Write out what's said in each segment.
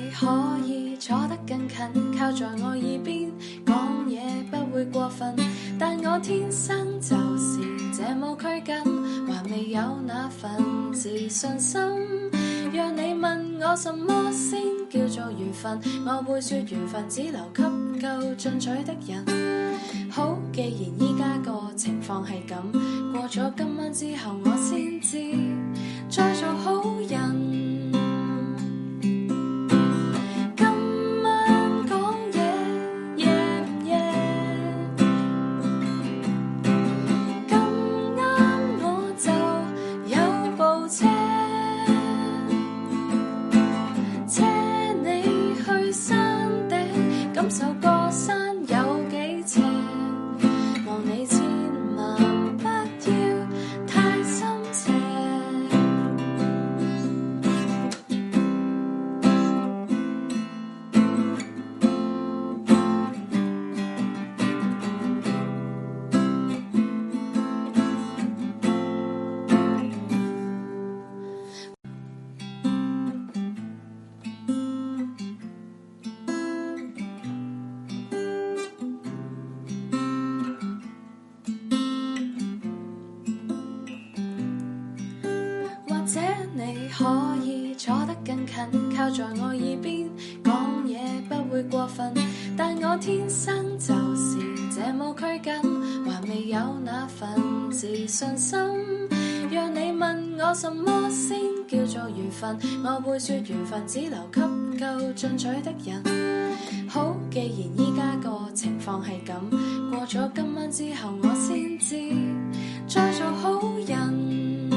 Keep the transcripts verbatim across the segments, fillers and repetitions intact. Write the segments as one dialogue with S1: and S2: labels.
S1: 你可以坐得更近，靠在我耳邊講嘢不會過分，但我天生就是這麼拘謹，還未有那份自信心。若你問我什麼先叫做緣分，我會說緣分只留給夠進取的人。好，既然依家個情況係咁，過咗今晚之後我先知再做好人。可以坐得更近，靠在我耳邊講嘢不會過分，但我天生就是這麼拘謹，還未有那份自信心。若你問我什麼先叫做緣分，我會說緣分只留給夠進取的人。好，既然依家個情況係咁，過咗今晚之後我先知再做好人。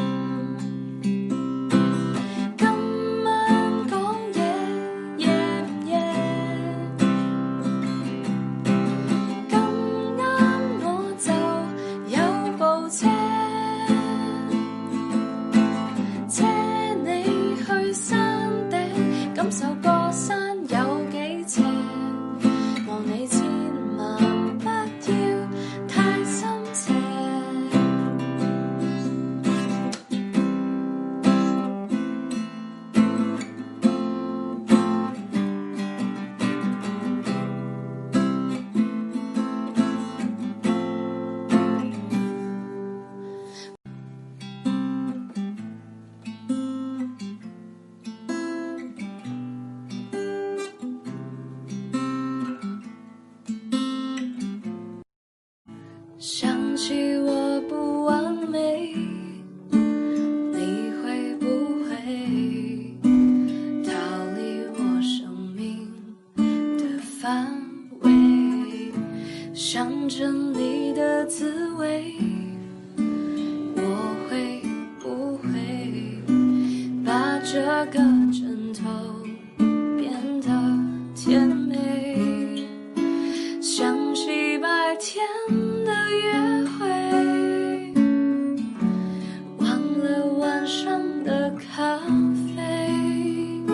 S1: 想起我不完美，你會不會逃離我生命的範圍？想真理的滋味，我會不會把這個枕頭變得甜美？想起白天約會，忘了晚上的咖啡，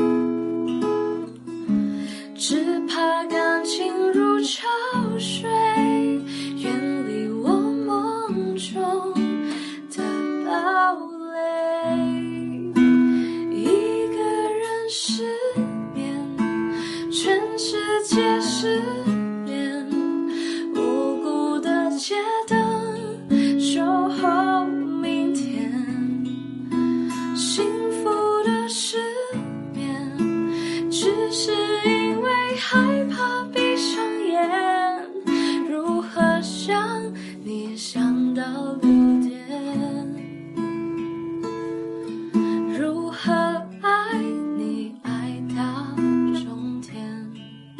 S1: 只怕感情如潮水，遠離我夢中的堡壘。一個人失眠，全世界失眠，無辜的街燈守候明天，幸福的失眠，只是因為害怕閉上眼。如何想你想到六點，如何愛你愛到終點。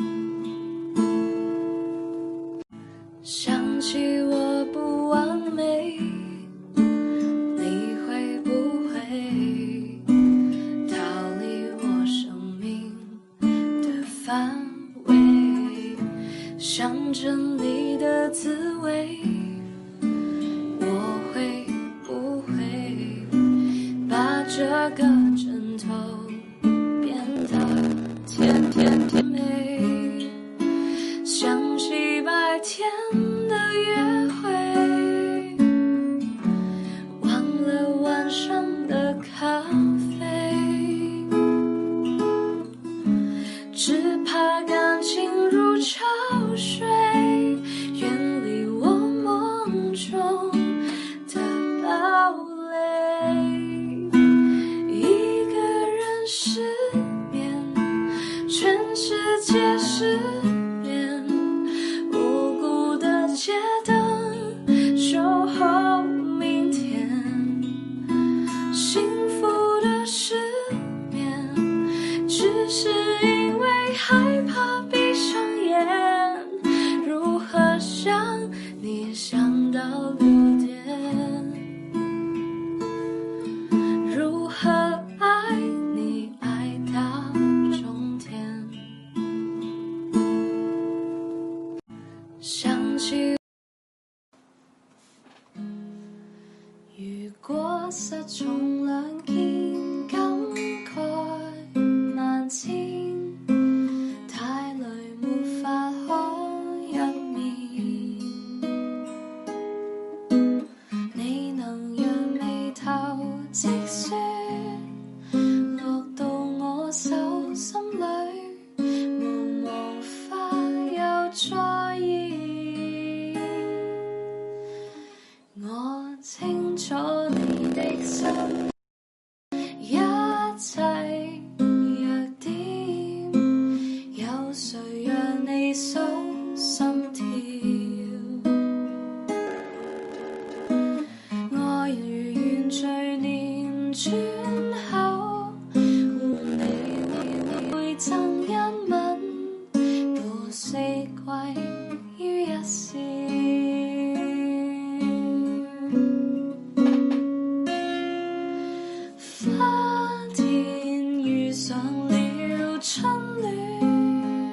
S1: 想起我不完美，你會不會逃離我生命的範圍？想真理的滋味，我會不會把這個枕頭變得甜甜甜美？想起白天的約會，忘了晚上的咖啡， 果失重兩肩，感慨萬千，太累沒法可一面。你能讓眉頭積雪落到我手心裏，無無法又再現。我清楚你的心，一切弱點，有誰讓你數心跳？愛如原罪念轉口，換你會贈一吻，渡四季於一線。花田遇上了春暖，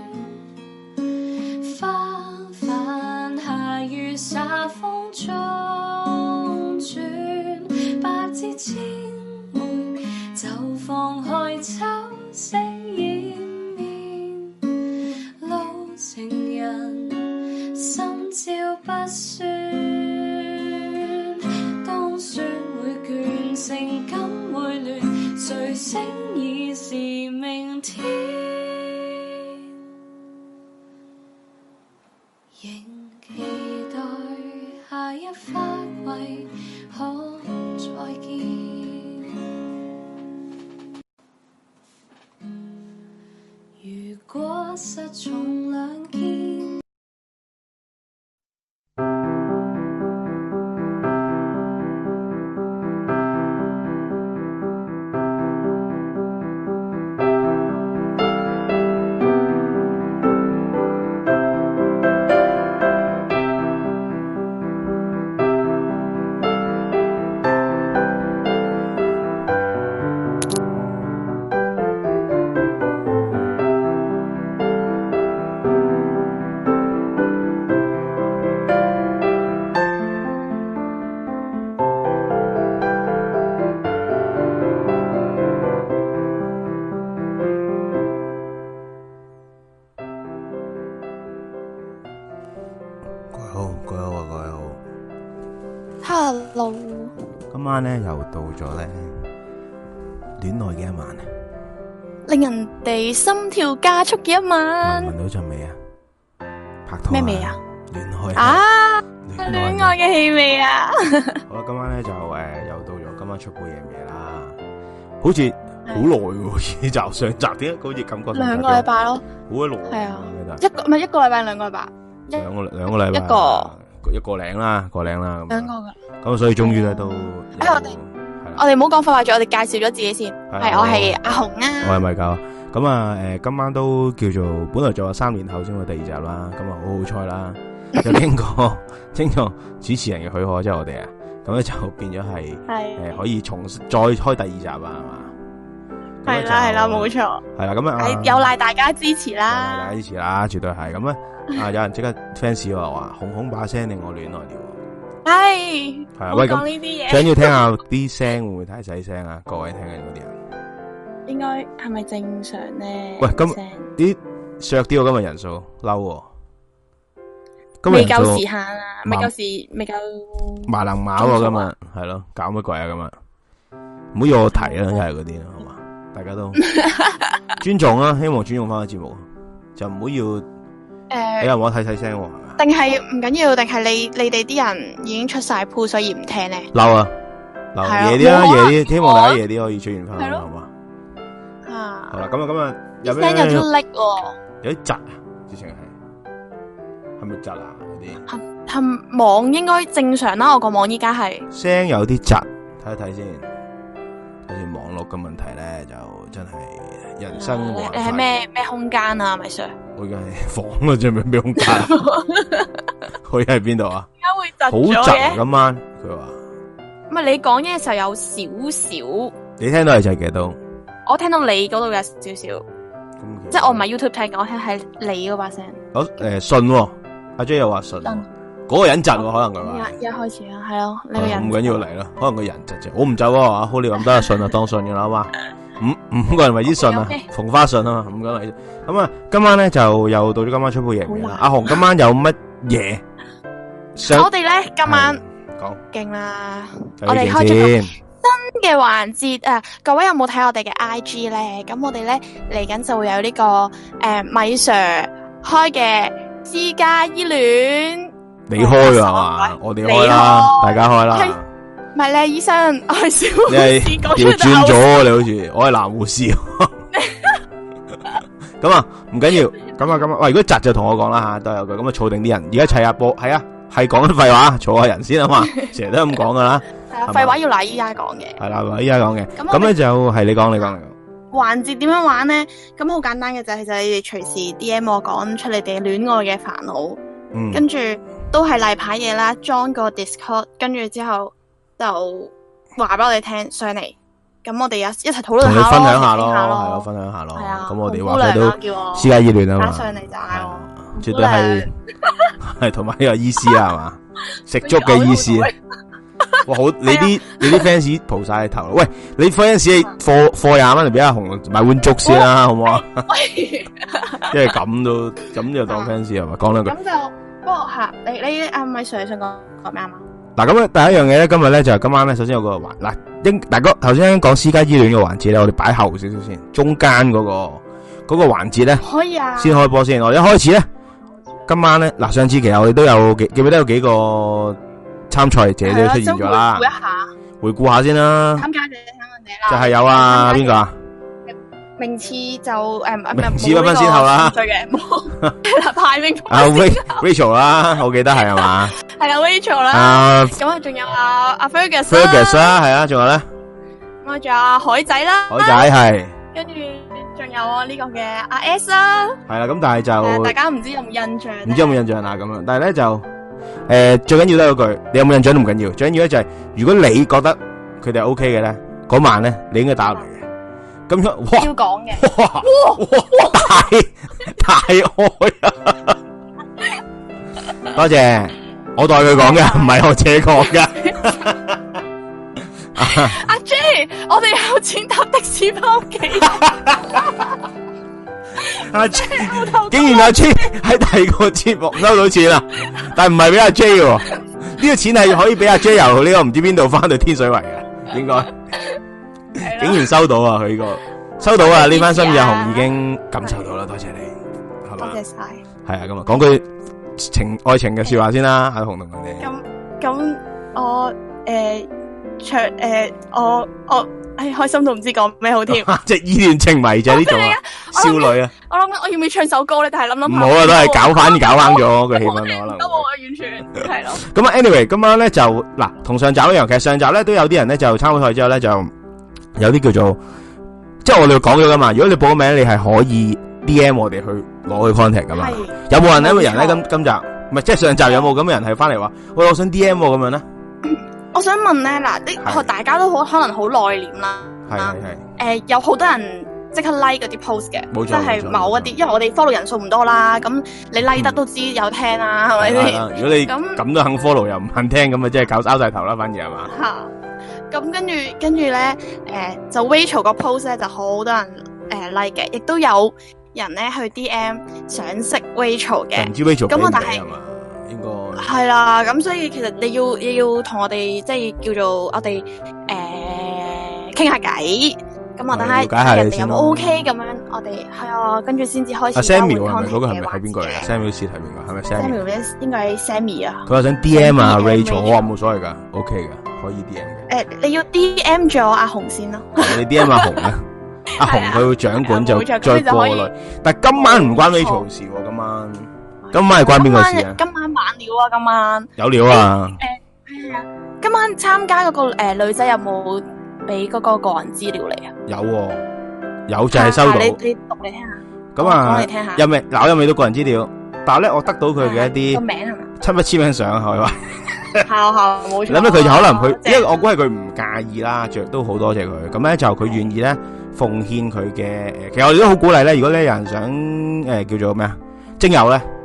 S1: 花瓣下雨灑風中轉，百枝千枚就放開秋色掩面，老情人心照不宣，當說會倦，情感會亂，誰醒已是明天，仍期待下一花季可再見。如果失重兩肩，
S2: Hello，
S3: 今晚咧又到咗咧戀愛嘅一晚，
S2: 令人哋心跳加速嘅一晚。
S3: 聞到陣味啊？拍拖
S2: 咩味啊？
S3: 戀愛
S2: 啊，
S3: 戀
S2: 戀愛嘅氣味啊！
S3: 好啦，今晚咧就誒又到咗今晚出杯嘢嘢啦，好似好耐喎，呢集上集點解好似感覺
S2: 兩個禮拜咯，
S3: 好鬼耐
S2: 係啊，一個唔係一個禮拜兩個禮拜，
S3: 兩個兩個禮拜
S2: 一個。
S3: 一個零啦，個零啦咁。
S2: 兩個噶。
S3: 咁所以終於咧都，
S2: 誒我哋我哋唔好講廢話住，我哋介紹咗自己先。係我係阿紅啊。
S3: 我係米狗。咁啊誒，今晚都叫做本來做咗三年後先會第二集啦，咁啊好好彩啦，就經過經過主持人嘅許可，即係我哋啊，咁咧就變咗係誒可以重再開第二集啊，係嘛？
S2: 係啦係啦，冇錯。
S3: 係啦，咁啊
S2: 有賴大家支持啦，
S3: 有賴大家支持啦，絕對係咁咧。啊！有人即刻 fans 話話紅紅把聲令我戀愛了，
S2: 係
S3: 係啊！喂，咁
S2: 講呢啲嘢，
S3: 想要聽下啲聲會唔會太細聲啊？各位聽緊嗰啲人，
S2: 應該係咪正常咧？
S3: 喂，咁啲削啲我今日人數嬲，今日
S2: 未夠時限啊，未夠時，未夠
S3: 麻能馬喎，今日係咯，搞乜鬼啊？今日唔好要我提啦，又係嗰啲啦，好嘛？大家都尊重啦，希望尊重翻個節目，就唔好要。誒，你又我睇細聲，
S2: 定係唔緊要？定係你你哋啲人已經出晒鋪，所以唔聽咧？
S3: 嬲啊！嬲夜啲啦，夜啲，希望大家夜啲可以出現翻，好嘛？
S2: 啊，
S3: 好啦，咁啊，咁啊，有
S2: 咩？聲有啲叻喎，
S3: 有啲窒啊，之前係係咪窒啊？嗰啲
S2: 係係網應該正常啦，我個網依家係
S3: 聲有啲窒，睇一睇先。好似網絡嘅問題咧，就真係人生冇辦法。
S2: 你係咩咩空間啊，米 Sir？
S3: 我而家係房啊，仲咩咩空間？佢喺邊度啊？
S2: 點解會窒
S3: 好窒今晚，佢話。
S2: 唔係你講嘢嘅時候有少少。
S3: 你聽到係窒嘅都。
S2: 我聽到你嗰度有少少。即係我唔係 YouTube 聽嘅，我聽係你嗰把聲。
S3: 我誒信，阿 J 又話信。 嗰個人窒喎，可能佢話。
S2: 一一開始啊，係咯，呢個人
S3: 唔緊要嚟啦，可能個人窒啫，我唔走啊，好你咁得信啊，當信噶啦，好嘛？五五個人為之信啊，逢花信啊嘛，五個人為之。咁啊，今晚咧就又到咗今晚出杯嘢啦。阿紅今晚有乜嘢？
S2: 我哋咧今晚
S3: 講
S2: 勁啦，我哋開咗個新嘅環節啊！各位有冇睇我哋嘅 I G 咧？咁我哋咧嚟緊就會有呢個誒米 Sir 開嘅私家醫戀。你
S3: 開啊嘛？我哋開啦，大家開啦。
S2: 唔係咧，醫生，我係小護士，講
S3: 調轉咗你好似，我係男護士。咁啊，唔緊要，咁啊咁啊，喂，如果窒就同我講啦吓，都有句咁啊，儲定啲人，而家砌下波，係啊，係講啲廢話，儲下人先啊嘛，成日都咁講噶啦。
S2: 係啊，廢話要嗱依家講嘅。
S3: 係啦，嗱依家講嘅。咁咧就係你講，你講，你講。
S2: 環節點樣玩咧？咁好簡單嘅就係就係你哋隨時 D M 我講出你哋戀愛嘅煩惱，嗯，跟住都係例牌嘢啦，裝個 Discord，跟住之後就話俾我哋聽上嚟。咁我哋有一齊討論下咯，同你分享下咯，係咯，分享下咯。係啊，咁我哋話佢都私家醫戀啊嘛，上嚟就嗌我，絕對係係同埋呢個醫師啊嘛，食粥嘅醫師。哇，好你啲你啲 fans 蒲晒頭，喂，你 fans 貨貨廿蚊嚟俾阿紅買碗粥先啦，好唔好啊？即係咁都咁就當 fans 係嘛？講兩句。咁就不過吓，你你阿米 Sir 想講講咩啊嘛？嗱，咁咧第一樣嘢咧，今日咧就係今晚咧，首先有個環嗱，應大哥頭先講私家醫戀嘅環節咧，我哋擺後少少先，中間嗰個嗰個環節咧，可以啊，先開波先。我一開始咧，今晚咧嗱，上次其實我哋都有記記唔記得有幾個參賽者都出現咗啦，回顧一下，回顧下先啦。參加者參加者啦，就係有啊邊個啊？名次就誒，名次不分先後啦。對嘅，冇排名。啊 Rachel 啦，我記得係係嘛？係啊 Rachel 啦。咁啊，仲有阿阿 Fergus 啦，係啊，仲有咧。咁啊，仲有阿海仔啦。海仔係。跟住仲有我呢個嘅阿 S 啦。係啦，咁但係就大家唔知有冇印象？唔知有冇印象啊？咁樣，但係咧就誒，最緊要都係嗰句，你有冇印象都唔緊要，最緊要咧就係如果你覺得佢哋係 OK 嘅咧，嗰晚咧你應該打嚟。咁樣哇，要講嘅，哇哇大大愛啊！多謝，我代佢講嘅，唔係我自己講嘅。阿 J， 我哋有錢搭的士翻屋企。阿 J， 竟然阿 J 喺第二個節目收到錢啦，但係唔係俾阿 J 喎，呢個錢係可以俾阿 J 由呢個唔知邊度翻到天水圍嘅，應該。竟然收到啊！佢呢個收到啊！呢番心意阿紅已經感受到啦，多謝你，係嘛？多謝晒。係啊，咁啊，講句情愛情嘅說話先啦，阿紅同佢哋。咁咁，我誒唱誒，我我誒開心到唔知講咩好添。即係依戀情迷就係呢種少女啊！我諗我要唔要唱首歌咧？但係諗諗唔好啊，都係搞翻搞翻咗個氣氛可能。都冇啊，完全係咯。咁啊，anyway，今晚咧就嗱，同上集一樣，其實上集咧都有啲人咧就參加賽之後咧就。有啲叫做，即係我哋講咗噶嘛。如果你報個名，你係可以 D M 我哋去攞去 contact 噶嘛。有冇人呢？有冇人咧？今今集唔係即係上集有冇咁嘅人係翻嚟話，喂，我想 D M 咁樣咧？我想問咧，嗱，啲大家都好可能好內斂啦。係係係。誒，有好多人即刻 like 嗰啲 post 嘅，即係某一啲，因為我哋 follow 人數唔多啦。咁你 like 得都知有聽啦，係咪先？如果你咁咁都肯 follow 又唔肯聽，咁啊即係搞拗晒頭啦，反而係嘛？吓。咁跟住跟住咧，誒、呃、就 Rachel 個 post 咧就好多人誒、呃、like 嘅，亦都有人咧去 D M 想識 Rachel 嘅。唔知 Rachel 咁我但係應該係啦，咁所以其實你要你要同我哋即係叫做我哋誒傾下偈，咁我等下人哋有冇 OK 咁樣，我哋係啊，跟住先至開始。阿 Samuel 係咪嗰個係咪係邊個嚟啊 ？Samuel 是係邊個？係咪 Samuel？ Samuel 應該係 Sammy 啊。佢話想 D M 啊 Rachel， 我話冇所謂噶 ，OK 噶。可以 D M 嘅，誒，你要 D M 咗阿紅先咯。你 D M 阿紅咧，阿紅佢會掌管就再過濾。但係今晚唔關 Rachel 事喎，今晚今晚係關邊個事啊？今晚晚料啊，今晚有料啊！誒，係啊，今晚參加嗰個誒女仔有冇俾嗰個個人資料嚟啊？有，有就係收到。你你讀嚟聽下。咁啊，講嚟聽下。有未？嗱，我有未到個人資料，但係咧，我得到佢嘅一啲個名係咪？親筆簽名相係嘛？係係冇錯。諗咧佢就可能佢，因為我估係佢唔介意啦，着都好多謝佢。咁咧就佢願意咧奉獻佢嘅誒，其實我哋都好鼓勵咧。如果咧有人想誒叫做咩啊徵友咧，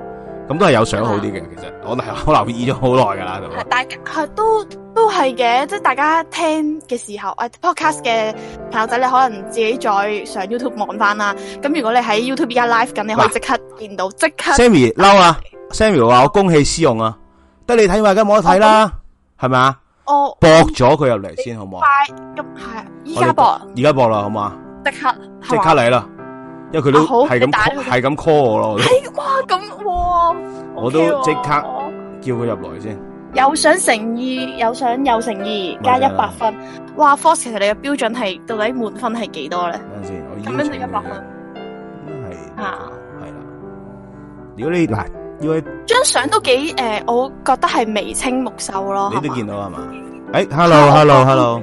S2: 咁都係有相好啲嘅。其實我我留意咗好耐噶啦，
S4: 係大家係都都係嘅，即係大家聽嘅時候，誒 podcast 嘅朋友仔，你可能自己再上 YouTube 望翻啦。咁如果你喺 YouTube 而家 live 緊，你可以即刻見到，即刻。
S2: Sammy 嬲啊 ！Sammy 話我公器私用啊，得你睇埋，梗冇得睇啦，係咪啊？
S4: 我
S2: 博咗佢入嚟先好唔好？
S4: 快咁係啊！依家博，
S2: 而家博啦，好嘛？
S4: 即刻
S2: 即刻嚟啦！因為佢都係咁係咁 call 我咯。
S4: 係哇咁哇！
S2: 我都即刻叫佢入來先。
S4: 有想誠意，有想有誠意，加一百分。哇 ，Force 其實你嘅標準係到底滿分係幾多咧？
S2: 等陣先，我
S4: 咁樣就一百分。
S2: 係啊，係啦。如果你嗱，因為
S4: 張相都幾誒，我覺得係眉清目秀咯。
S2: 你都見到係嘛？誒，hello，hello，hello。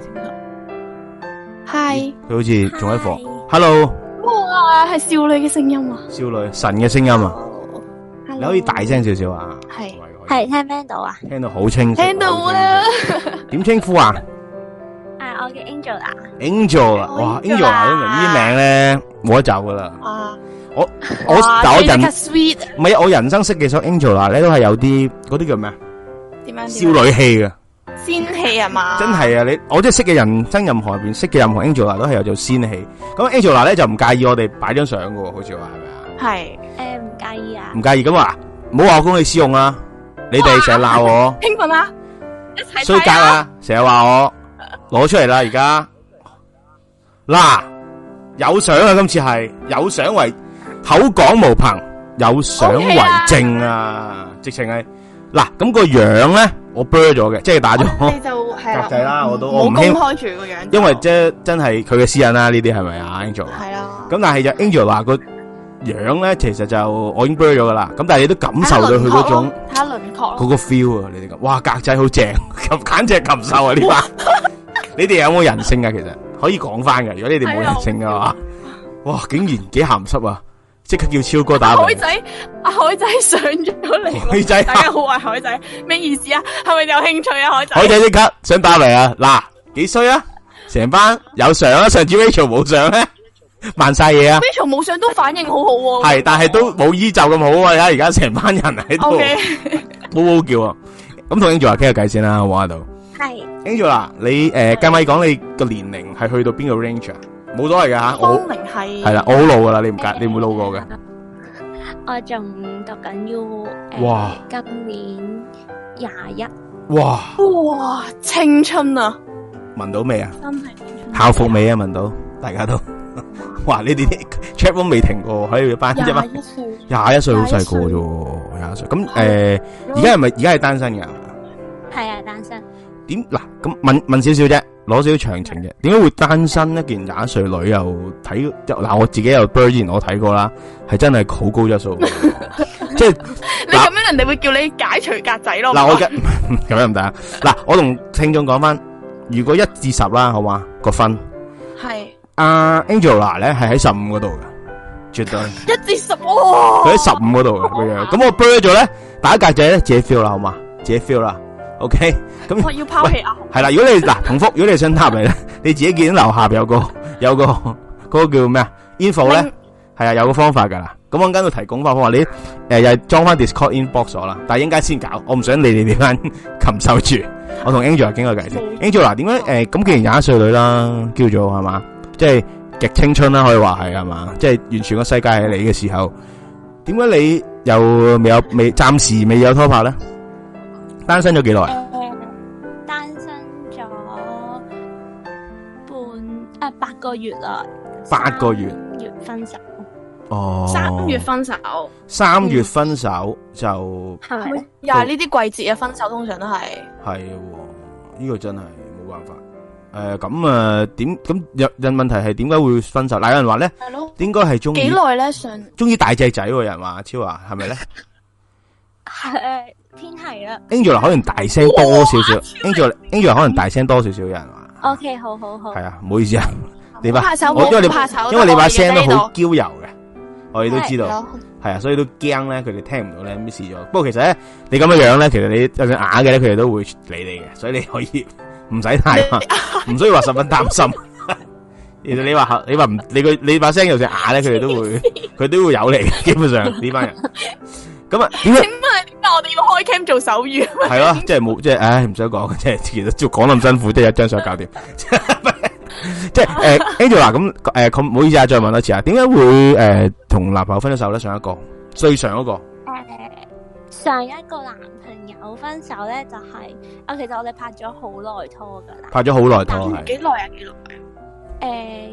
S4: 係。
S2: 佢好似仲喺房。Hello。
S4: 哇，係少女嘅聲音啊！
S2: 少女神嘅聲音啊！你可以大聲少少啊！
S5: 係係聽唔聽到啊？
S2: 聽到好清楚。
S4: 聽到啊！
S2: 點稱呼啊？
S5: 誒，我叫 Angel 啊。
S2: Angel 啊！哇 ，Angel 啊，呢啲名咧冇得走噶啦。
S4: 啊！
S2: 我我我人唔係我人生識嘅首 Angel 啊，咧都係有啲嗰啲叫咩啊？
S4: 點樣？
S2: 少女氣嘅。
S4: 仙氣啊嘛，
S2: 真係啊！你我即係識嘅人生任何入邊識嘅任何 Angela 都係有做仙氣。咁 Angela 咧就唔介意我哋擺張相嘅，好似話係咪啊？
S4: 係
S5: 誒唔介意啊？
S2: 唔介意咁話，唔好話我公器私用啊！你哋成日鬧我，
S4: 興奮啊！一齊
S2: 衰格啊！成日話我攞出嚟啦，而家嗱有相啊！今次係有相為口講無憑，有相為證啊！直情係嗱咁個樣咧。我 blur 咗嘅，即係打咗格仔啦，我都我唔
S4: 公開住個樣，
S2: 因為即係真係佢嘅私隱啦，呢啲係咪啊 Angel？係
S4: 啦。
S2: 咁但係就 Angel 話個樣咧，其實就我已經 blur 咗噶啦。咁但係你都感受到佢嗰種
S4: 睇下輪廓咯，
S2: 嗰個 feel 啊！你哋咁，哇格仔好正，咁簡直係禽獸啊！呢班你哋有冇人性啊？其實可以講翻嘅，如果你哋冇人性嘅話，哇竟然幾鹹濕啊！即刻叫超哥打嚟。
S4: 海仔，阿海仔上咗嚟。
S2: 海仔，
S4: 大家好啊，海仔，咩意思啊？係咪有興趣啊，海仔？
S2: 海仔即刻想打嚟啊！嗱，幾衰啊？成班有相啊，上次 Rachel 冇相咧，慢晒嘢啊
S4: ！Rachel 冇相都反應好好喎。
S2: 係，但係都冇依就咁好啊！而家成班人喺度，嗷嗷叫啊！咁同 Angela 傾下偈先啦，好唔好喺度？
S5: 係。
S2: Angela，你誒，計咪講你個年齡係去到邊個 range 啊？冇所謂噶吓，我
S4: 係
S2: 係啦，我好老噶啦，你唔介，你唔會老過嘅。
S5: 我仲讀緊 U，
S2: 哇，
S5: 今年廿一。
S2: 哇
S4: 哇，青春啊！
S2: 聞到未啊？
S4: 真係青春。
S2: 校服未啊？聞到，大家都。哇！你哋啲 chat 都未停過，喺度班啫嘛。廿一歲，廿一歲好細個啫，廿一歲。咁誒，而家係咪而家係單身噶？
S5: 係啊，單身。點
S2: 嗱？咁問問少少啫。攞少少詳情嘅，點解會單身一件廿一歲女又睇嗱？我自己又 blur 之前我睇過啦，係真係好高質素，即係
S4: 你咁樣人哋會叫你解除格仔咯。
S2: 嗱，我嘅咁樣唔得啊！嗱，我同聽眾講翻，如果一至十啦，好嘛個分
S4: 係
S2: 阿 Angela 咧係喺十五嗰度嘅，絕對
S4: 一至十哇！
S2: 佢喺十五嗰度嘅個樣，咁我 blur 咗咧打格仔咧自己 feel 啦，好嘛？自己 feel 啦。OK，咁
S4: 我要拋棄啊！
S2: 係啦，如果你嗱同福，如果你想答嚟咧，你自己見到樓下有個有個嗰個叫咩啊 info 咧，係啊有個方法噶啦。咁我陣間都提供翻方法，你誒又係裝翻 Discord inbox 咗啦。但係陣間先搞，我唔想你哋點樣禽獸住。我同 Angela 傾個偈先。Angela 嗱，點解誒咁既然廿一歲女啦，叫做係嘛，即係極青春啦，可以話係係嘛，即係完全個世界係你嘅時候，點解你又未有未暫時未有拖拍咧？單身咗幾耐？
S5: 誒，單身咗半誒八個月啦。
S2: 八個月。
S5: 三月分手。
S2: 哦。
S4: 三月分手。
S2: 三月分手就
S4: 係咪？又係呢啲季節嘅分手，通常都係。係，
S2: 呢個真係冇辦法。誒，咁啊，點咁有人問題係點解會分手？嗱，有人話咧，係咯，應該係中意
S4: 幾耐咧？上
S2: 中意大隻仔，有人話超華係咪咧？
S5: 係偏係啦。
S2: Angela 可能大聲多少少，Angela Angela 可能大聲多少少，有人話。
S5: OK，好好好。
S2: 係啊，唔好意思啊，你把
S4: 我
S2: 因為你因為你把聲都好嬌柔嘅，我哋都知道，係啊，所以都驚咧，佢哋聽唔到咧咩事咗。不過其實咧，你咁樣樣咧，其實你就算啞嘅咧，佢哋都會理你嘅，所以你可以唔使太，唔需要話十分擔心。其實你話你話唔你個你把聲就算啞咧，佢哋都會佢都會有你嘅，基本上呢班人。咁啊，點解？
S4: 我哋要開 cam 做手語。
S2: 係咯，即係冇，即係唉，唔想講，即係其實做講咁辛苦，即係一張相搞掂。即係誒 ，Angela 咁誒，咁唔好意思啊，再問多次啊，點解會誒同男朋友分咗手咧？上一個最上嗰個誒，
S5: 上一個男朋友分手咧，就係啊，其實我哋拍咗好耐拖噶啦，
S2: 拍咗好耐拖係
S4: 幾耐啊？幾耐？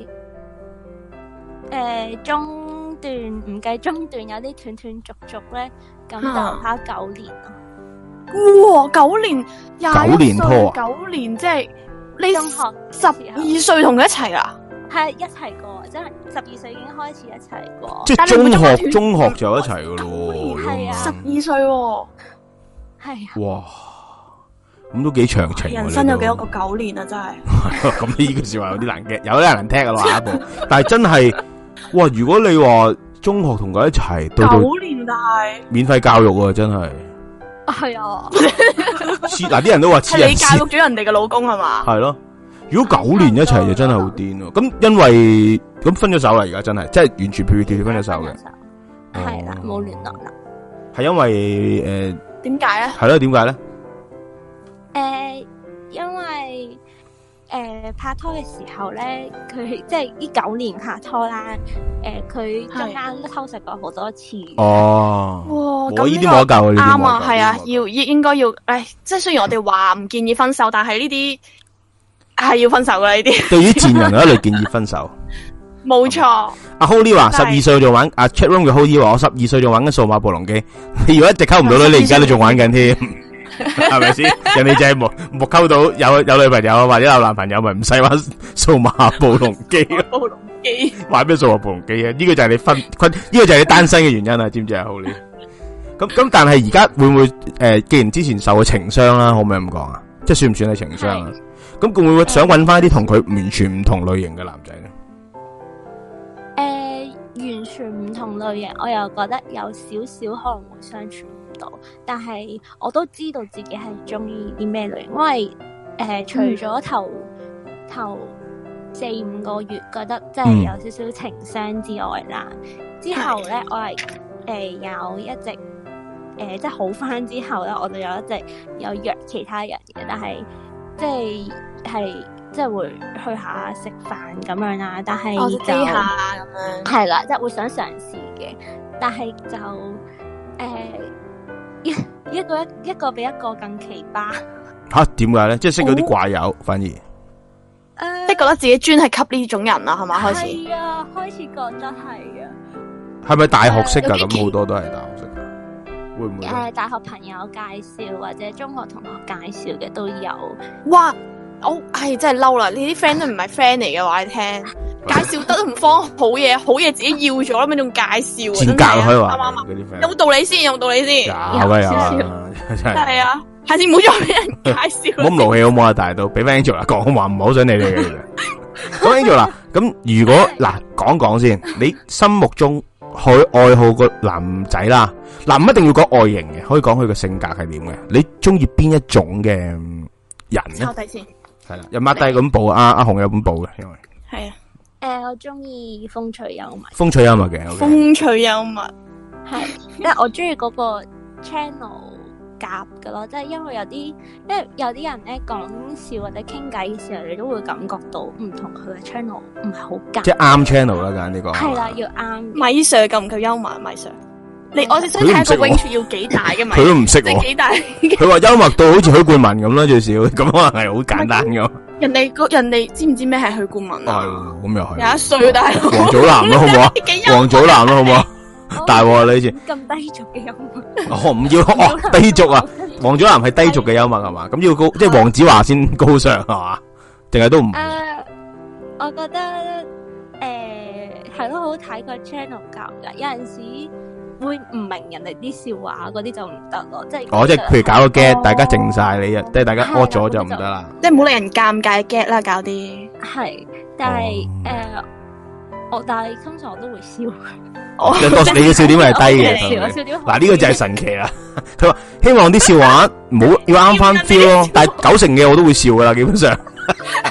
S5: 誒誒，中段唔計中段有啲斷斷續續咧，咁就拍九年咯。
S4: 哇，九年廿
S2: 九年拖啊，
S4: 九年即係你
S5: 中學
S4: 十二歲同佢一齊啊？
S5: 係一齊過，即係十二歲已經開始一齊過。
S2: 即係中學，中學就一齊噶咯。
S5: 係啊，
S4: 十二歲喎。
S5: 係啊。
S2: 哇，咁都幾長情。
S4: 人生有幾多個九年啊？真係。
S2: 咁呢句說話有啲難嘅，有啲難聽啊！下一步，但係真係，哇！如果你話中學同佢一齊，到到
S4: 九年但係
S2: 免費教育啊，真係。
S5: 係啊。
S2: 黐嗱啲人都話黐人。
S4: 你教育咗人哋嘅老公係嘛？
S2: 係咯。如果九年一齊就真係好癲咯。咁因為咁分咗手啦，而家真係，即係完全撇脱分咗手嘅。
S5: 係啦，冇聯絡啦。
S2: 係因為誒，
S4: 點解咧？
S2: 係咯，點解咧？
S5: 誒，因為誒拍拖嘅時候咧，佢即係呢九年拍拖啦。誒，佢中間都偷食過好多次。
S2: 哦，
S4: 哇，
S2: 我呢啲冇得救，
S4: 啱啊，係啊，要應應該要，誒，即係雖然我哋話唔建議分手，但係呢啲。係要分手噶呢啲，
S2: 對於賤人我一律建議分手。
S4: 冇錯。
S2: 阿 Holly 話十二歲仲玩，阿 Chat Room 嘅 Holly 話我十二歲仲玩緊數碼暴龍機。你如果一直溝唔到女，你而家都仲玩緊添，係咪先？人哋就係冇冇溝到有有女朋友或者有男朋友，咪唔使玩數碼暴龍機。
S4: 暴龍機
S2: 玩咩數碼暴龍機啊？呢個就係你分分，呢個就係你單身嘅原因啊？知唔知啊 Holly？咁咁，但係而家會唔會誒？既然之前受過情傷啦，可唔可以咁講啊？即係算唔算係情傷啊？咁會唔會想揾翻啲同佢完全唔同類型嘅男仔咧？
S5: 誒、呃，完全唔同類型，我又覺得有少少可能會相處唔到，但係我都知道自己係中意啲咩類型，因為誒、呃、除咗頭、嗯、頭四五個月覺得真係有少少情傷之外啦，嗯、之後咧我係誒、呃、有一直誒、呃、即係好翻之後咧，我就有一直有約其他人嘅，但係。即係係即係會去下食飯咁樣啦，但係就
S4: 下咁樣
S5: 係啦，即係會想嘗試嘅，但係就誒、呃、一一個一一個比一個更奇葩
S2: 吓？點解咧？即係識到啲怪友，反而誒、
S4: 呃，即係覺得自己專係吸呢種人啊，係嘛？開始
S5: 係啊，開始覺得係啊。
S2: 係咪大學識噶？咁、呃、好多都係大學識。會唔會？誒、
S5: 呃，大學朋友介紹或者中學同學介紹嘅都有。
S4: 哇，我係真係嬲啦！你啲 friend 都唔係 friend 嚟嘅話，你聽介紹得都唔方好嘢，好嘢自己要咗啦，咩仲介紹？
S2: 賤格可以話。
S4: 啱啱啱？有冇道理先？有冇道理先？
S2: 有啊有啊，真係。
S4: 係啊，下次唔好再俾人介紹。
S2: 唔好咁勞氣好唔好啊？大到俾翻 Angela 講話唔好想你哋嘅。咁 Angela 咁如果嗱講講先，你心目中去愛好個男仔啦，嗱唔一定要講外形嘅，可以講佢個性格係點嘅。你中意邊一種嘅人咧？
S4: 抄底先，
S2: 係啦，有抹低咁報，阿阿紅有咁報嘅，因為
S5: 係啊，誒，我中意風趣幽默，
S2: 風趣幽默嘅，
S4: 風趣幽默
S5: 係，即係我中意嗰個 channel 夾嘅咯，即係因為有啲，因為有啲人咧講笑或者傾偈嘅時候，你都會感覺到唔同佢嘅 channel 唔係好夾，
S2: 即係啱 channel 啦，揀呢個
S5: 係啦，要啱。
S4: 米 Sir 夠唔夠幽默？米 Sir，你我哋想睇個 range 要幾大嘅嘛？
S2: 佢都唔識，
S4: 即係幾大？
S2: 佢話幽默到好似許冠文咁啦，最少咁可能係好簡單嘅。
S4: 人哋個人哋知唔知咩係許冠文啊？
S2: 係，咁又係。
S4: 廿一歲大佬。
S2: 王祖藍咯，好唔好啊？王祖藍咯，好唔好啊？大鑊你好似
S5: 咁低俗嘅幽默。
S2: 哦，唔要哦，低俗啊！王祖藍係低俗嘅幽默係嘛？咁要高，即係黃子華先高尚係嘛？定係都唔？
S5: 誒，我覺得誒係咯，好睇個 channel 教㗎，有陣時會唔明人哋啲笑話嗰啲就唔得咯，即係。哦，
S2: 即係譬如搞個 get，大家靜晒你啊，即係大家屙咗就唔得啦。
S4: 即係唔好令人尷尬 get 啦，搞啲。
S5: 係，但係誒，我但係通常我都會笑。
S2: 哦，你嘅笑點係低嘅，嗱呢個就係神奇啦。佢話希望啲笑話唔好要啱翻 feel 咯，但係九成嘅我都會笑噶啦，基本上。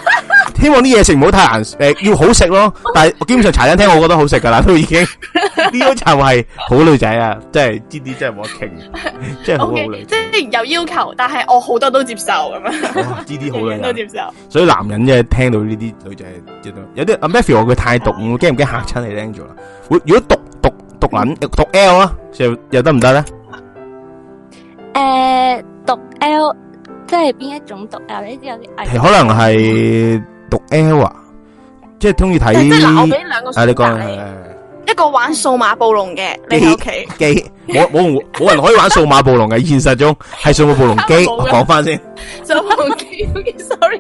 S2: 希望啲嘢食唔好太難，誒要好食咯。但係基本上茶餐廳我覺得好食噶啦，都已經。 呢個就係好女仔啊！真係呢啲真係冇得傾，真係好好女仔。
S4: 即係有要求，但係我好多都接受咁樣。
S2: 哇！呢啲好女
S4: 都接受。
S2: 所以男人即係聽到呢啲女仔，有啲阿 Matthew 話佢太毒，我驚唔驚嚇親你聽咗啦？會如果毒毒毒撚毒 L 啊，又又得唔得咧？
S5: 誒，毒 L 即係邊一種毒 L？呢啲有啲危。
S2: 可能係毒 L 啊，即係中意睇。
S4: 即係嗱，我俾兩個選擇
S2: 你講
S4: 你。一個玩數碼暴龍嘅，你喺屋企。
S2: 機冇冇冇人可以玩數碼暴龍嘅，現實中係數碼暴龍機。我講翻先。
S4: 數碼暴龍機，sorry。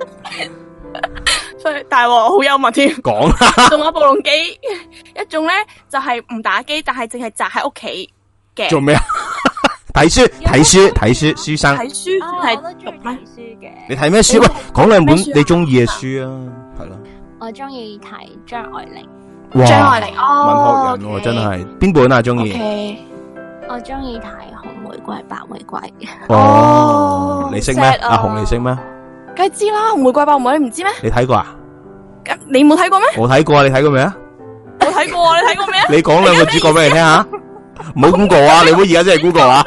S4: 所以大鑊好幽默添。
S2: 講啦。
S4: 數碼暴龍機一種咧就係唔打機，但係淨係宅喺屋企嘅。
S2: 做咩啊？睇書睇書睇書書生。
S4: 睇書係
S5: 讀咩書嘅？
S2: 你睇咩書？喂，講兩本你中意嘅書啊，係咯。
S5: 我中意睇張愛玲。
S2: 哇，
S4: 張愛玲哦，
S2: 文學人喎，真係邊本啊？中意？
S5: 我中意睇紅玫瑰、白玫瑰。
S2: 哦，你識咩？阿紅你識咩？
S4: 梗係知啦，紅玫瑰、白玫瑰你唔知咩？
S2: 你睇過啊？
S4: 你冇睇過咩？
S2: 我睇過啊，你睇過未啊？
S4: 我睇過啊，你睇過未啊？
S2: 你講兩個主角俾你聽下，唔好 Google 啊！你唔好而家真係 Google 啊！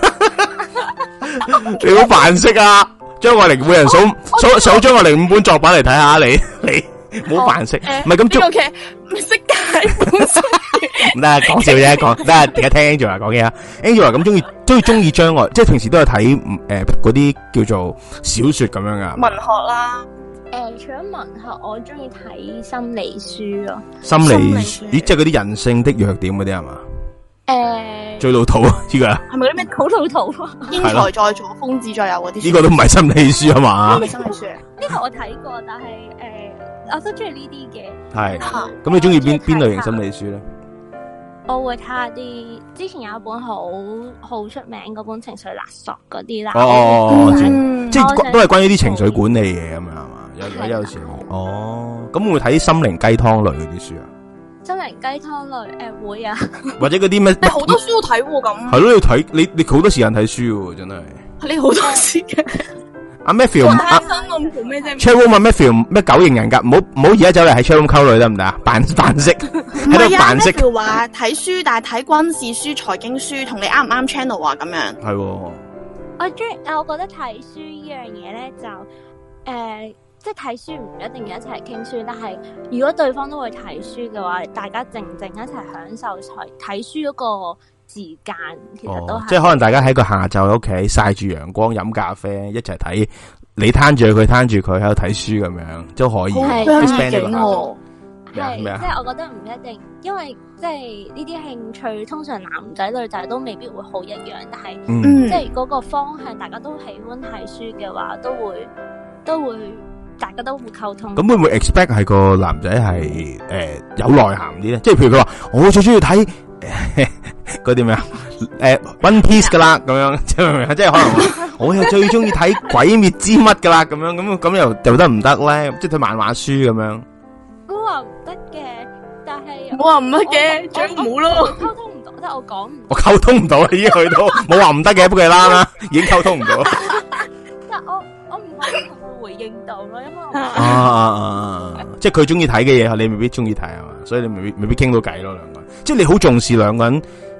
S2: 你好扮識啊！張愛玲每人數數數張愛玲五本作品嚟睇下，你你。唔好扮識，唔係咁捉。
S4: 嘅識解本書。
S2: 唔得，講笑啫，講得。而家聽 Angela 講嘢啊 ，Angela 咁中意，中意中意張愛，即係平時都係睇誒嗰啲叫做小說咁樣噶。
S4: 文學啦，
S5: 誒，除咗文學，我中意睇心理書咯。
S2: 心理書，咦，即係嗰啲人性的弱點嗰啲係嘛？
S5: 誒，
S2: 最老土啊，呢個
S4: 係咪嗰啲咩
S5: 好老土啊？
S4: 英才在左，瘋子在右嗰啲？
S2: 呢個都唔係心理書啊嘛？
S4: 呢個心理書。
S5: 呢個我睇過，但係誒。我都中意呢啲嘅，
S2: 係咁你中意邊邊類型心理書咧？
S5: 我會睇下啲之前有一本好好出名嗰本情緒勒索嗰啲啦。
S2: 哦，即係都係關於啲情緒管理嘢咁樣係嘛？有有有時哦，咁會唔會睇心靈雞湯類嗰啲書啊？心靈
S5: 雞湯類誒會啊，
S2: 或者嗰啲咩？
S4: 你好多書都睇喎咁。係
S2: 咯，要睇你你好多時間睇書喎，真係。
S4: 你好多時間。
S2: 阿 Matthew，阿 Chatroom 問 Matthew 咩九型人格？唔好唔好而家走嚟喺 Chatroom 溝女得唔得啊？扮扮識喺度扮識。
S4: Matthew 話睇書，但係睇軍事書、財經書，同你啱唔啱 channel 啊？咁樣
S2: 係。
S5: 我中意，我覺得睇書呢樣嘢咧就誒、呃，即係睇書唔一定要一齊傾書，但係如果對方都會睇書嘅話，大家靜靜一齊享受睇書嗰個時間，其實都係、哦、
S2: 即係可能大家喺個下晝喺屋企曬住陽光飲咖啡一齊睇，你攤住佢攤住佢喺度睇書咁樣都可以。
S4: 係
S2: 係、
S4: 哦，
S5: 即係我覺得唔一定，因為即係呢啲興趣通常男仔女仔都未必會好一樣，但係、嗯、即係嗰個方向大家都喜歡睇書嘅話，都會都會大家都會溝通。
S2: 咁會唔會 expect 係個男仔係誒有內涵啲咧？即係譬如佢話我最中意睇。嗰啲咩啊？誒，One Piece 噶啦，咁樣即係即係可能我又最中意睇《鬼滅之乜》噶啦，咁樣咁咁又又得唔得咧？即係睇漫畫書咁樣。
S5: 我話唔得嘅，但係
S4: 我話唔得嘅，最好咯。
S5: 溝通唔到，即係我講唔。
S2: 我溝通唔到啊！已經去到冇話唔得嘅，不過係啦啦，已經溝通唔到。
S5: 但係我我唔可以同佢回應到咯，因為我
S2: 啊啊啊！即係佢中意睇嘅嘢，你未必中意睇係嘛？所以你未必未必傾到偈咯，兩個人。即係你好重視兩個人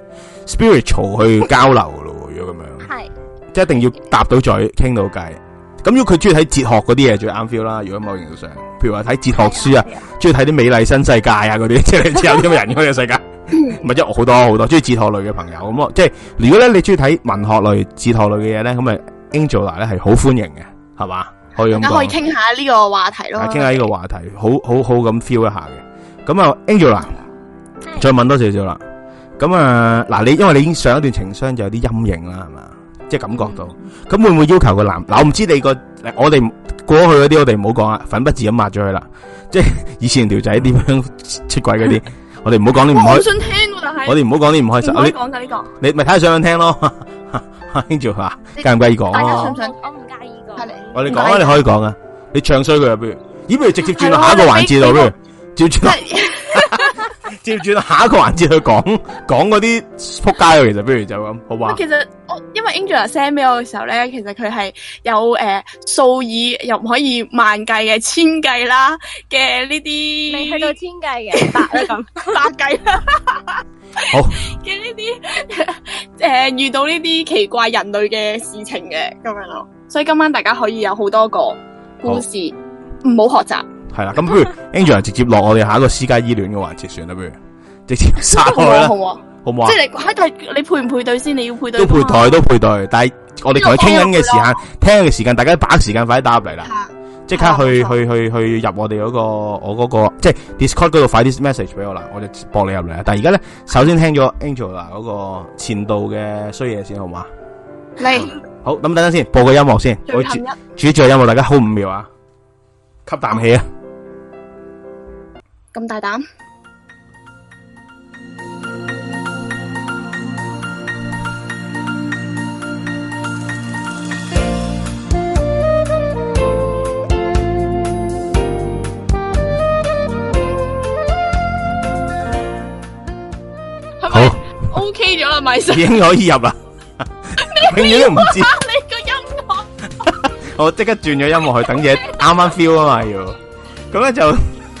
S2: spiritual 去交流噶咯，如果咁樣，係即係一定要搭到嘴傾到偈。咁如果佢中意睇哲學嗰啲嘢，最啱 feel 啦。如果某程度上，譬如話睇哲學書啊，中意睇啲美麗新世界啊嗰啲，即係你知有啲咁嘅人嗰個世界，唔係即係好多好多中意哲學類嘅朋友咁咯。即係如果咧你中意睇文學類、哲學類嘅嘢咧，咁啊 Angela 咧係好歡迎嘅，係嘛？可以咁講，
S4: 可以傾下呢個話題咯。
S2: 傾下呢個話題，好好好咁 feel 一下嘅。咁啊 Angela。再問多少少啦，咁啊嗱，你因為你已經上一段情傷就有啲陰影啦，係嘛？即係感覺到，咁會唔會要求個男？嗱，我唔知你個，我哋過去嗰啲我哋唔好講啊，粉筆字咁抹咗佢啦。即係以前條仔點樣出軌嗰啲，我哋唔好講啲唔開。
S4: 我想聽，但係
S2: 我哋唔好講啲唔開心。
S4: 唔可以講噶呢個。
S2: 你咪睇下想唔想聽咯？Angela 話介唔介意講？
S4: 大家想唔想？
S5: 我唔介意講。係你。
S2: 我哋講啊，你可以講啊。你唱衰佢啊，不如，咦？不如直接轉到下一個環節度，不如，照轉。接住下一個環節去講講嗰啲撲街，其實不如就咁，好嘛？
S4: 其實我因為 Angela send 俾我嘅時候咧，其實佢係有誒數、呃、以又唔可以萬計嘅千計啦嘅呢啲，
S5: 未去到千計嘅百啦咁，
S4: 百計啦。
S2: 好
S4: 嘅呢啲誒遇到呢啲奇怪人類嘅事情嘅咁樣咯。所以今晚大家可以有好多個故事，唔好學習。
S2: 係啦，咁不如 Angela 直接落我哋下一個私家醫戀嘅環節算啦，不如直接殺開啦，
S4: 好啊，
S2: 好唔好啊？
S4: 即係你喺度，你配唔配對先？你要配對
S2: 都配台都配對，但係我哋同佢傾緊嘅時間，聽嘅時間，大家把握時間快啲打入嚟啦，即刻去去去去入我哋嗰個我嗰個即係 Discord 嗰度快啲 message 俾我啦，我就駁你入嚟啦。但係而家咧，首先聽咗 Angela 嗰個前度嘅衰嘢先，好嘛？
S4: 嚟
S2: 好，咁等陣先，播個音樂先，我煮煮住個音樂，大家好五秒啊，吸啖氣啊！
S4: 咁大膽。
S2: 好
S4: ，OK 咗啦，咪先
S2: 已經可以入啦，永遠都唔知。
S4: 你個音樂，
S2: 我即刻轉咗音樂去等嘢啱啱 feel 啊嘛要，咁咧就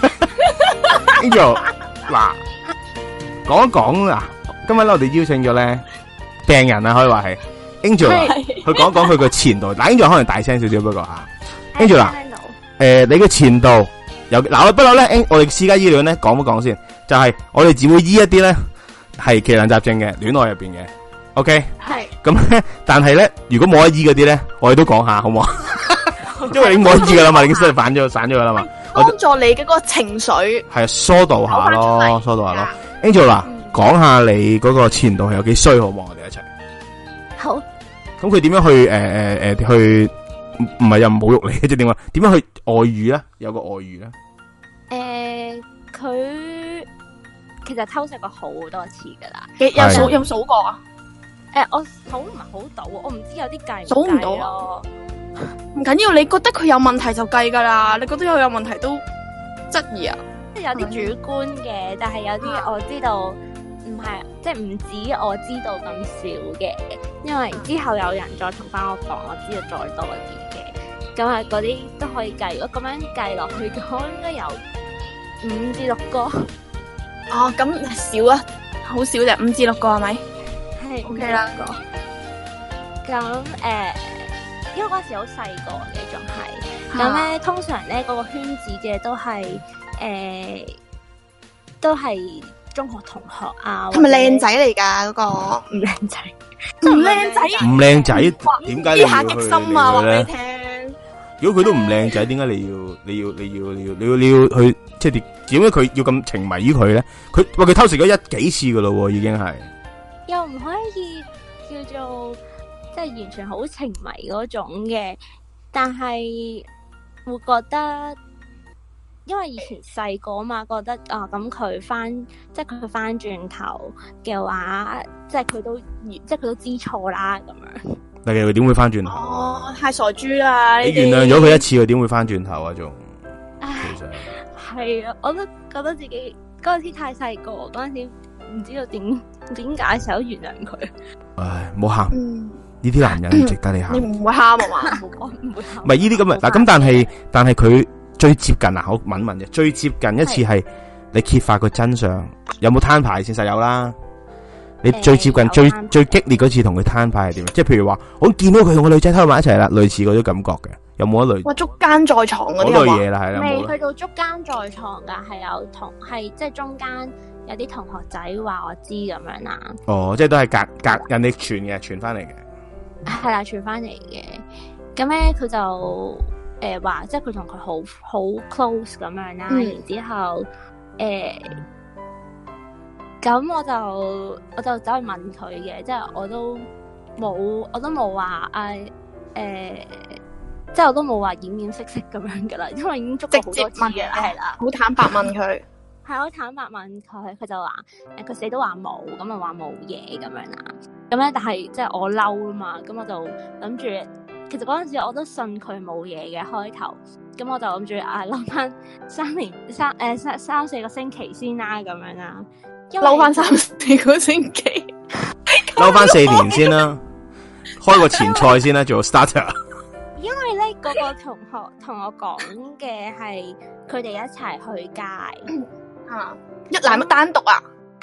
S2: Angel 嗱講一講嗱，今日咧我哋邀請咗咧病人啊，可以話係 Angel 去講一講佢個前度，嗱 Angel 可能大聲少少不過吓 ，Angel 嗱，誒你嘅前度有嗱，不過咧我哋私家醫療咧講一講先，就係我哋只會醫一啲咧。係奇難雜症嘅戀愛入邊嘅 ，OK， 係咁咧，但係咧，如果冇得醫嗰啲咧，我哋都講下好唔好？因為你冇得醫噶啦嘛，你已經失反咗散咗噶啦嘛，
S4: 幫助你嘅嗰個情緒
S2: 係疏導下咯，疏導下咯。Angel 嗱，講下你嗰個前度係有幾衰好唔好？我哋一齊
S5: 好。
S2: 咁佢點樣去誒誒誒去？唔唔係又侮辱你，即係點啊？點樣去外遇咧？有個外遇咧？
S5: 誒，佢。其實偷食過好多次噶啦，
S4: 有數有數過啊？
S5: 誒、呃，我數唔係好到，我唔知有啲計
S4: 數唔到咯。唔緊要，你覺得佢有問題就計噶啦。你覺得佢有問題都質疑啊？
S5: 即係有啲主觀嘅，但係有啲我知道唔係，即係唔止我知道咁少嘅。因為之後有人再同翻我講，我知道再多啲嘅。咁啊，嗰啲都可以計。如果咁樣計落去，講應該有五至六個。
S4: 哦，咁少啊，好少啫，五至六個係咪？
S5: 係
S4: OK 啦。
S5: 咁誒、呃，因為嗰時好細個嘅，仲係咁咧。通常咧，嗰、那個圈子嘅都係誒、呃，都係中學同學啊。係咪靚仔嚟噶？嗰、那個唔靚仔，唔靚仔，
S2: 唔靚仔，點解你要
S4: 下極心啊？話俾你聽。
S2: 如果佢都唔靚仔，點解你要你要你要你要你要你要去即係點？點解佢要咁情迷於佢咧？佢喂佢偷食咗一幾次噶咯，已經係
S5: 又唔可以叫做即係完全好情迷嗰種嘅，但係會覺得，因為以前細個啊嘛，覺得啊咁佢翻即係佢翻轉頭嘅話，即係佢都即係佢都知錯啦咁樣。
S2: 但係佢點會翻轉頭？
S4: 哦，太傻豬啦！
S2: 你原諒咗佢一次，佢點會翻轉頭啊？仲其實
S5: 係啊，我都覺得自己嗰陣時太細個，嗰陣時唔知道點點解成日都原諒佢。唉，
S2: 唔好喊，呢啲男人唔值得你喊。
S4: 你唔會喊啊嘛？
S5: 我唔會喊。
S2: 唔係呢啲咁嘅嗱，咁但係但係佢最接近啊，好問問啫，最接近一次係你揭發個真相，有冇攤牌？事實有啦。你最接近、最最激烈嗰次同佢攤牌係點？即係譬如話，我見到佢同個女仔喺埋一齊啦，類似嗰種感覺嘅，有冇一類？
S4: 哇，捉奸在床嗰啲
S2: 類嘢啦，係啦，
S5: 未去到捉奸在床噶，係有同係即係中間有啲同學仔話我知咁樣啦。
S2: 哦，即係都係隔隔人哋傳嘅，傳翻嚟嘅。
S5: 係啦，傳翻嚟嘅。咁咧，佢就誒話、呃，即係佢同佢好好 close 咁樣啦。嗯、然之後誒。呃咁我就我就走去問佢嘅，即係我都冇我都冇話誒誒，即係我都冇話掩掩飾飾咁樣噶啦，因為已經捉過好多次嘅，係啦，
S4: 好坦白問佢，
S5: 係好坦白問佢，佢就話誒佢死都話冇，咁啊話冇嘢咁樣啦，咁咧但係即係我嬲啊嘛，咁我就諗住，其實嗰陣時我都信佢冇嘢嘅開頭，咁我就諗住啊嬲翻三年三誒、呃、三三四個星期先啦，咁樣啦。
S4: 嬲翻三四個星期，
S2: 嬲翻四年先啦，開個前菜先啦，做 starter。
S5: 因為咧，嗰個同學同我講嘅係佢哋一齊去街，
S4: 啊，一男一單獨啊，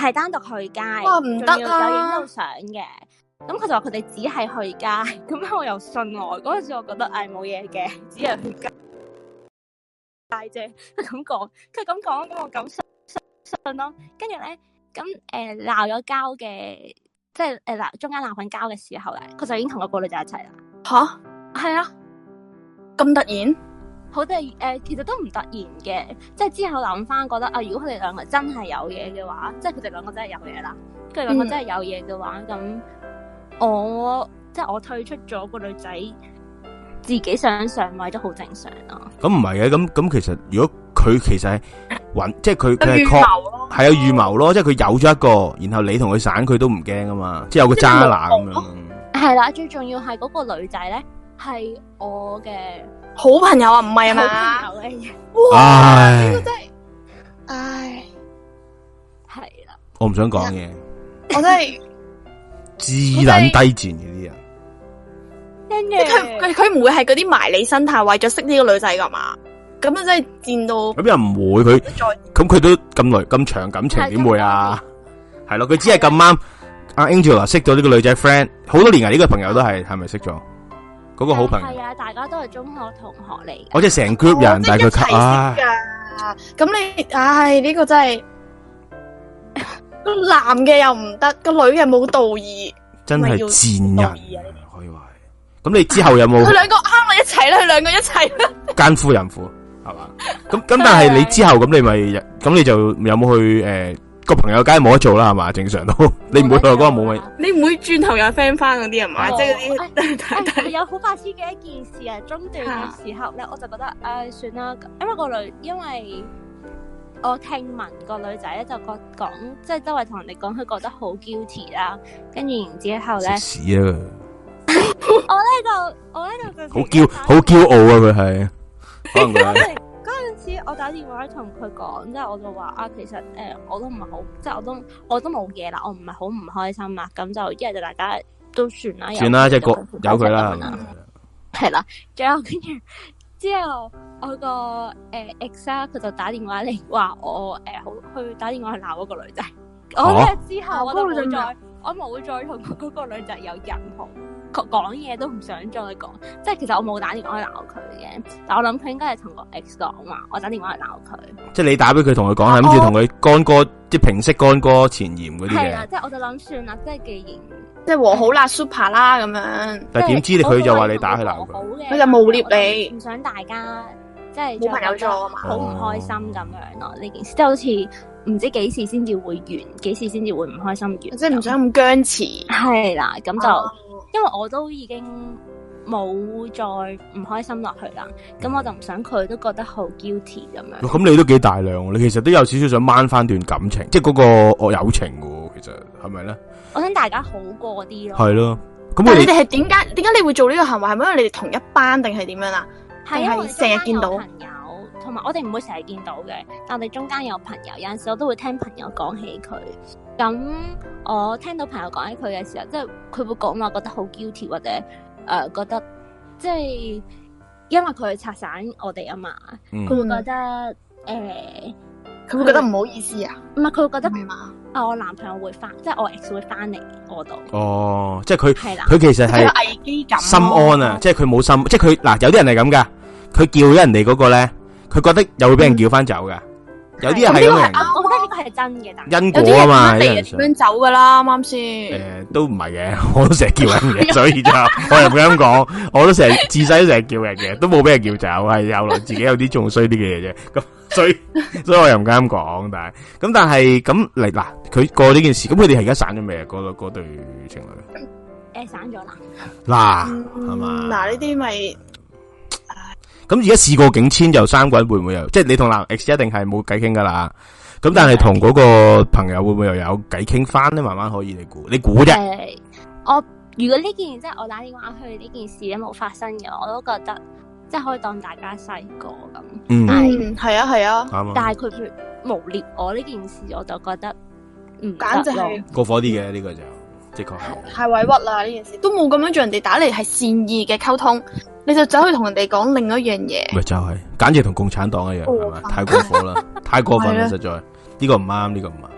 S5: 係單獨去街，
S4: 哇唔得啊
S5: 仲要有影到相嘅。咁佢就話佢哋只係去街，咁我又信我。嗰陣時我覺得唉冇嘢嘅，只係去街啫。佢咁講，佢咁講，咁我咁信信咯。跟住咧，咁誒鬧咗交嘅，即係誒鬧中間鬧緊交嘅時候咧，佢就已經同嗰個女仔一齊啦。
S4: 吓，
S5: 係啊，
S4: 咁突然？
S5: 好突然誒，其實都唔突然嘅，即係之後諗翻覺得啊，如果佢哋兩個真係有嘢嘅話，即係佢哋兩個真係有嘢啦。佢哋兩個真係有嘢嘅話，咁、嗯、我即係我退出咗個女仔，自己想上位都好正常咯。
S3: 咁唔係嘅，咁咁其實如果佢其實係揾，即係佢佢係
S4: 確
S3: 係有預謀咯，即係佢有咗一個，然後你同佢散，佢都唔驚啊嘛，即係有個渣男咁樣。係
S5: 啦，最重要係嗰個女仔咧，係我嘅
S4: 好朋友啊，唔係啊嘛？
S5: 好朋友嚟嘅。
S4: 哇，呢個真係，唉，
S5: 係啦。
S3: 我唔想講嘢，
S4: 我真係
S3: 自撚低賤嘅啲人。
S4: 即係佢佢佢唔會係嗰啲埋你身態為咗識呢個女仔噶嘛？咁啊真係賤到
S3: 咁又唔會佢，咁佢都咁耐咁長感情點會啊？係咯，佢只係咁啱阿 Angela 識到呢個女仔 friend 好多年啊！呢個朋友都係係咪識咗嗰個好朋友？
S5: 係啊，大家都係中學同學嚟。
S3: 我即係成 group 人，但係佢
S4: 齊識噶。咁你唉呢個真係個男嘅又唔得，個女嘅冇道義，
S3: 真係賤人。可以話係。咁你之後有冇？
S4: 佢兩個啱咪一齊啦，佢兩個一齊啦。奸
S3: 夫淫婦係嘛？咁咁但係你之後咁你咪咁你就有冇去誒個朋友梗係冇得做啦係嘛？正常都你唔會去嗰個冇咪？
S4: 你唔會轉頭有 friend 翻嗰啲係嘛？即係嗰
S5: 啲有好白痴嘅一件事啊！中段嘅時候咧，我就覺得誒算啦，因為個女因為我聽聞個女仔咧就覺講即係周圍同人哋講，佢覺得好 guilty 啦，跟住然之後咧。
S3: 屎啊！
S5: 我呢度，我呢度就好
S3: 驕好驕傲啊！佢係可能佢
S5: 嗰陣時，我打電話同佢講，即係我就話啊，其實誒、呃，我都唔係好，即係我都我都冇嘢啦，我唔係好唔開心啦，咁就一係就大家都算啦，
S3: 算啦，即係個有佢啦，
S5: 係啦，最後跟住之後我個誒 ex 啊，佢就打電話嚟話我誒好、呃、去打電話去鬧嗰個女仔，啊、我呢之後我都冇再，我冇再同嗰個女仔有任何。講嘢都唔想再講，即係其實我冇打電話去鬧佢嘅，但我諗佢應該係同個 ex 講話，我打電話去鬧佢。即係你打俾佢同佢講，係諗住同佢乾哥，即係平息乾哥前嫌嗰啲嘅。係啦，即係我就諗算啦，即係既然即係和好啦 super 啦咁樣。但係點知佢就話你打去鬧佢，佢就誣蔑你，唔想大家即係冇朋友做啊嘛，好唔開心咁樣咯。呢件事即係好似唔知幾時先至會完，幾時先至會唔開心完，即係唔想咁僵持。係啦，咁就。因為我都已經冇再唔開心落去啦，咁我就唔想佢都覺得好 guilty 咁樣。咁你都幾大量，你其實都有少少想掹翻段感情，即係嗰個我友情嘅，其實係咪咧？我想大家好過啲咯。係咯，咁但係你哋係點解？點解你會做呢個行為？係咪因為你哋同一班定係點樣啊？係因為成日見到朋友，同埋我哋唔會成日見到嘅，但我哋中間有朋友，有陣時我都會聽朋友講起佢。咁我聽到朋友講起佢嘅時候，即係佢會講話覺得好 guilty 或者誒、呃、覺得即係因為佢拆散我哋啊嘛，佢、嗯、會覺得誒，佢、呃、會覺得唔好意思啊，唔係佢會覺得啊，我男朋友會翻，即係我 ex 會翻嚟我度。哦，即係佢係啦，佢其實係危機感、心安啊，即係佢冇心，即係佢嗱有啲人係咁噶，佢叫咗人哋嗰個咧，佢覺得又會俾人叫翻走噶。嗯有啲人係咁嘅，我覺得呢個係真嘅，但因果啊嘛，有人點樣走噶啦，啱先。誒，都唔係嘅，我都成日叫人嘅，所以就我又唔敢講，我都成日自細都成日叫人嘅，都冇俾人叫走，係後來自己有啲仲衰啲嘅嘢啫。咁所以所以我又唔敢講，但係咁但係咁嚟嗱，佢過呢件事，咁佢哋係而家散咗未啊？嗰嗰對情侶誒，散咗啦。嗱係嘛？嗱呢啲咪。咁而家事過境遷又三個人會唔會有？即係你同男 X 一定係冇偈傾噶啦。咁但係同嗰個朋友會唔會又有偈傾翻咧？慢慢可以你估，你估啫。誒，我如果呢件即係我打電話去呢件事咧冇發生嘅，我都覺得即係可以當大家細個咁。嗯，係啊係啊。啱啊。但係佢佢誣衊我呢件事，我就覺得唔簡直係過火啲嘅呢個就。的確係太委屈啦！呢件事都冇咁樣做人哋打嚟，係善意嘅溝通，你就走去同人哋講另一樣嘢，咪就係、是、簡直同共產黨一樣係嘛？太過火啦，太過分啦！實在呢、這個唔啱，呢、這個唔啱。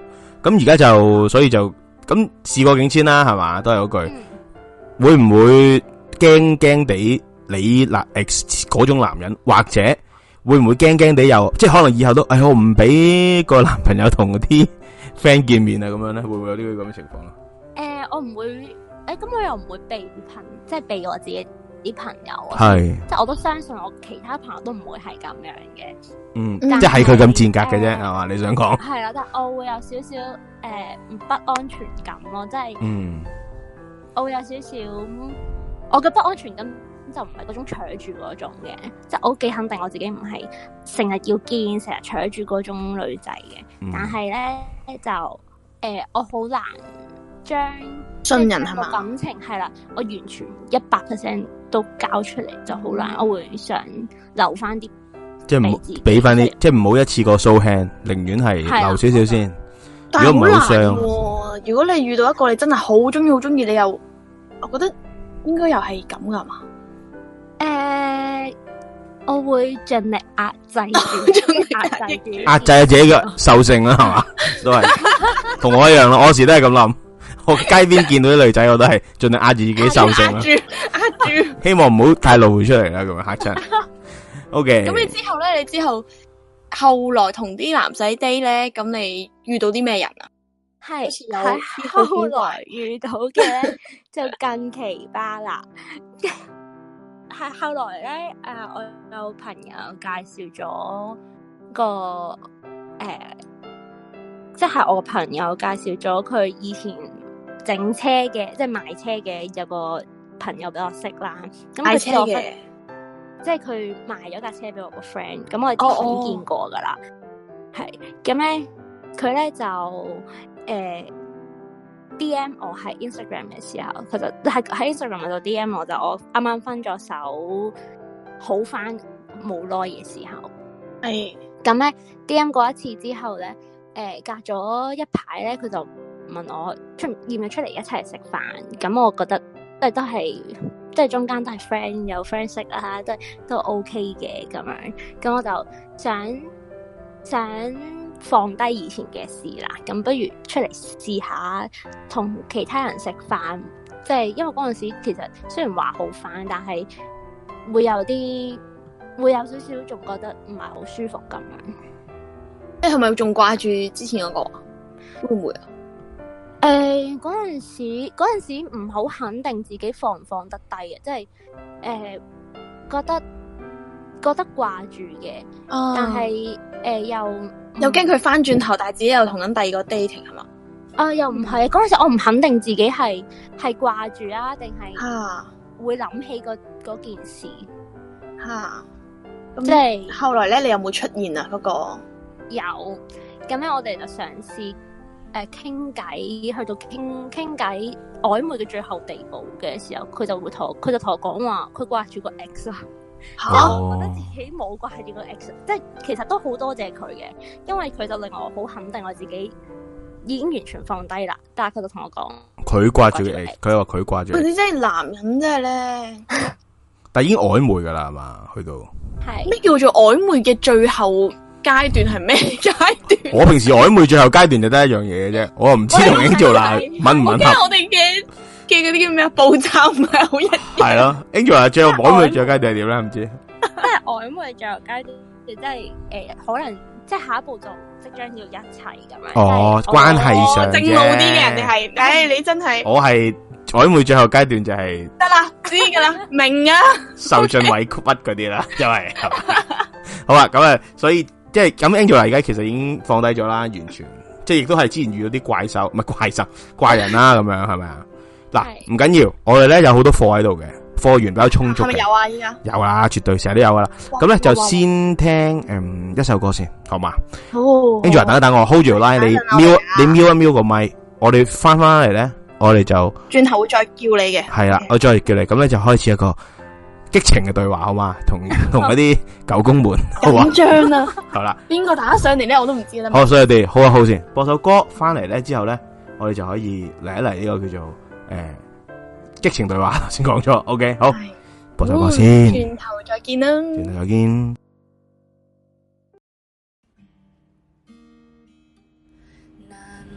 S2: 咁而家就所以就咁事過境遷啦，係嘛，都係嗰句，嗯、會唔會驚驚地你嗱 X 嗰種男人，或者會唔會驚驚地又即係可能以後都誒、哎、我唔俾個男朋友同嗰啲 friend 見面啊咁樣咧，會唔會有呢個咁嘅情況咧？
S5: 誒、呃，我唔會誒，咁、欸、我又唔會避朋，即係避我自己啲朋友啊，
S2: 係
S5: 即係我都相信我其他朋友都唔會係咁樣嘅。
S2: 嗯，即係佢咁賤格嘅啫，係嘛、呃？你想講？
S5: 係啦，但係我會有少少誒唔不安全感咯，即係，嗯，我會有少少，我嘅不安全感就唔係嗰種扯住嗰種嘅，即係我幾肯定我自己唔係成日要見、成日扯住嗰種女仔嘅，嗯、但係咧就誒、呃，我好難將
S4: 信任係嘛
S5: 感情係啦，我完全一百 percent 都交出嚟就好難，我會想留翻啲。
S2: 即係唔好俾翻啲，即係唔好一次過 show hand，寧願係留少少先。如果唔好傷，
S4: 如果你遇到一個你真係好中意、好中意，你又，我覺得應該又係咁噶嘛。
S5: 誒、呃，我會盡力壓制住，壓制住，
S2: 壓制自己嘅獸性啦，係嘛，都係同我一樣咯。我時都係咁諗，我街邊見到啲女仔，我都係盡力壓住自己獸性啦，壓住，壓住，希望唔好太露出嚟啦，咁樣嚇親。O K，
S4: 咁你之後咧？你之後後來同啲男仔 date 咧，咁你遇到啲咩人啊？
S5: 係喺後來遇到嘅就更奇葩啦。係後來咧，誒、呃，我有朋友介紹咗個誒，即、呃、係、就是、我朋友介紹咗佢以前整車嘅，即係賣車嘅有個朋友俾我識啦。咁
S4: 賣車嘅。
S5: 即係佢賣咗架車俾我個 friend，咁我哋之前見過噶啦，係咁咧，佢咧就誒、呃、D M 我喺 Instagram 嘅時候，佢就係喺 Instagram 度 D M 我，就我啱啱分咗手，好翻冇耐嘅時候，係咁咧 D M 過一次之後咧，誒、呃、隔咗一排咧，佢就問我出要唔要出嚟一齊食飯，咁我覺得即係都係。即係中間都係 friend 有 friend 識啊，都都 OK 嘅咁樣，咁我就想想放低以前嘅事啦，咁不如出嚟試下同其他人食飯，即係因為嗰陣時其實雖然話好翻，但係會有啲會有少少仲覺得唔係好舒服咁樣。
S4: 你係咪仲掛住之前嗰個？會唔會啊？
S5: 誒、呃，嗰陣時，嗰陣時唔好肯定自己放唔放得低嘅，即係誒、呃、覺得覺得掛住嘅，哦、但係誒、呃、又
S4: 又驚佢翻轉頭，但係自己又同緊第二個 dating 係嘛？
S5: 啊、呃，又唔係嗰陣時，我唔肯定自己係係掛住啊，定係會諗起嗰嗰件事
S4: 吓。
S5: 即係
S4: 後來咧，你有冇出現啊？嗰、嗰個
S5: 有，咁咧我哋就嘗試。誒，傾偈去到傾傾偈曖昧嘅最後地步嘅時候，佢就會同佢就同我講話，佢掛住個 X 啦。吓、哦，我覺得自己冇掛住個 X，即係其實都好多謝佢嘅，因為佢就令我好肯定我自己已經完全放低啦。但係佢就同我講，
S2: 佢掛住 X，佢話佢掛住。
S4: 你真係男人真係咧，
S2: 但係已經曖昧噶啦，係嘛？去到
S5: 係
S4: 咩叫做曖昧嘅最後階段係咩階段？
S2: 我平時曖昧最後階段就得一樣嘢嘅啫，我又唔知同 Angel 啦，吻唔吻合？
S4: 我哋嘅嘅嗰啲叫咩啊？步驟唔係好一樣。
S2: 係咯，Angel 啊，最後曖昧最後階段係點咧？唔知。
S5: 即係曖昧最後階段，即係誒，可能即係下一步就即將要一齊咁樣。
S2: 哦，關係上
S4: 正路啲嘅人哋係，唉，你真係。
S2: 我係曖昧最後階段就係
S4: 得啦，知噶啦，明啊。
S2: 受盡委屈嗰啲啦，因為好啊，咁啊，所以。即係咁 Angela 而家其實已經放低咗啦，完全即係亦都係之前遇到啲怪獸，唔係怪獸怪人啦，咁樣係咪啊？嗱，唔緊要，我哋咧有好多貨喺度嘅，貨源比較充足嘅。係咪有啊？依家有啦，絕對成日都有噶啦。咁咧就先聽誒、嗯、一首歌先，好嘛？好。Angela 等一等我 hold 住個 line，你瞄你瞄一瞄個咪，我哋翻翻嚟咧，我哋就
S4: 轉頭會再叫你嘅。係
S2: 啦，我再叫你，咁咧就開始一個激情嘅對話，好嘛？同同嗰啲狗公們，好嘛？
S4: 緊張啊！
S2: 好啦，
S4: 邊個打得上嚟咧？我都唔知啦。
S2: 好，所以我哋好啊，好先播首歌翻嚟咧，之後咧，我哋就可以嚟一嚟呢個叫做誒、呃、激情對話。先講咗 ，OK， 好，播首歌先。
S4: 轉頭再見啦！
S2: 轉頭再見。
S1: 難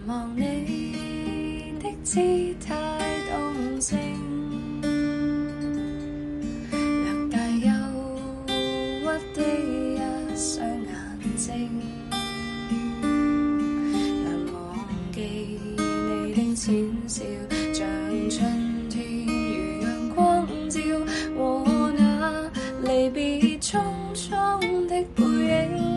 S1: 望你的姿態動靜，略帶憂鬱的一雙眼睛，難忘記你的淺笑，像春天如陽光照，和那離別匆匆的背影。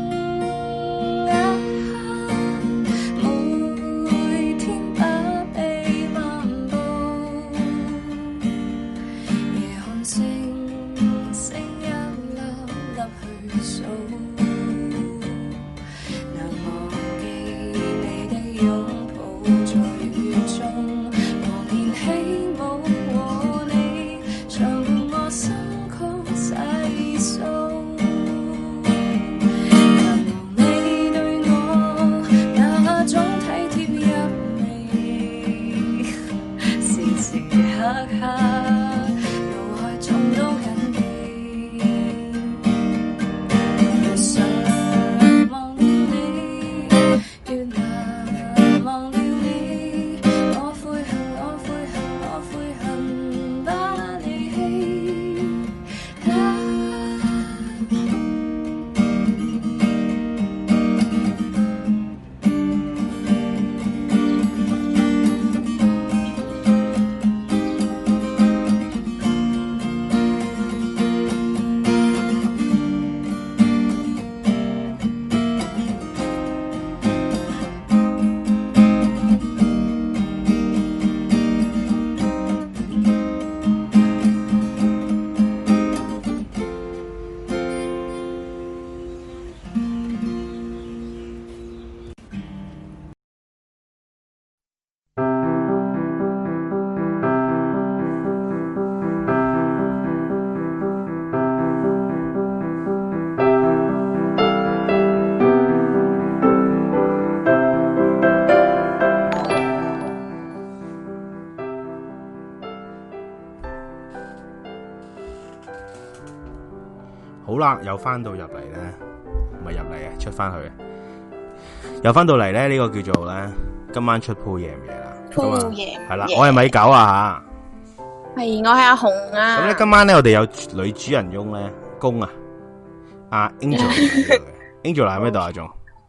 S3: 好啦，又翻到入嚟咧，唔係入嚟啊，出翻去，又翻到嚟咧，呢、這個叫做咧，今晚出鋪夜唔夜啦？
S4: 鋪夜
S3: 係啦，我係米九啊
S4: 吓，係我係阿紅啊。
S3: 咁咧，今晚咧我哋有女主人翁咧，公啊，阿 Angel，Angel 喺咩度啊？仲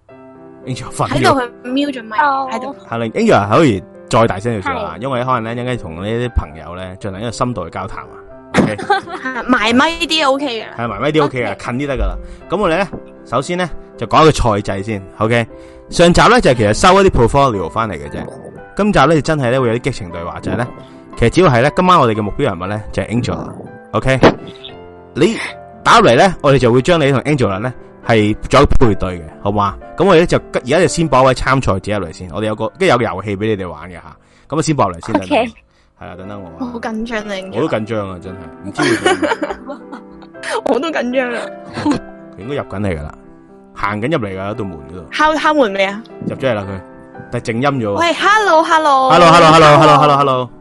S3: Angel 瞓
S4: 喺度，佢瞄咗咪喺度。
S3: 係啦 ，Angel 可以再大聲少少啊，因為可能咧應該同呢啲朋友咧進行一個深度嘅交談啊。
S4: 埋咪啲 O K 嘅，
S3: 係埋咪啲 O K 嘅，近啲得噶啦。咁我哋咧，首先咧就講一個賽制先 ，OK。上集咧就係其實收一啲 portfolio 翻嚟嘅啫。今集咧真係咧會有啲激情對話，就係咧，其實只要係咧今晚我哋嘅目標人物咧就係 Angela，OK。你打入嚟咧，我哋就會將你同 Angela 咧係做一個配對嘅，好嘛？咁我哋咧就而家就先播一位參賽者入嚟先，我哋有個跟住有個遊戲俾你哋玩嘅吓，咁啊先播入嚟先。
S5: OK。
S3: 係啊，等等我。
S4: 我好緊張啊！
S3: 我都緊張啊，真係唔知會點。
S4: 我都緊張啊！
S3: 佢應該入緊嚟噶啦，行緊入嚟噶，喺度門嗰度。
S4: 敲敲門未啊？
S3: 入咗嚟啦佢，但係靜音咗。
S4: 喂 ，hello，hello。
S3: hello，hello，hello，hello，hello。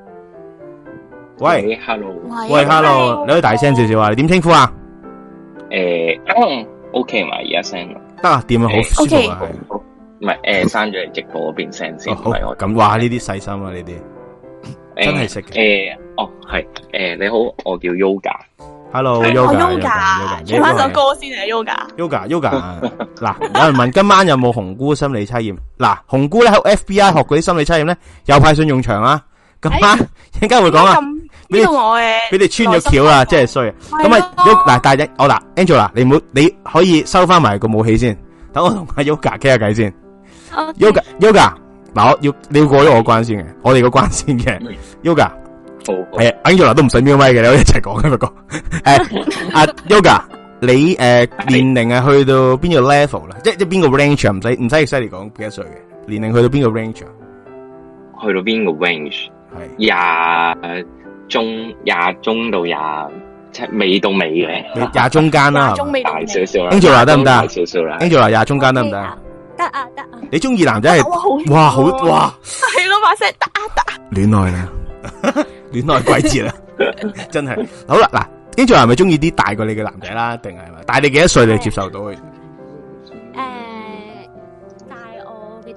S3: 喂
S6: ，hello。
S3: 喂 ，hello，你可以大聲少少啊？你點稱呼啊？
S6: 誒，OK 嘛，而家聲
S3: 得啊，掂啊，好舒服啊，
S6: 係。唔係誒，刪咗直播嗰邊聲先。
S3: 好，咁話呢啲細心啊，呢啲。真係識嘅。
S6: 誒，哦，係，誒，你好，我叫
S3: Yoga。Hello，Yoga。
S4: 唱翻首歌先啊
S3: ，Yoga。Yoga，Yoga。嗱，有人問今晚有冇紅菇心理測驗？嗱，紅菇咧喺 F B I 學嗰啲心理測驗咧，又派上用場啊！今晚應該會講啊。
S4: 呢度我嘅，
S3: 俾你穿咗橋啦，真係衰啊！咁啊，Yoga 嗱，大隻，我嗱 Angela，你唔好，你可以收翻埋個武器先，等我同阿 Yoga 傾下偈先。Yoga，Yoga。嗱，我要你要過咗我關先嘅，我哋個關先嘅 ，Yoga，係 Angela 都唔使瞄咪嘅，你可以一齊講嘅不過，誒，阿 Yoga，你誒年齡係去到邊個 level 啦？即係即係邊個 range 啊？唔使唔使犀利講幾多歲嘅年齡去到邊個 range 啊？
S6: 去到邊個 range？係廿中廿中到廿即係尾到尾嘅，
S3: 廿中間啦，
S6: 大少少啦
S3: ，Angela 得唔得？
S6: 少少啦
S3: ，Angela 廿中間得唔得？
S5: 得啊得啊！
S3: 你中意男仔係哇好哇
S4: 係咯，把聲打打
S3: 戀愛啦，戀愛季節啦，真係好啦嗱，Angela係咪中意啲大過你嘅男仔啦？定係咪大你幾多歲你接受到佢？
S5: 誒，大我幾多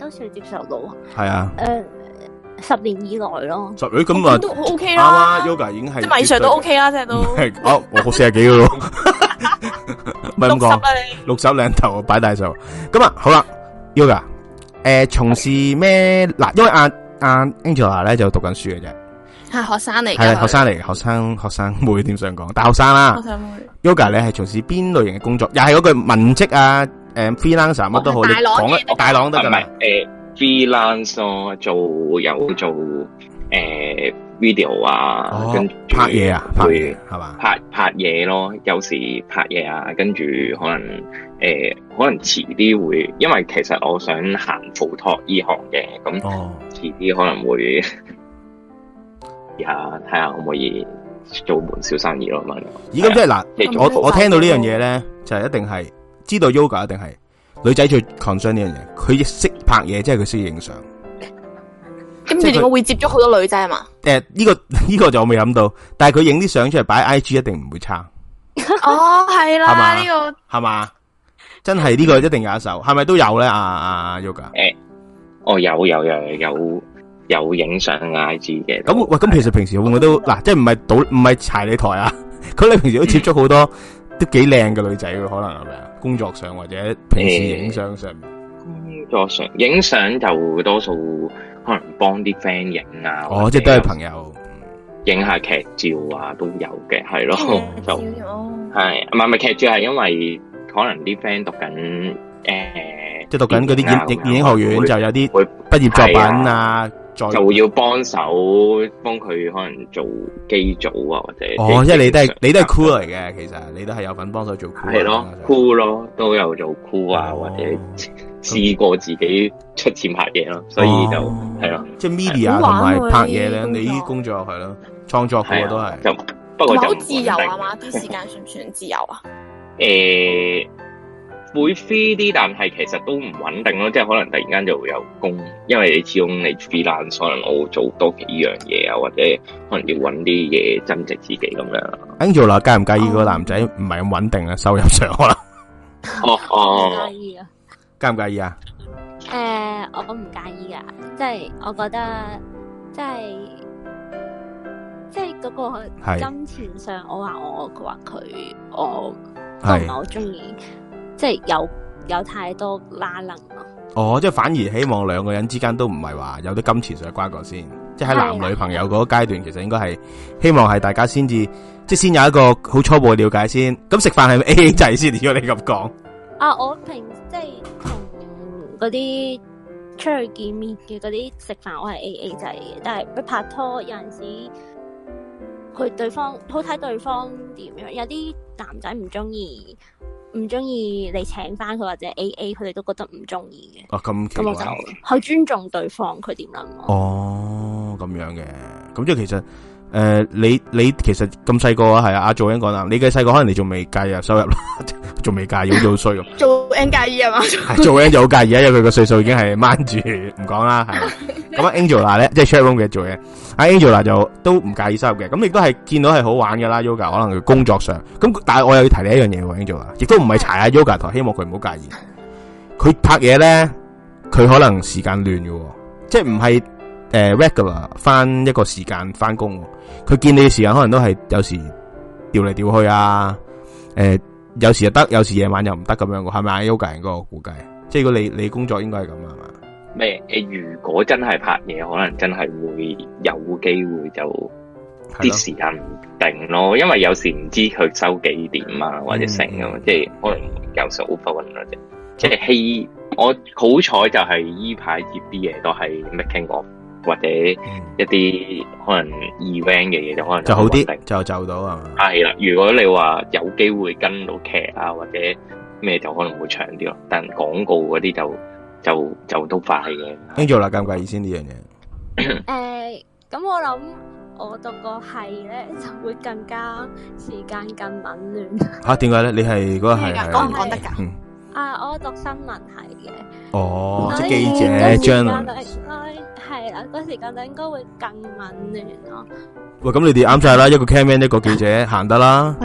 S5: 都算接受到。
S3: 係啊。
S5: 誒，十年以內咯。
S3: 十年咁啊，
S4: 都 OK 啦。
S3: 啱啱 Yoga 已經係
S4: 即係米 Sir 都 OK 啦，即係都。
S3: 哦，我四十幾噶咯。唔係咁講，六十兩頭擺大數。咁啊，好啦 ，Yoga，誒，從事咩嗱？因為阿阿 Angela 咧就讀緊書嘅啫。
S4: 係學生嚟嘅，
S3: 係學生嚟，學生學生妹點想講？大學生啦。
S4: 學生妹。
S3: Yoga 咧係從事邊類型嘅工作？又係嗰句文職啊，誒 freelancer 乜都好，你講啊，大朗得噶啦。
S6: 誒 freelance 做有做誒 video 啊，跟住
S3: 拍嘢啊，拍嘢係嘛？
S6: 拍拍嘢咯，有時拍嘢啊，跟住可能誒可能遲啲會，因為其實我想行 photo 呢行嘅，咁遲啲可能會。而下睇下可唔可以做門小生意咯咁樣。
S3: 咦，咁即係嗱，我我聽到呢樣嘢咧，就係一定係知道 Yoga 一定係女仔最 concern 呢樣嘢，佢亦識拍嘢，即係佢識影相。
S4: 咁佢點解會接觸好多女仔啊嘛？
S3: 誒，呢個呢個就我未諗到，但係佢影啲相出嚟擺 I G 一定唔會差。
S4: 哦，係啦，呢個
S3: 係嘛？真係呢個一定有一手，係咪都有咧？阿阿 Yoga
S6: 誒，哦，有有有有。有影相 I G 嘅，
S3: 咁喂，咁其實平時會唔會都嗱，即係唔係賭唔係柴你台啊？咁你平時都接觸好多都幾靚嘅女仔嘅，可能係咪啊？工作上或者平時影相上面，
S6: 工作上影相就多數可能幫啲 friend 影啊，
S3: 哦，即係都係朋友
S6: 影下劇照啊，都有嘅，係咯，就係唔係唔係劇照係因為可能啲 friend 讀緊誒，
S3: 即係讀緊嗰啲影電影學院就有啲畢業作品啊。
S6: 就要幫手幫佢可能做機組啊，或者
S3: 哦，即係你都係你都係 crew 嚟嘅，其實你都係有份幫手做 crew
S6: 係咯 crew 咯，都有做 crew 啊，或者試過自己出錢拍嘢咯，所以就係咯，
S3: 即係 media 同埋拍嘢咧，你啲工作係咯，創作嗰個都係，
S6: 就不過就
S4: 好自由啊嘛，啲時間算唔算自由啊？
S6: 誒。會 free 啲，但係其實都唔穩定咯，即係可能突然間就會有工，因為你始終你 freelance，可能我做多幾樣嘢啊，或者可能要搵啲嘢增值自己咁樣。Angela
S3: 介唔介意個男仔唔係咁穩定啊？收入上可能？
S6: 哦哦，
S5: 介意啊？
S3: 介唔介意啊？
S5: 誒、呃，我唔介意噶，即係我覺得，即係即係嗰個金錢上，我話我，佢話佢，我都唔係好中意。即係有有太多拉楞咯。哦，
S3: 即係反而希望兩個人之間都唔係話有啲金錢上嘅瓜葛先，即係喺男女朋友嗰個階段，其實應該係希望係大家先至，即係先有一個好初步嘅了解先。咁食飯係咪 A A 制先？如果你咁講。
S5: 啊，我平即係同嗰啲出去見面嘅嗰啲食飯，我係 A A 制嘅。但係拍拖有陣時，佢對方好睇對方點樣，有啲男仔唔中意。唔中意你請翻佢或者 A A， 佢哋都覺得唔中意嘅。哦，咁咁我就好尊重對方佢點諗。哦，咁樣嘅，咁即係其實誒、呃，你你其實咁細個啊，係啊，阿做英講啦，你嘅細個可能你仲未介意收入啦，仲未介意好做衰咁。做 N 介意係嘛？係做 N 就好介意啊，因為佢個歲數已經係掹住唔講啦，係。咁 Angela 咧，即係 chatroom 嘅做嘢，阿 Angela 就都唔介意收入嘅，咁亦都係見到係好玩噶啦。Yoga 可能佢工作上，咁但係我又要提你一樣嘢，Angela 亦都唔係柴下 Yoga 台，希望佢唔好介意。佢拍嘢咧，佢可能時間亂嘅，即係唔係誒 regular 翻一個時間翻工。佢見你嘅時間可能都係有時調嚟調去啊，誒、呃、有時又得，有時夜晚又唔得咁樣嘅，係咪啊 Yoga 人嗰個估計？即係如果你你工作應該係咁啊嘛？咩？誒，如果真係拍嘢，可能真係會有機會就啲時間唔定咯，因為有時唔知佢收幾點啊，或者成啊、嗯，即係可能有時 overrun 咯，即即係希我好彩就係依排接啲嘢都係 making of 或者一啲可能 event 嘅嘢就可能就好啲，就就到啊。係啦，如果你話有機會跟到劇啊或者咩，就可能會長啲咯，但廣告嗰啲就。就就都快嘅。Angela 介唔介意先呢樣嘢？誒，咁我諗我讀個係咧，就會更加時間更紊亂。吓，點解咧？你係嗰個係講唔講得噶？嗯。啊，我讀新聞系嘅。哦，即係記者 journalist。係啦，個時間就應該會更紊亂咯。喂，咁你哋啱晒啦，一個 cameraman 一個記者行得啦。係咯。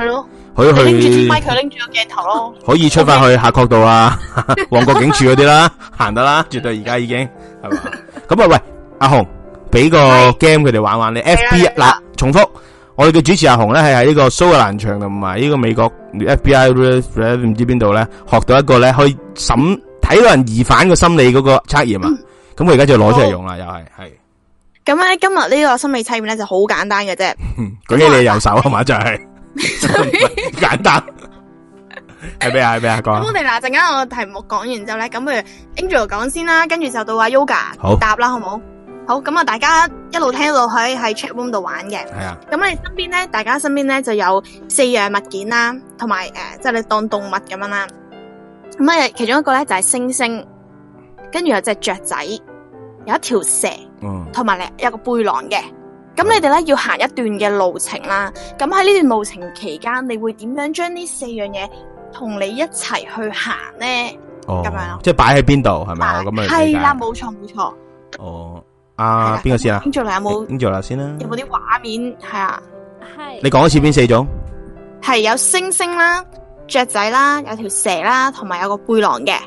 S2: 可以去
S4: 拎住支咪，佢拎住個鏡頭咯。
S2: 可以出翻去夏慤道啊，旺角警署嗰啲啦，行得啦，絕對而家已經係嘛。咁啊，喂，阿紅，俾個 game 佢哋玩玩。你 F B I 嗱，重複，我哋嘅主持阿紅咧係喺呢個蘇格蘭場同埋呢個美國 F B I 唔知邊度咧，學到一個咧可以審睇到人疑犯個心理嗰個測驗啊。咁我而家就攞出嚟用啦，又係係。
S4: 咁咧，今日呢個心理測驗咧就好簡單嘅啫。
S2: 舉起你右手係嘛，就係簡單。係咩啊？係咩啊？講。
S4: 咁我哋嗱陣間我題目講完之後咧，咁不如 Angel 講先啦，跟住就到阿 Yoga 答啦，好唔好？好，咁啊，大家一路聽到喺喺 chat room 度玩嘅。係啊。咁你身邊咧，大家身邊咧就有四樣物件啦，同埋誒，即係你當動物咁樣啦。咁啊，其中一個咧就係猩猩，跟住有隻雀仔，有一條蛇，同埋咧有個背囊嘅。咁你哋咧要行一段嘅路程啦。咁喺呢段路程期間，你會點樣將呢四樣嘢同你一齊去行咧？哦，咁樣，
S2: 即係擺喺邊度係咪？我咁樣理解。
S4: 係啦，冇錯冇錯。
S2: 哦，啊，邊個先啊
S4: ？Angela 有冇
S2: ？Angela先啦。
S4: 有冇啲畫面？係啊，
S5: 係。
S2: 你講一次邊四種？
S4: 係有猩猩啦、雀仔啦、有條蛇啦，同埋有個背囊嘅。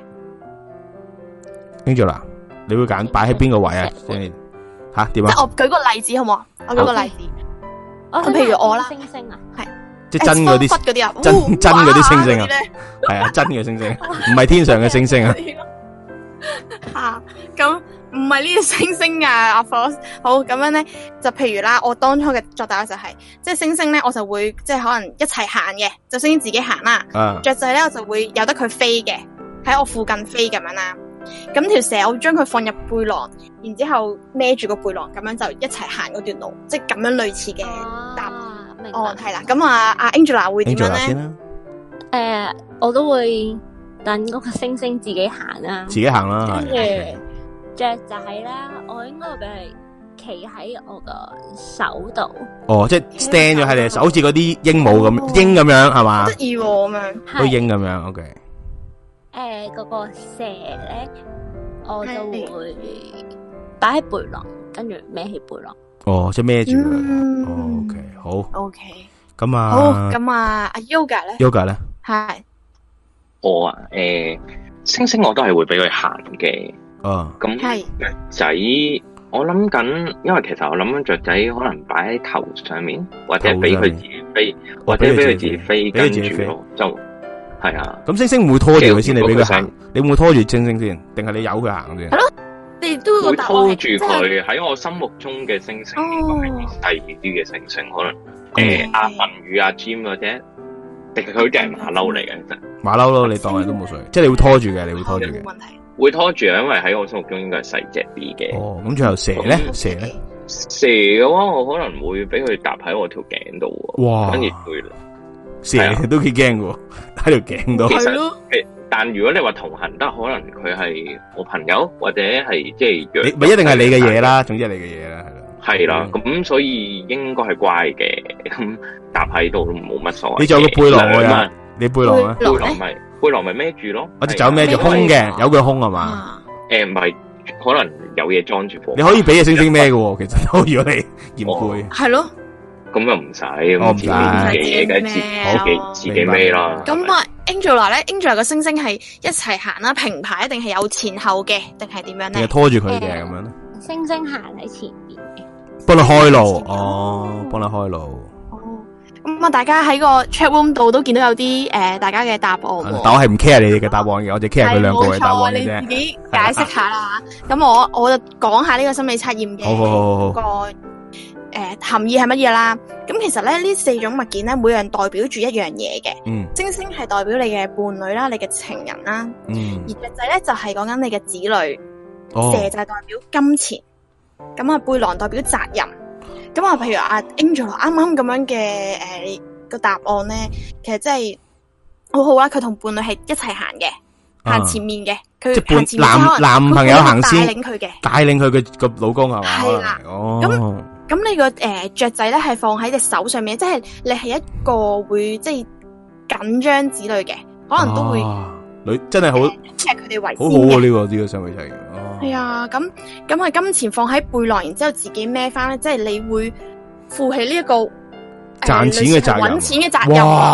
S2: Angela，你會揀擺喺邊個位啊？吓點啊？
S4: 即係我舉個例子好唔好？我舉個例子。
S5: 我
S4: 譬如我啦，
S5: 猩猩啊，
S4: 係。
S2: 即係真嗰啲
S4: 嗰啲啊，
S2: 真真嗰啲猩猩啊，係啊，真嘅猩猩，唔係天上嘅星星啊。
S4: 吓，咁唔係呢啲猩猩啊，阿 Force。好，咁樣咧，就譬如啦，我當初嘅作答就係、是，即係猩猩咧，我就會即係可能一齊行嘅，就猩猩自己行啦。
S2: 啊、
S4: 雀仔咧，我就會由得佢飛嘅，喺我附近飛咁樣啦。咁條蛇我會將佢放入背囊，然之後孭住個背囊，咁樣就一齊行嗰段路，即係咁樣類似嘅答。哦，係啦，咁啊，阿 Angela 會點樣咧？誒、
S5: 呃，我都會等嗰個猩猩自己行啦，
S2: 自己行啦。
S5: 跟住雀仔啦，我應該會俾佢企喺我個手度。哦，
S2: 即係 stand 咗喺你手，好似嗰啲鸚鵡咁，鷹咁樣係嘛？
S4: 得意咁樣，
S2: 都鷹咁樣。OK。
S5: 誒、呃，嗰、那個蛇咧，我就會擺喺背囊，跟住孭起背囊。
S2: 哦，即係孭住佢。O K，好。
S4: O K，
S2: 咁啊。
S4: 好，咁啊，阿 Yoga 咧
S2: ？Yoga 咧？
S6: 係。我啊，誒，猩猩我都係會俾佢行嘅。
S2: 啊。
S6: 咁雀仔，我諗緊，因為其實我諗緊雀仔可能擺喺頭上面，或者俾佢自己飛，或者俾佢自己飛，跟住就係啊。咁
S2: 猩猩唔會拖住佢先，你俾佢行，你會唔會拖住猩猩先？定係你由佢行先？
S4: 係咯。你都
S6: 會拖住佢，喺我心目中嘅猩猩應該係細啲嘅猩猩，可能誒阿文宇阿 Jim 或者，定係佢哋係馬騮嚟嘅，其實馬
S2: 騮咯，你當係都冇所謂，即係你會拖住嘅，你會拖住嘅，
S4: 冇問題，
S6: 會拖住啊，因為喺我心目中應該係細隻啲嘅。
S2: 哦，咁最後蛇咧，蛇咧，
S6: 蛇嘅話，我可能會俾佢搭喺我條頸度，哇，跟住會
S2: 蛇都幾驚嘅，喺條頸度。
S6: 係咯。但如果你話同行得，可能佢係我朋友，或者係即係約，
S2: 咪一定係你嘅嘢啦，總之係你嘅嘢啦，
S6: 係啦。咁、嗯、所以應該係乖嘅，咁搭喺度都冇乜所謂。
S2: 你仲有個背囊啊？你背囊啊？
S6: 背囊咪背囊咪孭住咯。
S2: 我隻手孭住空嘅，有佢空係嘛？
S6: 誒，唔係，可能有嘢裝住。
S2: 你可以俾隻猩猩孭嘅，其實都如果你嫌攰。
S4: 係咯。
S6: 咁又唔使，我唔使自己嘅自己自己孭啦。
S4: 咁啊 ，Angela 咧 ，Angela 個猩猩係一齊行啦，平排定係有前後嘅，定係點樣咧？
S2: 定係拖住佢嘅咁樣咧？
S5: 猩猩行喺前面嘅，
S2: 幫你開路哦，幫你開路。
S4: 哦，咁啊，大家喺個 chat room 度都見到有啲誒，大家嘅答案。
S2: 但我係唔 care 你哋嘅答案嘅，我就 care 佢兩個嘅答案嘅啫。
S4: 你自己解釋下啦。咁我我就講下呢個心理測驗嘅。
S2: 好好好
S4: 好。誒、呃，含義係乜嘢啦？咁其實咧，呢四種物件咧，每樣代表住一樣嘢嘅。嗯。猩猩係代表你嘅伴侶啦，你嘅情人啦。嗯。而雀仔咧就係講緊你嘅子女。哦。蛇就係代表金錢。咁啊，背囊代表責任。咁啊，譬如阿 Angel 啱啱咁樣嘅誒個答案咧，其實真係好好啦。佢同伴侶係一齊行嘅，行、啊、前面嘅。佢行前面
S2: 男男朋友行先，
S4: 帶領佢嘅，
S2: 帶領佢嘅個老公係嘛？
S4: 係啦。
S2: 哦。
S4: 咁。咁你個誒雀仔咧係放喺隻手上面，即係你係一個會即係緊張子女嘅，可能都會
S2: 女真係好，
S4: 即係佢哋為先嘅。
S2: 好好啊呢個呢個相對齊。
S4: 係啊，咁咁係金錢放喺背囊，然之後自己孭翻咧，即係你會負起呢一個
S2: 賺錢嘅責任，
S4: 搵錢嘅責任。哇！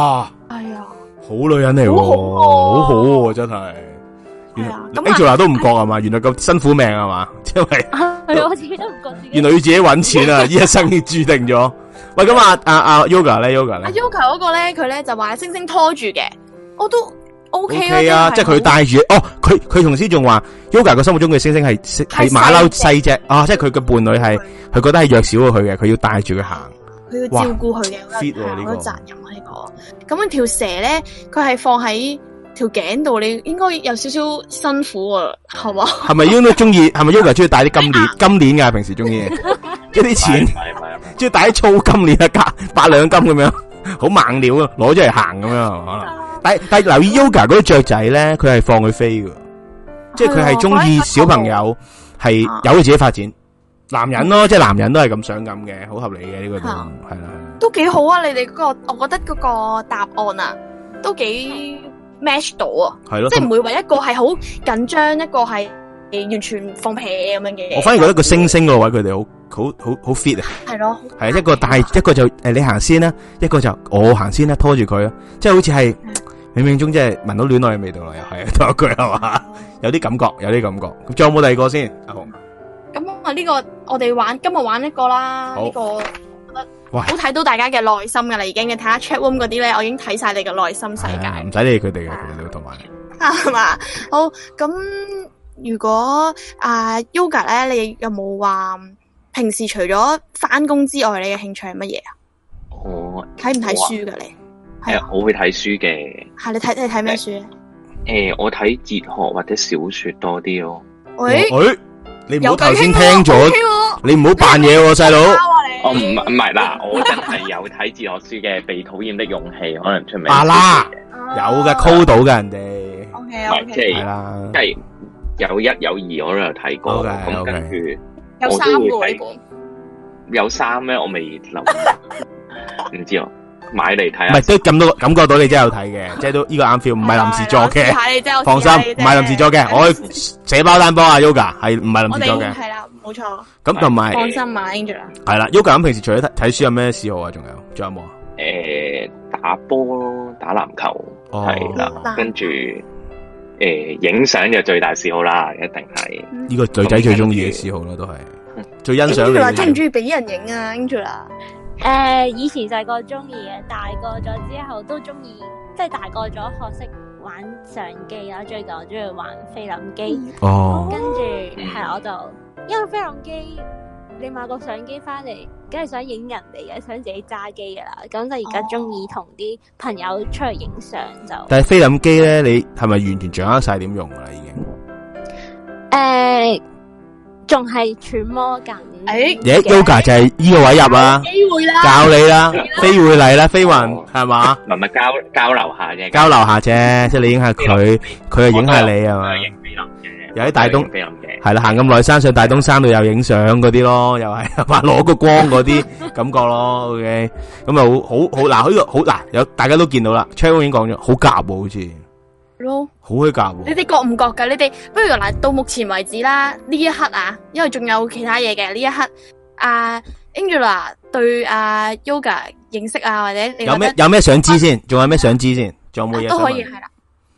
S4: 係啊，
S3: 好女人嚟喎，好好喎，真係。Angela 都唔覺係嘛？原來咁辛苦命係嘛？因為
S5: 係我自己都唔覺。
S3: 原來要自己搵錢啊！呢一生已注定咗。喂，咁啊啊啊 Yoga 咧 ，Yoga 咧，
S4: 阿 Yoga 嗰個咧，佢咧就話星星拖住嘅，我都 OK
S3: 啊，即係佢帶住。哦，佢佢同時仲話 Yoga 個心目中嘅星星係係馬騮細隻啊，即係佢嘅伴侶係佢覺得係弱小過佢嘅，佢要帶住佢行，
S4: 佢要照顧佢嘅，
S3: fit 呢個
S4: 責任啊呢個。咁樣條蛇咧，佢係放喺條頸度，你應該有少少辛苦啊，係嘛？係咪
S3: 應該中意？係咪 Yoga 中意戴啲金鏈？金鏈噶平時中意，一啲錢，中意戴啲粗金鏈啊，加八兩金咁樣，好猛料啊，攞咗嚟行咁樣係嘛？但但留意 Yoga 嗰啲雀仔咧，佢係放佢飛噶，即係佢係中意小朋友，係由佢自己發展。男人咯，即係男人都係咁想咁嘅，好合理嘅呢個都係啦。
S4: 都幾好啊！你哋嗰個，我覺得嗰個答案啊，都幾 match 到啊，係咯，即係唔會話一個係好緊張，一個係完全放屁咁樣嘅。
S3: 我反而覺得個星星嗰個位佢哋好好好好 fit 啊，
S4: 係咯，
S3: 係一個帶一個就誒你行先啦，一個就我行先啦，拖住佢啊，即係好似係冥冥中即係聞到戀愛嘅味道啦，又係多一句係嘛，有啲感覺，有啲感覺。咁仲有冇第二個先？阿紅，
S4: 咁啊呢個我哋玩今日玩一個啦，呢個我覺得好睇到大家嘅內心噶啦，已經嘅睇下 chat room 嗰啲咧，我已經睇晒你嘅內心世界，
S3: 唔使理佢哋嘅，佢哋都同埋
S4: 係嘛。好，咁如果啊 Yoga 咧，你有冇話平時除咗翻工之外，你嘅興趣係乜嘢啊？
S6: 我
S4: 睇唔睇書噶你？
S6: 係啊，我會睇書嘅。
S4: 係你睇你睇咩書咧？
S6: 誒，我睇哲學或者小說多啲咯。
S4: 喂，
S3: 你唔好頭先聽咗，你唔好扮嘢喎，細佬。
S6: 我唔唔係啦，我真係有睇哲學書嘅，《被討厭的勇氣》可能出名。
S3: 啊啦，有嘅 call 到嘅人哋。
S4: O K O K，
S6: 即係即係有一有二我都有睇過，咁跟住
S4: 有三個呢本。
S6: 有三咩？我未留意，唔知啊。買嚟睇下，
S3: 唔係都咁多感覺到你真係有睇嘅，即係都呢個啱 feel，唔係臨時作嘅，放心，唔係臨時作嘅，我寫包單幫阿 Yoga 係唔係臨時作嘅，
S4: 係啦，冇錯。
S3: 咁同埋
S4: 放心啊 Angela。
S3: 係啦 Yoga 咁平時除咗睇睇書有咩嗜好啊？仲有仲有冇啊？
S6: 誒，打波咯，打籃球係啦，跟住誒影相就最大嗜好啦，一定係
S3: 呢個女仔最中意嘅嗜好啦，都係最欣賞你。
S4: Angela 中唔中意俾人影啊 Angela？
S5: 誒、呃，以前細個中意嘅，大個咗之後都中意，即係大個咗學識玩相機啦。最近我中意玩菲林機，
S3: 哦，
S5: 跟住係我就因為菲林機，你買個相機翻嚟，梗係想影人哋嘅，想自己揸機噶啦。咁就而家中意同啲朋友出去影相就。
S3: 但係菲林機咧，你係咪完全掌握晒點用噶啦？已經
S5: 誒，仲係揣摩緊。
S4: 誒
S3: ，Yoga 就係呢個位入啊，
S4: 機會啦，
S3: 教你啦，飛會嚟啦，飛雲係嘛，
S6: 唔係唔係交交流下啫，
S3: 交流下啫，即係你影下佢，佢又影下你係嘛，
S6: 影菲林嘅，
S3: 又喺大東
S6: 菲林嘅，
S3: 係啦，行咁耐山上大東山度又影相嗰啲咯，又係話攞個光嗰啲感覺咯 ，OK，咁啊好好好嗱，呢個好嗱，有大家都見到啦 ，Charles 已經講咗，好夾喎，好似。
S4: 咯，
S3: 好虛夾喎！
S4: 你哋覺唔覺噶？你哋不如嗱，到目前為止啦，呢一刻啊，因為仲有其他嘢嘅呢一刻，阿 Angela 對阿 Yoga 認識啊，或者你
S3: 有咩有咩想知先？仲有咩想知先？仲有冇嘢
S4: 都可以係啦。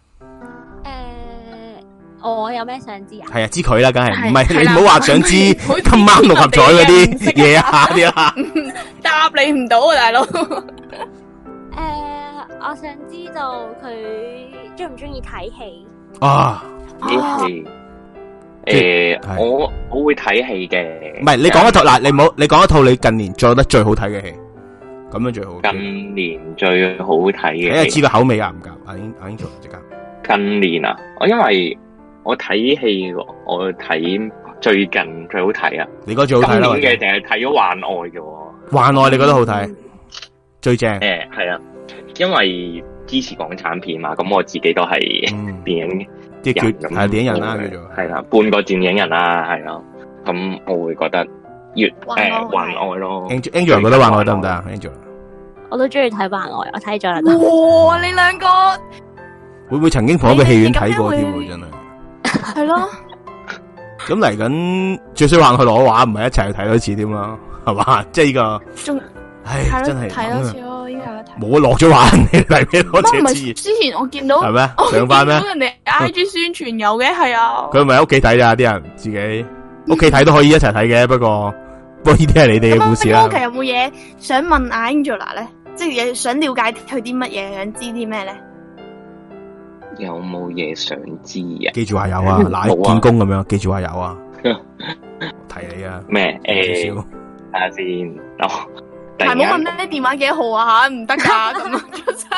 S5: 誒，我有咩想知啊？
S3: 係啊，知佢啦，梗係唔係你唔好話想知今晚六合彩嗰啲嘢啊啲啦，
S4: 答你唔到啊，大佬。
S5: 誒，我想知道佢中唔中意睇戲
S3: 啊？
S6: 睇戲誒，我我會睇戲嘅。
S3: 唔係你講一套嗱，你唔好你講一套你近年做得最好睇嘅戲，咁樣最好。
S6: 近年最好睇嘅，
S3: 你係知個口味夾唔夾？阿英阿英做即刻。
S6: 近年啊，我因為我睇戲，我睇最近最好睇啊。
S3: 你覺得最好睇啦？
S6: 今年嘅定係睇咗《幻愛》嘅？
S3: 幻愛你覺得好睇？最正。
S6: 誒，係啊。因為支持港產片嘛，咁我自己都係電影
S3: 即係叫係電影人啦，叫做
S6: 係啦，半個電影人啦，係咯。咁我會覺得越誒幻愛咯。
S3: Angela 覺得幻愛得唔得啊 ？Angela
S5: 我都中意睇幻愛，我睇咗啦。
S4: 哇！你兩個
S3: 會唔會曾經同一個戲院睇過添？真係
S4: 係咯。
S3: 咁嚟緊最衰幻愛攞畫，唔係一齊去睇多次添啦，係嘛？即係呢個
S4: 仲
S3: 唉，真係
S4: 睇多次咯。 咯，依家睇。
S2: 冇落咗畫，你嚟咩攞
S4: 唔係
S2: 隻
S4: 之前我見到
S2: 係咩
S4: 我
S2: 上翻咩
S4: 見到人哋 I G 宣傳有嘅，係啊。
S2: 佢咪喺屋企睇咋啲人自己屋企睇都可以一齊睇嘅，不過不過呢啲係你哋嘅故事啦。
S4: 咁其實有冇嘢想問阿 Angela 咧？即係想了解佢啲乜嘢，想知啲咩咧？
S6: 有冇嘢想知啊？
S2: 記住話有啊，嗱見工咁樣，記住話有啊。提你啊。
S6: 咩？誒，
S2: 睇
S6: 下先。哦，
S4: 係冇問咧電話幾號啊吓，唔得噶咁啊！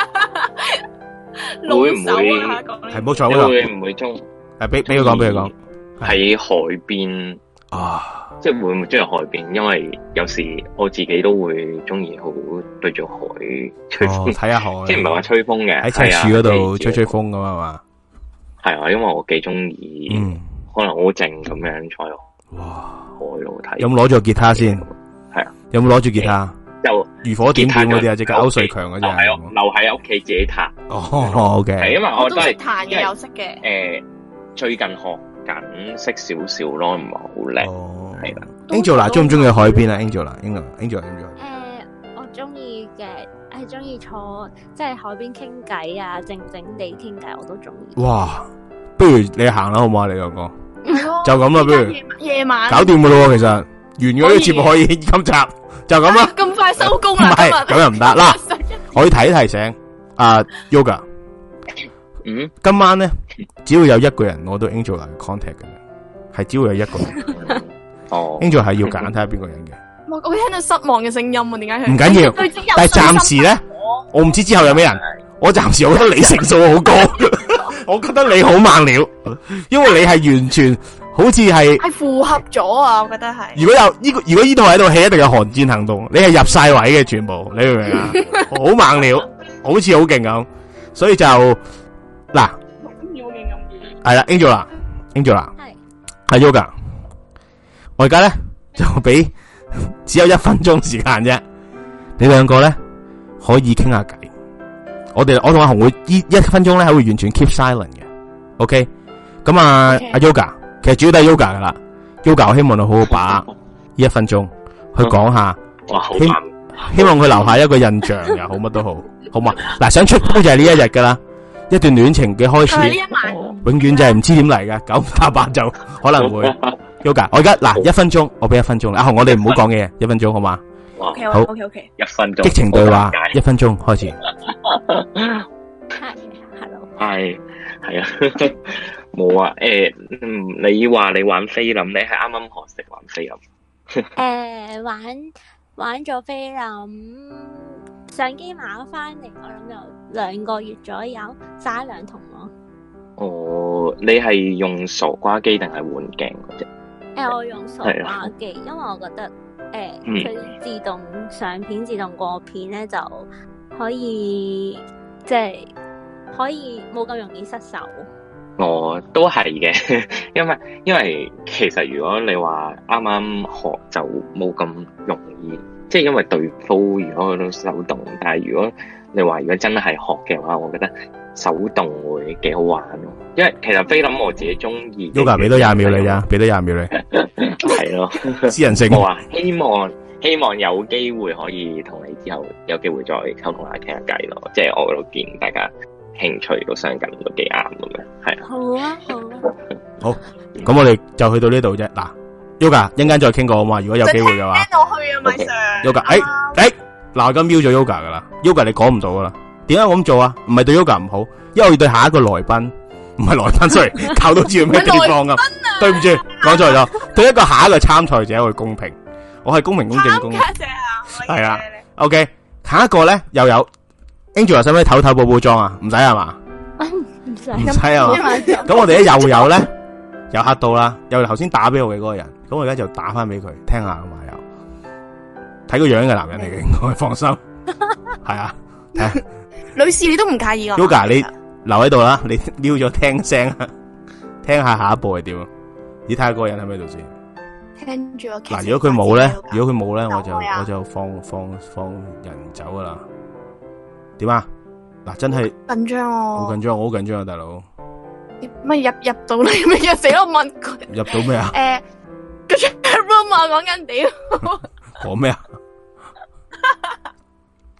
S4: 老手啊，
S2: 係冇錯啦。
S6: 會唔會中？
S2: 誒，俾俾佢講，俾佢講。
S6: 喺海邊
S2: 啊，
S6: 即係會唔會中意海邊？因為有時我自己都會中意好對住海吹風，
S2: 睇下海，
S6: 即係唔係話吹風嘅，
S2: 喺赤柱嗰度吹吹風咁啊嘛。係
S6: 啊，因為我幾中意，可能好靜咁樣坐喺
S2: 哇
S6: 海度睇。
S2: 有冇攞住個吉他先？
S6: 係啊，
S2: 有冇攞住吉他？
S6: 就
S2: 如火點點嗰啲啊，即係歐瑞強嗰啲啊。
S6: 係啊，留喺屋企自己彈。
S2: 哦，OK。
S6: 係因為我都係
S4: 彈嘅，有識嘅。
S6: 誒，最近學緊識少少咯，唔係好叻。係啦。
S2: Angela 中唔中意海邊啊 ？Angela，Angela，Angela，Angela。誒，
S5: 我中意嘅，係中意坐即係海邊傾偈啊，靜靜地傾偈我都中意。
S2: 哇！不如你行啦，好唔好啊？你兩個就咁啦，不如
S4: 夜晚
S2: 搞掂噶咯，其實完咗呢個節目可以今集就咁啦。
S4: 咁快收工啊？
S2: 唔係咁又唔得啦。我要提一提醒阿 Yoga，
S6: 嗯，
S2: 今晚咧只要有一個人攞到 Angela 嘅 contact 嘅，係只要有一個人。哦 ，Angela 係要揀睇下邊個人嘅。
S4: 我我聽到失望嘅聲音啊，點解佢？
S2: 唔緊要，但係暫時咧，我唔知之後有咩人。我暫時我覺得你成數好高，我覺得你好猛料，因為你係完全好似係
S4: 係符合咗啊！我覺得係。如
S2: 果有呢個，如果呢套喺度戲，一定有寒戰行動，你係入晒位嘅全部，你明唔明啊？好猛料，好似好勁咁，所以就嗱，係啦 ，Angela，Angela，係，阿 Yoga，我而家咧就俾只有一分鐘時間啫，你兩個咧可以傾下偈。我哋我同阿紅會依一分鐘咧，係會完全 keep silent 嘅。OK，咁啊，阿
S4: Okay.
S2: Yoga，其實主要都係 Yoga 噶啦。Yoga，我希望你好好把握呢一分鐘去講下，希希望佢留下一個印象又好，乜都好，好嘛？嗱，想出鋪就係呢一日噶啦，一段戀情嘅開始，
S4: 呢一晚
S2: 永遠就係唔知點嚟噶，九打八就可能會。Yoga，我而家嗱一分鐘，我俾一分鐘啦。阿紅，我哋唔好講嘢，一分鐘好嘛？
S4: O K，
S2: 好
S4: O K，O K，
S6: 一分鐘，
S2: 激情對話，一分鐘開始。
S5: 係，hello，
S6: 係係啊，冇啊，誒，嗯，你話你玩菲林，你係啱啱學識玩菲林？
S5: 誒，玩玩咗菲林，相機買咗翻嚟，我諗有兩個月左右，晒兩筒咯。
S6: 哦，你係用傻瓜機定係換鏡嗰隻？
S5: 誒，我用傻瓜機，因為我覺得。誒，佢、呃、自動上片、自動過片咧，就可以即係可以冇咁容易失手。
S6: 哦，都係嘅，因為因為其實如果你話啱啱學就冇咁容易，即係因為對鋪如果佢都手動，但係如果你話如果真係學嘅話，我覺得手動會幾好玩咯。因為其實菲林我自己中意。Yoga
S2: 俾多廿秒你咋，俾多廿秒你。
S6: 係咯，
S2: 私人性。
S6: 我話希望希望有機會可以同你之後有機會再溝通下傾下偈咯，即係我都見大家興趣都相近，都幾啱咁樣，係啊。
S5: 好啊，好啊。
S2: 好，咁我哋就去到呢度啫。嗱 ，Yoga 一陣間再傾過好嘛？如果有機會嘅話。
S4: 聽到去啊，咪 Sir。
S2: Yoga，誒誒，嗱，我而家瞄咗 Yoga 噶啦 ，Yoga 你講唔到噶啦。點解我咁做啊？唔係對 Yoga 唔好，因為我要對下一個來賓。唔係來賓，sorry，靠到知道咩地方啊？對唔住，講錯咗。對一個下一個參賽者去公平，我係公平公正公。參
S4: 加者啊，
S2: 係啊。OK，下一個咧又有 Angela，使唔使唞唞補補妝啊？唔使係嘛？
S5: 唔使，
S2: 唔使係嘛？咁我哋咧又有咧，又嚇到啦，又頭先打俾我嘅嗰個人，咁我而家就打翻俾佢聽下啊嘛，又睇個樣嘅男人嚟嘅，應該放心。係啊，睇下。
S4: 女士你都唔介意啊
S2: ？Yoga 你。留喺度啦，你瞄咗聽聲，聽下下一步係點啊？你睇下嗰個人喺咪度先？
S4: 聽住我。
S2: 嗱，如果佢冇咧，如果佢冇咧，我就我就放放放人走噶啦。點啊？嗱，真係
S4: 緊張哦，
S2: 好緊張，我好緊張啊，大佬。
S4: 乜入入到嚟咩？入死我問佢。
S2: 入到咩啊？
S4: 誒，個 chat room 啊，講緊屌。
S2: 講咩啊？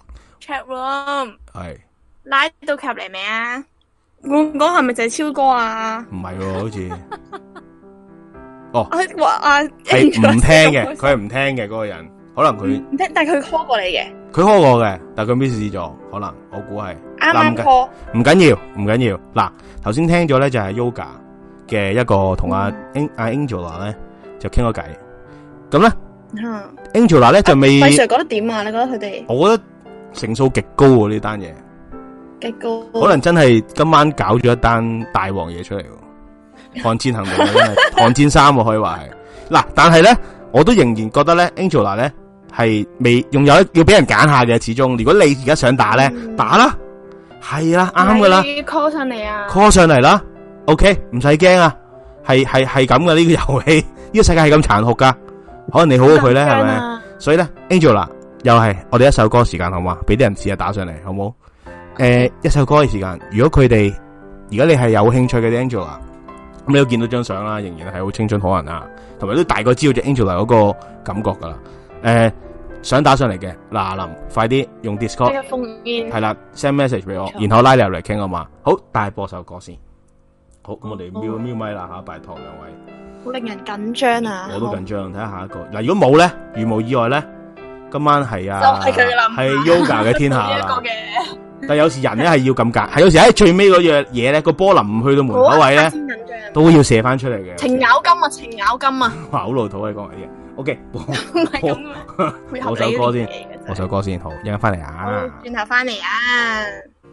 S4: chat room
S3: 係
S4: 拉到入嚟未啊？我講係咪就係超哥啊？
S3: 唔係喎，好似哦，
S4: 話啊
S3: 係唔聽嘅，佢係唔聽嘅嗰個人，可能佢
S4: 唔聽，但係佢 call 過你嘅，
S3: 佢 call 過嘅，但係佢 miss 咗，可能我估係
S4: 啱啱 call，
S3: 唔緊要，唔緊要。嗱，頭先聽咗咧就係 Yoga 嘅一個同阿 A Angela 咧就傾咗偈，咁咧 Angela 咧就未。
S4: 費 Sir 覺得點啊？你覺得佢哋？
S3: 我覺得成數極高喎呢單嘢。
S4: 極高，
S3: 可能真係今晚搞咗一單大王嘢出嚟，抗戰行動真係抗戰三可以話係嗱，但係咧我都仍然覺得咧 Angela 咧係未仲有要俾人揀下嘅，始終如果你而家想打咧、嗯、打啦，係啦啱噶啦
S4: ，call 上嚟啊
S3: ，call 上嚟啦 ，OK 唔使驚啊，係係係咁嘅呢個遊戲，呢個世界係咁殘酷噶，可能你好過佢咧係咪？所以咧 Angela 又係我哋一首歌時間好嘛，俾啲人試下打上嚟好冇？誒、呃，一首歌嘅時間，如果佢哋，如果你係有興趣嘅 Angela，咁你都見到張相啦，仍然係好青春可人啊，同埋都大概知道隻 Angela 嗰個感覺噶啦。誒、呃，想打上嚟嘅，嗱林，快啲用 Discord，係啦 ，send message 俾我，然後拉你入嚟傾啊嘛。好，帶播首歌先。好，咁我哋瞄瞄咪啦吓，拜託兩位。
S4: 好令人緊張啊！
S3: 我都緊張，睇下下一個。嗱，如果冇咧，如無意外咧，今晚係啊，係佢啦，係 Yoga 嘅天下啦。但有時人咧係要咁夾，係有時喺最尾嗰樣嘢咧，個波臨唔去到門口位咧，都要射翻出嚟嘅。
S4: 程咬金啊，程咬金啊！
S3: 哇，好老土啊，講埋啲嘢。O K，
S4: 唔係咁啊，
S3: 播首歌先，播首歌先，好，一陣翻嚟啊。
S4: 轉頭翻嚟啊！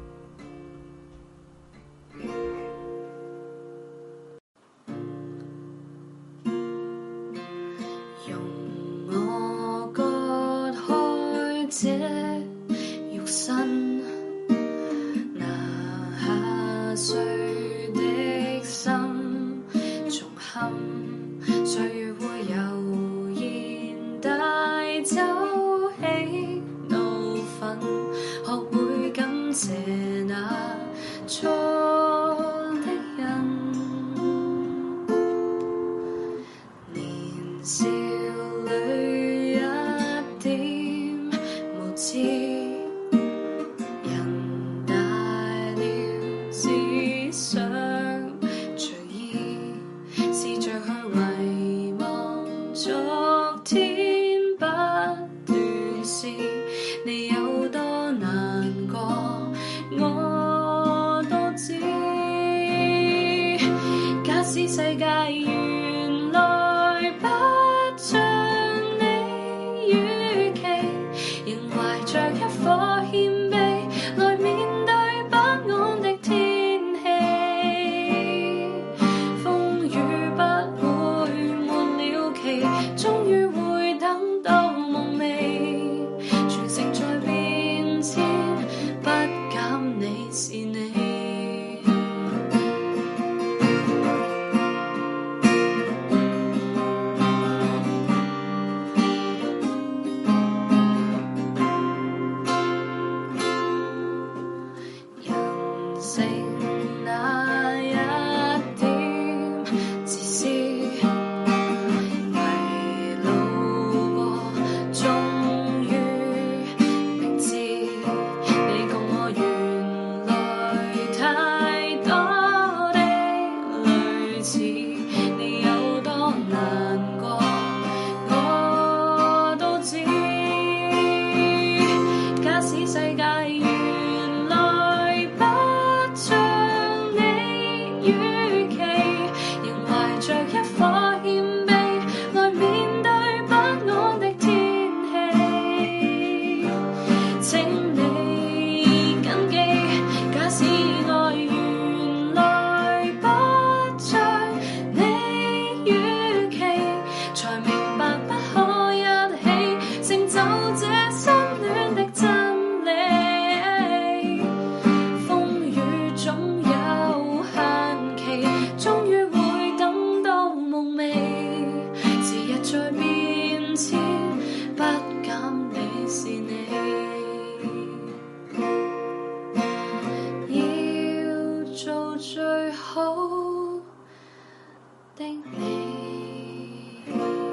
S1: 用我割開這肉身。碎的心，重憾歲月會悠然帶走喜怒憤，學會感謝那錯的人。年少裏一點無知。想隨意試着去遺忘昨天不斷是你有多難過我都知，假使世界原來不像你預期，仍懷着一顆謙卑來面對不安的天。終於會等到夢寐，全城在變遷，不減你是你。人性那一點自私。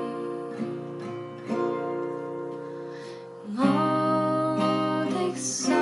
S1: 我的心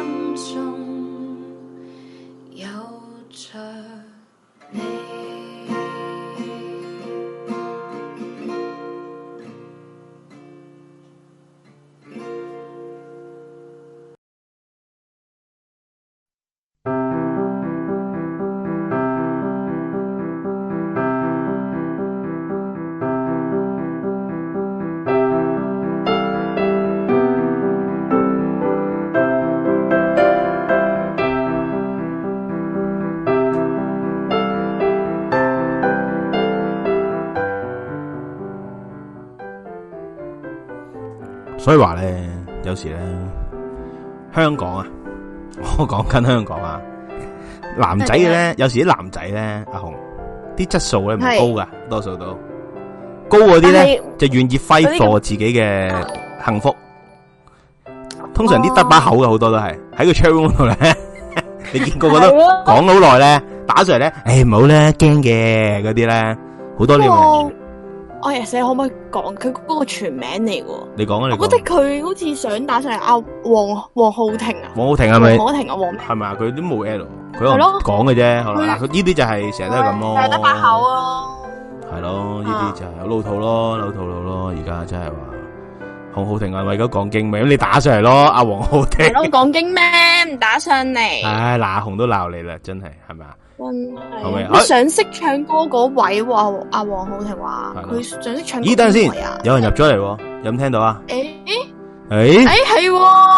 S3: 所以話咧，有時咧，香港啊，我講緊香港啊，男仔嘅咧，有時啲男仔咧，阿紅啲質素咧唔高噶，多數都高嗰啲咧就願意揮霍自己嘅幸福。通常啲得把口嘅好多都係喺個 chat room 度咧，你見個個都講好耐咧，打上嚟咧，誒唔好咧，驚嘅嗰啲咧，好多呢樣。
S4: 我日寫可唔可以講佢嗰個全名嚟嘅？
S3: 你講啊，你講。
S4: 我覺得佢好似想打上嚟阿黃黃浩庭啊。
S3: 黃浩庭係咪？
S4: 黃浩庭啊，黃咩？
S3: 係咪啊？佢都冇 L， 佢可能講嘅啫。好啦，嗱，佢呢啲就係成日都係咁咯。
S4: 係得把口咯。
S3: 係咯，呢啲就係有老土咯，老土佬咯。而家真係話黃浩庭係為咗講經咩？咁你打上嚟咯，阿黃浩庭。
S4: 係咯，講經咩？唔打上嚟。
S3: 唉，嗱，阿紅都鬧你啦，真係係咪啊？
S4: 真係，佢想識唱歌嗰位話阿黃浩庭話佢想識唱歌。
S3: 咦，等陣先，有人入咗嚟，有冇聽到啊？
S4: 誒
S3: 誒誒
S4: 係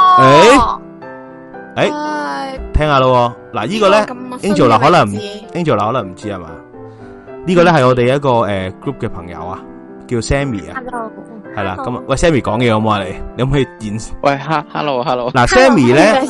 S3: 誒誒，聽下咯。嗱，呢個咧 Angel 嗱可能 Angel 嗱可能唔知係嘛？呢個咧係我哋一個誒 group 嘅朋友啊，叫 Sammy 啊。
S5: Hello。
S3: 係啦，咁啊，喂 Sammy 講嘢好唔好啊？你你可唔可以演？
S6: 喂，hello hello。嗱
S3: Sammy 咧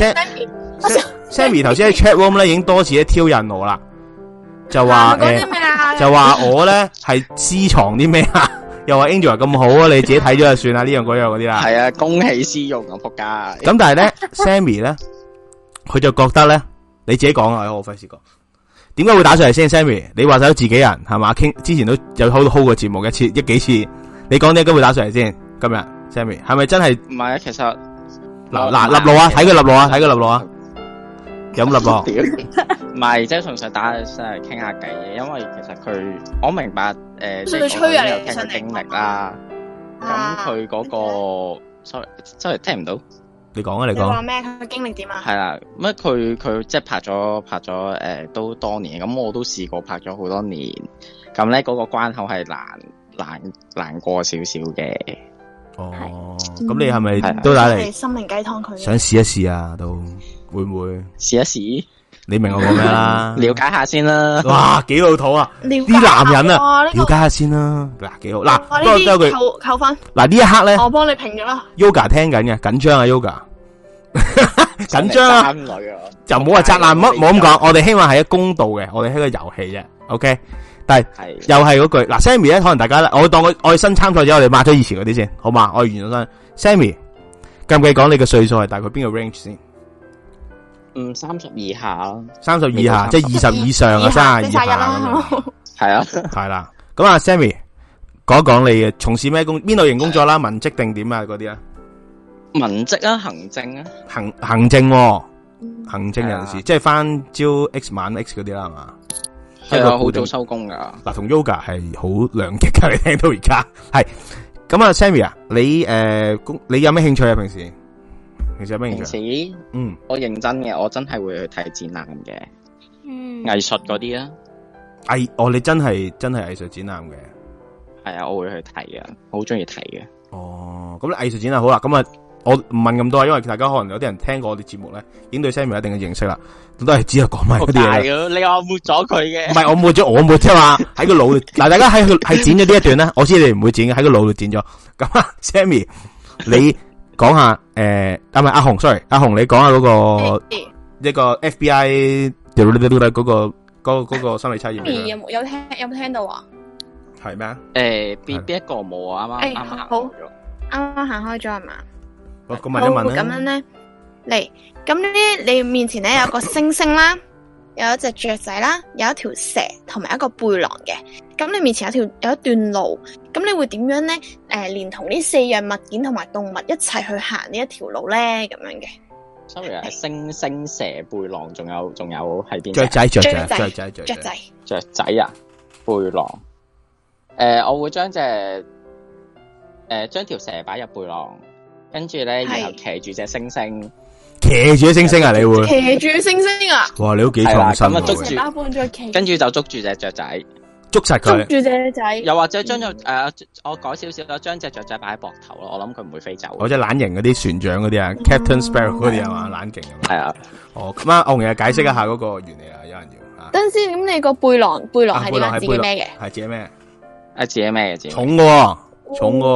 S3: ，Sammy 頭先喺 chat room 咧已經多次咧挑釁我啦，就話誒，就話我咧係私藏啲咩啊？又話 Angel 咁好啊，你自己睇咗就算啦，呢樣嗰樣嗰啲啦。
S6: 係啊，公器私用啊，仆街。
S3: 咁但係咧 ，Sammy 咧，佢就覺得咧，你自己講啊，我費事講。點解會打上嚟先 ，Sammy？你話晒都自己人係嘛？傾之前都有 hold hold 過節目一次一幾次，你講點解會打上嚟先？今日 Sammy 係咪真係？
S6: 唔係啊，其實
S3: 嗱嗱立路啊，睇佢立路啊，睇佢立路啊，有冇立路？
S6: 唔係，即係純粹打上嚟傾下偈嘅，因為其實佢我明白誒，即係我有聽佢經歷啦。咁佢嗰個 sorry sorry 聽唔到。
S3: 你講啊，你講。
S4: 你話咩？佢經歷點啊？
S6: 係啦，乜佢佢即係拍咗拍咗誒、呃，都多年。咁我都試過拍咗好多年。咁咧嗰個關口係難難難過少少嘅。
S3: 哦，咁你係咪都打嚟？
S4: 心靈雞湯佢。想
S3: 試一試啊，都會唔會？
S6: 試一試。
S3: 你明我講咩啦？
S6: 了解下先啦。
S3: 哇，幾老土啊！啲男人啊，了解下先啦。嗱，幾好。嗱，不過都有句
S4: 扣扣分。
S3: 嗱呢一刻咧，
S4: 我幫你評咗啦。
S3: Yoga 聽緊嘅，緊張啊 Yoga， 緊張啊！就唔好話宅男，唔好咁講。我哋希望係一公道嘅，我哋係一個遊戲啫。OK，但係又係嗰句嗱 ，Sammy 咧，可能大家咧，我當我我哋新參賽者，我哋抹咗以前嗰啲先，好嘛？我哋完咗先。Sammy，計唔計講你嘅歲數係大概邊個 range 先？
S6: 嗯，三十以下咯，
S3: 三十以下，即係二十以上啊，三十以下咁樣。係啊，係啦。咁啊，Sammy，講一講你嘅從事咩工，邊類型工作啦？文職定點啊？嗰啲啊？
S6: 文職啊，行政啊，
S3: 行行政，行政人士，即係翻朝 X 晚 X 嗰啲啦，係嘛？
S6: 係啊，好早收工噶。
S3: 嗱，同 Yoga 係好兩極噶，你聽到而家係。咁啊，Sammy 啊，你誒工，你有咩興趣啊？平時？平時有咩興趣？
S6: 平時，嗯，我認真嘅，我真係會去睇展覽嘅，嗯，藝術嗰啲啊，
S3: 藝，哦，你真係真係藝術展覽嘅，
S6: 係啊，我會去睇嘅，好中意睇嘅。
S3: 哦，咁你藝術展覽好啦，咁啊，我唔問咁多，因為大家可能有啲人聽過我哋節目咧，已經對 Sammy 有一定嘅認識啦，都係只係講埋嗰啲嘢。
S6: 你話抹咗佢嘅？唔
S3: 係我抹咗，我抹啫嘛，喺個腦度。嗱，大家喺係剪咗呢一段咧，我知你哋唔會剪嘅，喺個腦度剪咗。咁啊 ，Sammy，你。講下誒，啊唔係阿紅 ，sorry， 阿紅你講下嗰個一個 F B I 嗰個嗰嗰個心理測驗。
S4: 有冇有聽有冇聽到啊？
S3: 係咩啊？
S6: 誒，邊邊一個冇啊？啱啱啱啱
S4: 好，啱啱行開咗係嘛？
S3: 好，咁問一問啦。
S4: 咁樣咧，嚟，咁咧你面前咧有個星星啦，有一隻雀仔啦，有一條蛇同埋一個背囊嘅。咁你面前有條有一段路，咁你會點樣咧？誒、呃，連同呢四樣物件同埋動物一齊去行呢一條路咧？咁樣嘅。
S6: sorry 係星星蛇背囊，仲有仲有係邊？
S3: 雀仔雀仔
S4: 雀
S3: 仔
S4: 雀仔
S6: 雀仔啊！背囊。誒、呃，我會將隻誒將條蛇擺入背囊，跟住咧然後騎住隻星星。
S3: 騎住隻星星啊！你會
S4: 騎住星星啊！
S3: 哇！你都幾創新。
S6: 咁啊捉住，跟住就捉住隻雀仔。
S3: 捉實佢，
S4: 捉住隻仔，
S6: 又或者將隻誒，我改少少啦，將隻雀仔擺喺膊頭咯，我諗佢唔會飛走。
S3: 或者懶型嗰啲船長嗰啲啊 ，Captain Sparrow 嗰啲係嘛，懶勁咁。
S6: 係啊，
S3: 哦，咁啊，我同你解釋一下嗰個原理啊，有人要。
S4: 等陣先，咁你個背囊背囊係點啊？自己孭嘅，
S3: 係自己孭，
S6: 係自己孭嘅自己。
S3: 重嘅，重嘅。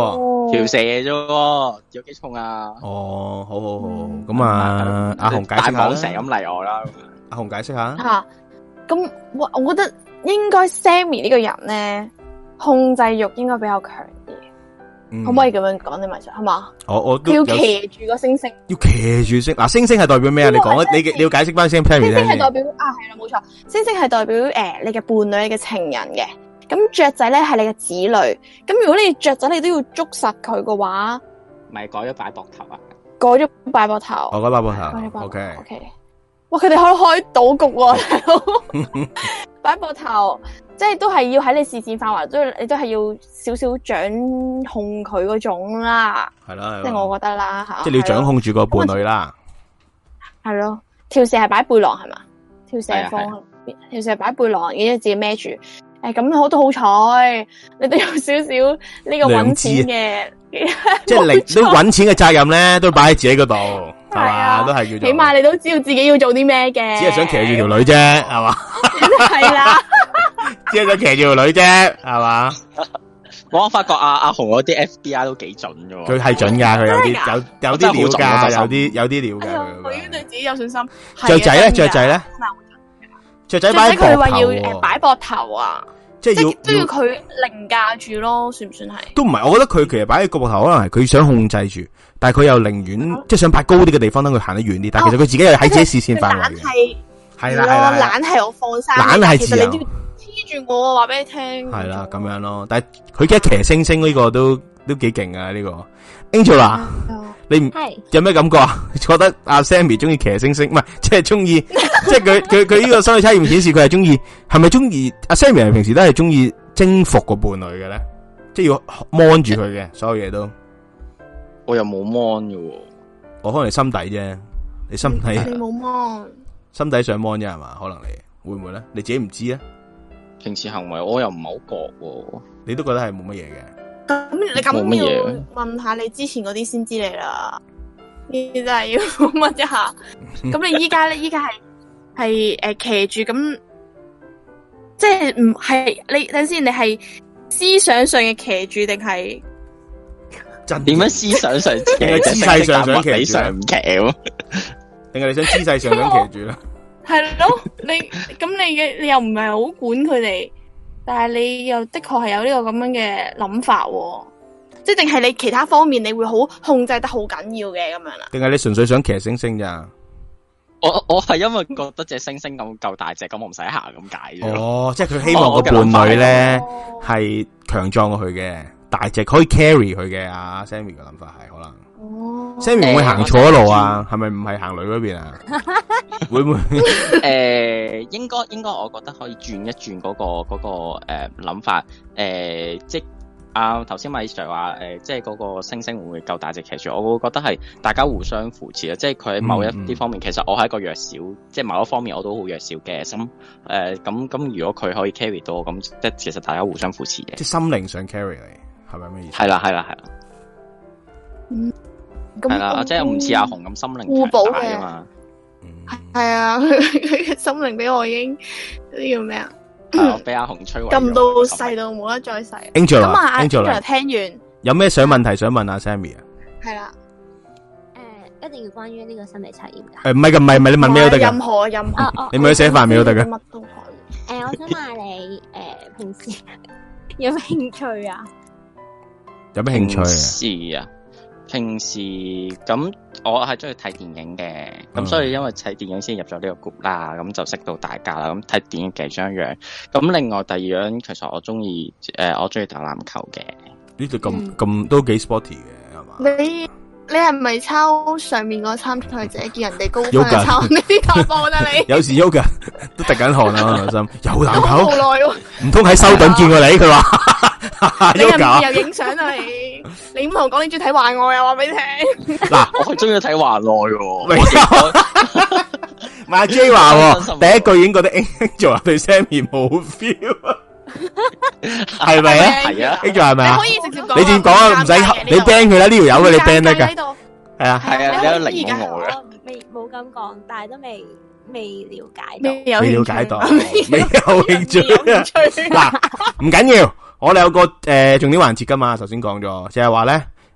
S7: 條蛇啫，有幾重啊？
S3: 哦，好好好，咁啊，阿紅解釋下啦。
S7: 成咁嚟我啦，
S3: 阿紅解釋下。
S4: 吓，咁我我覺得應該 Sammy 呢個人咧，控制欲應該比較強啲。可唔可以咁樣講？你咪就係嘛？
S3: 我我都
S4: 要騎住個星星，
S3: 要騎住星嗱，星星係代表咩啊？你講啊，你你要解釋翻先。星星
S4: 係代表啊，係啦，冇錯，星星係代表誒你嘅伴侶、你嘅情人嘅。咁雀仔咧係你嘅子女。咁如果你雀仔你都要捉實佢嘅話，
S7: 咪改咗擺膊頭啊？
S4: 改咗擺膊頭，
S3: 我改擺膊頭。O K
S4: O K。哇！佢哋可以開賭局喎，大佬。擺膊頭。即係都係要喺你視線範圍，都你都係要少少掌控佢嗰種啦。係啦，即係我覺得啦吓。
S3: 即係你要掌控住個伴侶啦。係
S4: 咯，條蛇係擺背囊係嘛？條蛇放，條蛇擺背囊，然之後自己孭住。誒，咁我都好彩，你都有少少呢個搵錢嘅，
S3: 即係你都搵錢嘅責任咧，都擺喺自己嗰度，係嘛？都係叫做。
S4: 起碼你都知道自己要做啲咩嘅。
S3: 只係想騎住條女啫，係嘛？
S4: 係啦。
S3: 只係想騎住條女啫，係嘛？
S7: 我發覺阿阿紅嗰啲 F B I 都幾準嘅，
S3: 佢係準噶，佢有啲有有啲料噶，有啲有啲料噶。
S4: 我已經對自己有信心。
S3: 雀仔咧，雀仔咧，雀仔擺膊頭。
S4: 佢話要誒擺膊頭啊，
S3: 即係要
S4: 都要佢凌駕住咯，算唔算係？
S3: 都唔係，我覺得佢其實擺喺個膊頭，可能係佢想控制住，但係佢又寧願即係想擺高啲嘅地方，等佢行得遠啲。但係其實佢自己又喺自己視線範圍嘅。係啦係啦，
S4: 懶係我放生，
S3: 懶係自由。
S4: 黐住我，話俾你聽。
S3: 係啦，咁樣咯。但係佢而家騎星星呢個都都幾勁啊！呢個 Angela，你唔有咩感覺啊？覺得阿 Sammy 中意騎星星，唔係即係中意，即係佢佢佢呢個心理測驗顯示佢係中意，係咪中意？阿 Sammy 係平時都係中意征服個伴侶嘅咧，即係要 mon 住佢嘅所有嘢都。
S7: 我又冇 mon 嘅，
S3: 我可能你心底啫，你心底
S4: 你冇 mon，
S3: 心底想 mon 啫係嘛？可能你會唔會咧？你自己唔知啊？
S7: 平時行為我又唔係好覺喎，
S3: 你都覺得係冇乜嘢嘅。
S4: 咁你咁要問下你之前嗰啲先知你啦，呢啲真係要問一下。咁你依家咧，依家係係誒騎住咁，即係唔係你等先？你係思想上嘅騎住定係
S7: 點樣思想上？
S3: 定係姿勢上想騎住？
S7: 上唔騎喎？
S3: 定係你想姿勢上想騎住咧？
S4: 係咯，你咁你嘅你又唔係好管佢哋，但係你又的確係有呢個咁樣嘅諗法，即係定係你其他方面你會好控制得好緊要嘅咁樣啦？定係你純粹想騎星星咋？
S7: 我我係因為覺得隻星星咁夠大隻，咁我唔使行咁解啫。
S3: 哦，即係佢希望個伴侶咧係強壯過佢嘅，大隻可以 carry 佢嘅。阿 Sammy 嘅諗法係可能。哦 Sammy 會唔會行錯路啊？係咪唔係行女嗰邊啊？會唔會？
S7: 誒，應該應該，我覺得可以轉一轉嗰個嗰個誒諗法。誒，即係啊頭先米 Sir 話誒，即係嗰個星星會唔會夠大隻騎住？我會覺得係大家互相扶持啊！即係佢喺某一啲方面，其實我係一個弱小，即係某一方面我都好弱小嘅。咁誒，咁咁如果佢可以 carry 到，咁即係其實大家互相扶持嘅。
S3: 即係心靈上 carry 你，係咪咩意思？
S7: 係啦係啦係啦。
S4: 嗯。
S7: 係啦，即係唔似阿紅咁心靈強大啊嘛。
S4: 係啊，佢嘅心靈俾我已經呢叫咩啊？
S7: 俾阿紅摧毀，
S4: 撳到細到冇得再細。
S3: Angela，
S4: 咁啊
S3: Angela
S4: 聽完有
S3: 咩想問題想問阿 Sammy 啊？
S4: 係啦，
S5: 誒，一定要關於呢個心理測驗噶。
S3: 誒，唔係噶，唔係唔係，你問咩都得噶。
S4: 任何任何，
S3: 你咪去寫飯咩都得噶。
S4: 乜都可以。
S5: 誒，我想問你，誒，平時有咩興趣啊？
S3: 有咩興趣啊？
S7: 是啊。平時咁我係中意睇電影嘅，咁、嗯、所以因為睇電影先入咗呢個 group 啦，咁就識到大家啦。咁睇電影其中一樣，咁另外第二樣其實我中意誒，我中意打籃球嘅。呢度
S3: 咁咁都幾 sporty 嘅係嘛？
S4: 你你係咪抄上面個參賽者見人哋高分抄呢啲打波啊？你
S3: 有時 Yoga 都滴緊汗啊！我心有籃球
S4: 好耐喎，
S3: 唔通喺修頓見過你？佢話。
S4: 你又又影相啊你？你唔同我講你中意睇幻愛啊？話俾你聽。
S3: 嗱，
S7: 我係中意睇幻愛喎。
S3: 唔係阿 J 話，第一句已經覺得 Angela 對 Sammy 冇 feel，係咪啊？係啊 ，Angela 係咪啊？
S4: 可以直接講。
S3: 你點講啊？唔使你 ban 佢啦，呢條友嘅你 ban 得噶。係啊
S7: 係啊，你有零我嘅。
S5: 未冇咁講，但係都未未了解
S4: 到，
S3: 未了解到，未有興趣。嗱，唔緊要。我哋有個誒、呃、重點環節噶嘛，頭先講咗，就係話咧，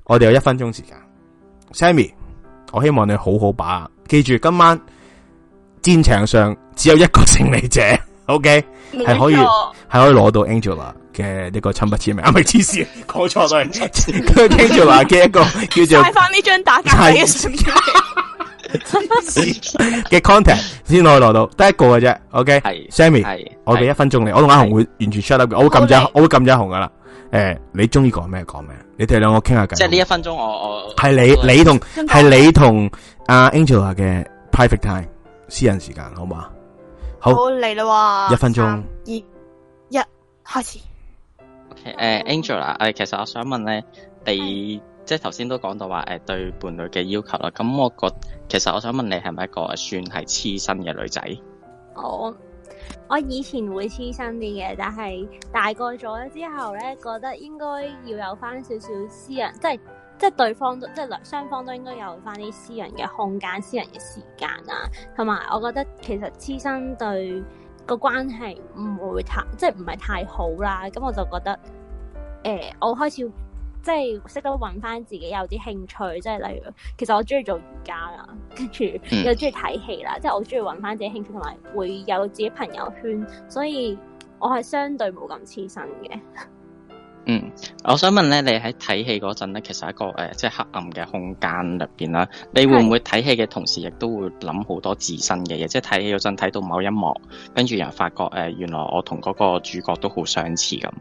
S2: 我哋有一分鐘時間 ，Sammy， 我希望你好好把握，記住今晚戰場上只有一個勝利者 ，OK， 係可以係可以攞到 Angela 嘅一個親筆簽名，啊咪黐線，講錯咗，Angela 嘅一個叫做
S4: 帶翻呢張打卡嘅相
S2: 嘅 contact 先可以攞到，得一個嘅啫 ，OK， 係 Sammy， 係我俾一分鐘你，我同阿紅會完全 shut up 嘅，我會撳咗，我會撳咗阿紅噶啦。誒，你中意講咩講咩？你哋兩個傾下偈。
S7: 即係呢一分鐘，我我
S2: 係你你同係你同阿 Angela 嘅 private time 私人時間，好嘛？好
S4: 嚟啦，
S2: 一分鐘，
S4: 二一開始。
S7: 誒、uh, ，Angela，誒，其實我想問咧，你即係頭先都講到話誒對伴侶嘅要求啦。咁我覺，其實我想問你係咪一個算係黐身嘅女仔？
S5: 我我以前會黐身啲嘅，但係大個咗之後咧，覺得應該要有翻少少私人，即係即係對方都即係兩雙方都應該有翻啲私人嘅空間、私人嘅時間啊。同埋，我覺得其實黐身對個關係唔會太即係唔係太好啦。咁我就覺得，誒、呃，我開始。即係識得揾翻自己有啲興趣，即係例如，其實我中意做瑜伽啦，跟住又中意睇戲啦，即係我中意揾翻自己興趣，同埋會有自己朋友圈，所以我係相對冇咁黐身嘅。
S7: 嗯，我想問咧，你喺睇戲嗰陣咧，其實一個誒、呃，即係黑暗嘅空間入邊啦，你會唔會睇戲嘅同時，亦都會諗好多自身嘅嘢？即係睇戲嗰陣睇到某一幕，跟住又發覺誒、呃，原來我同嗰個主角都好相似咁。誒、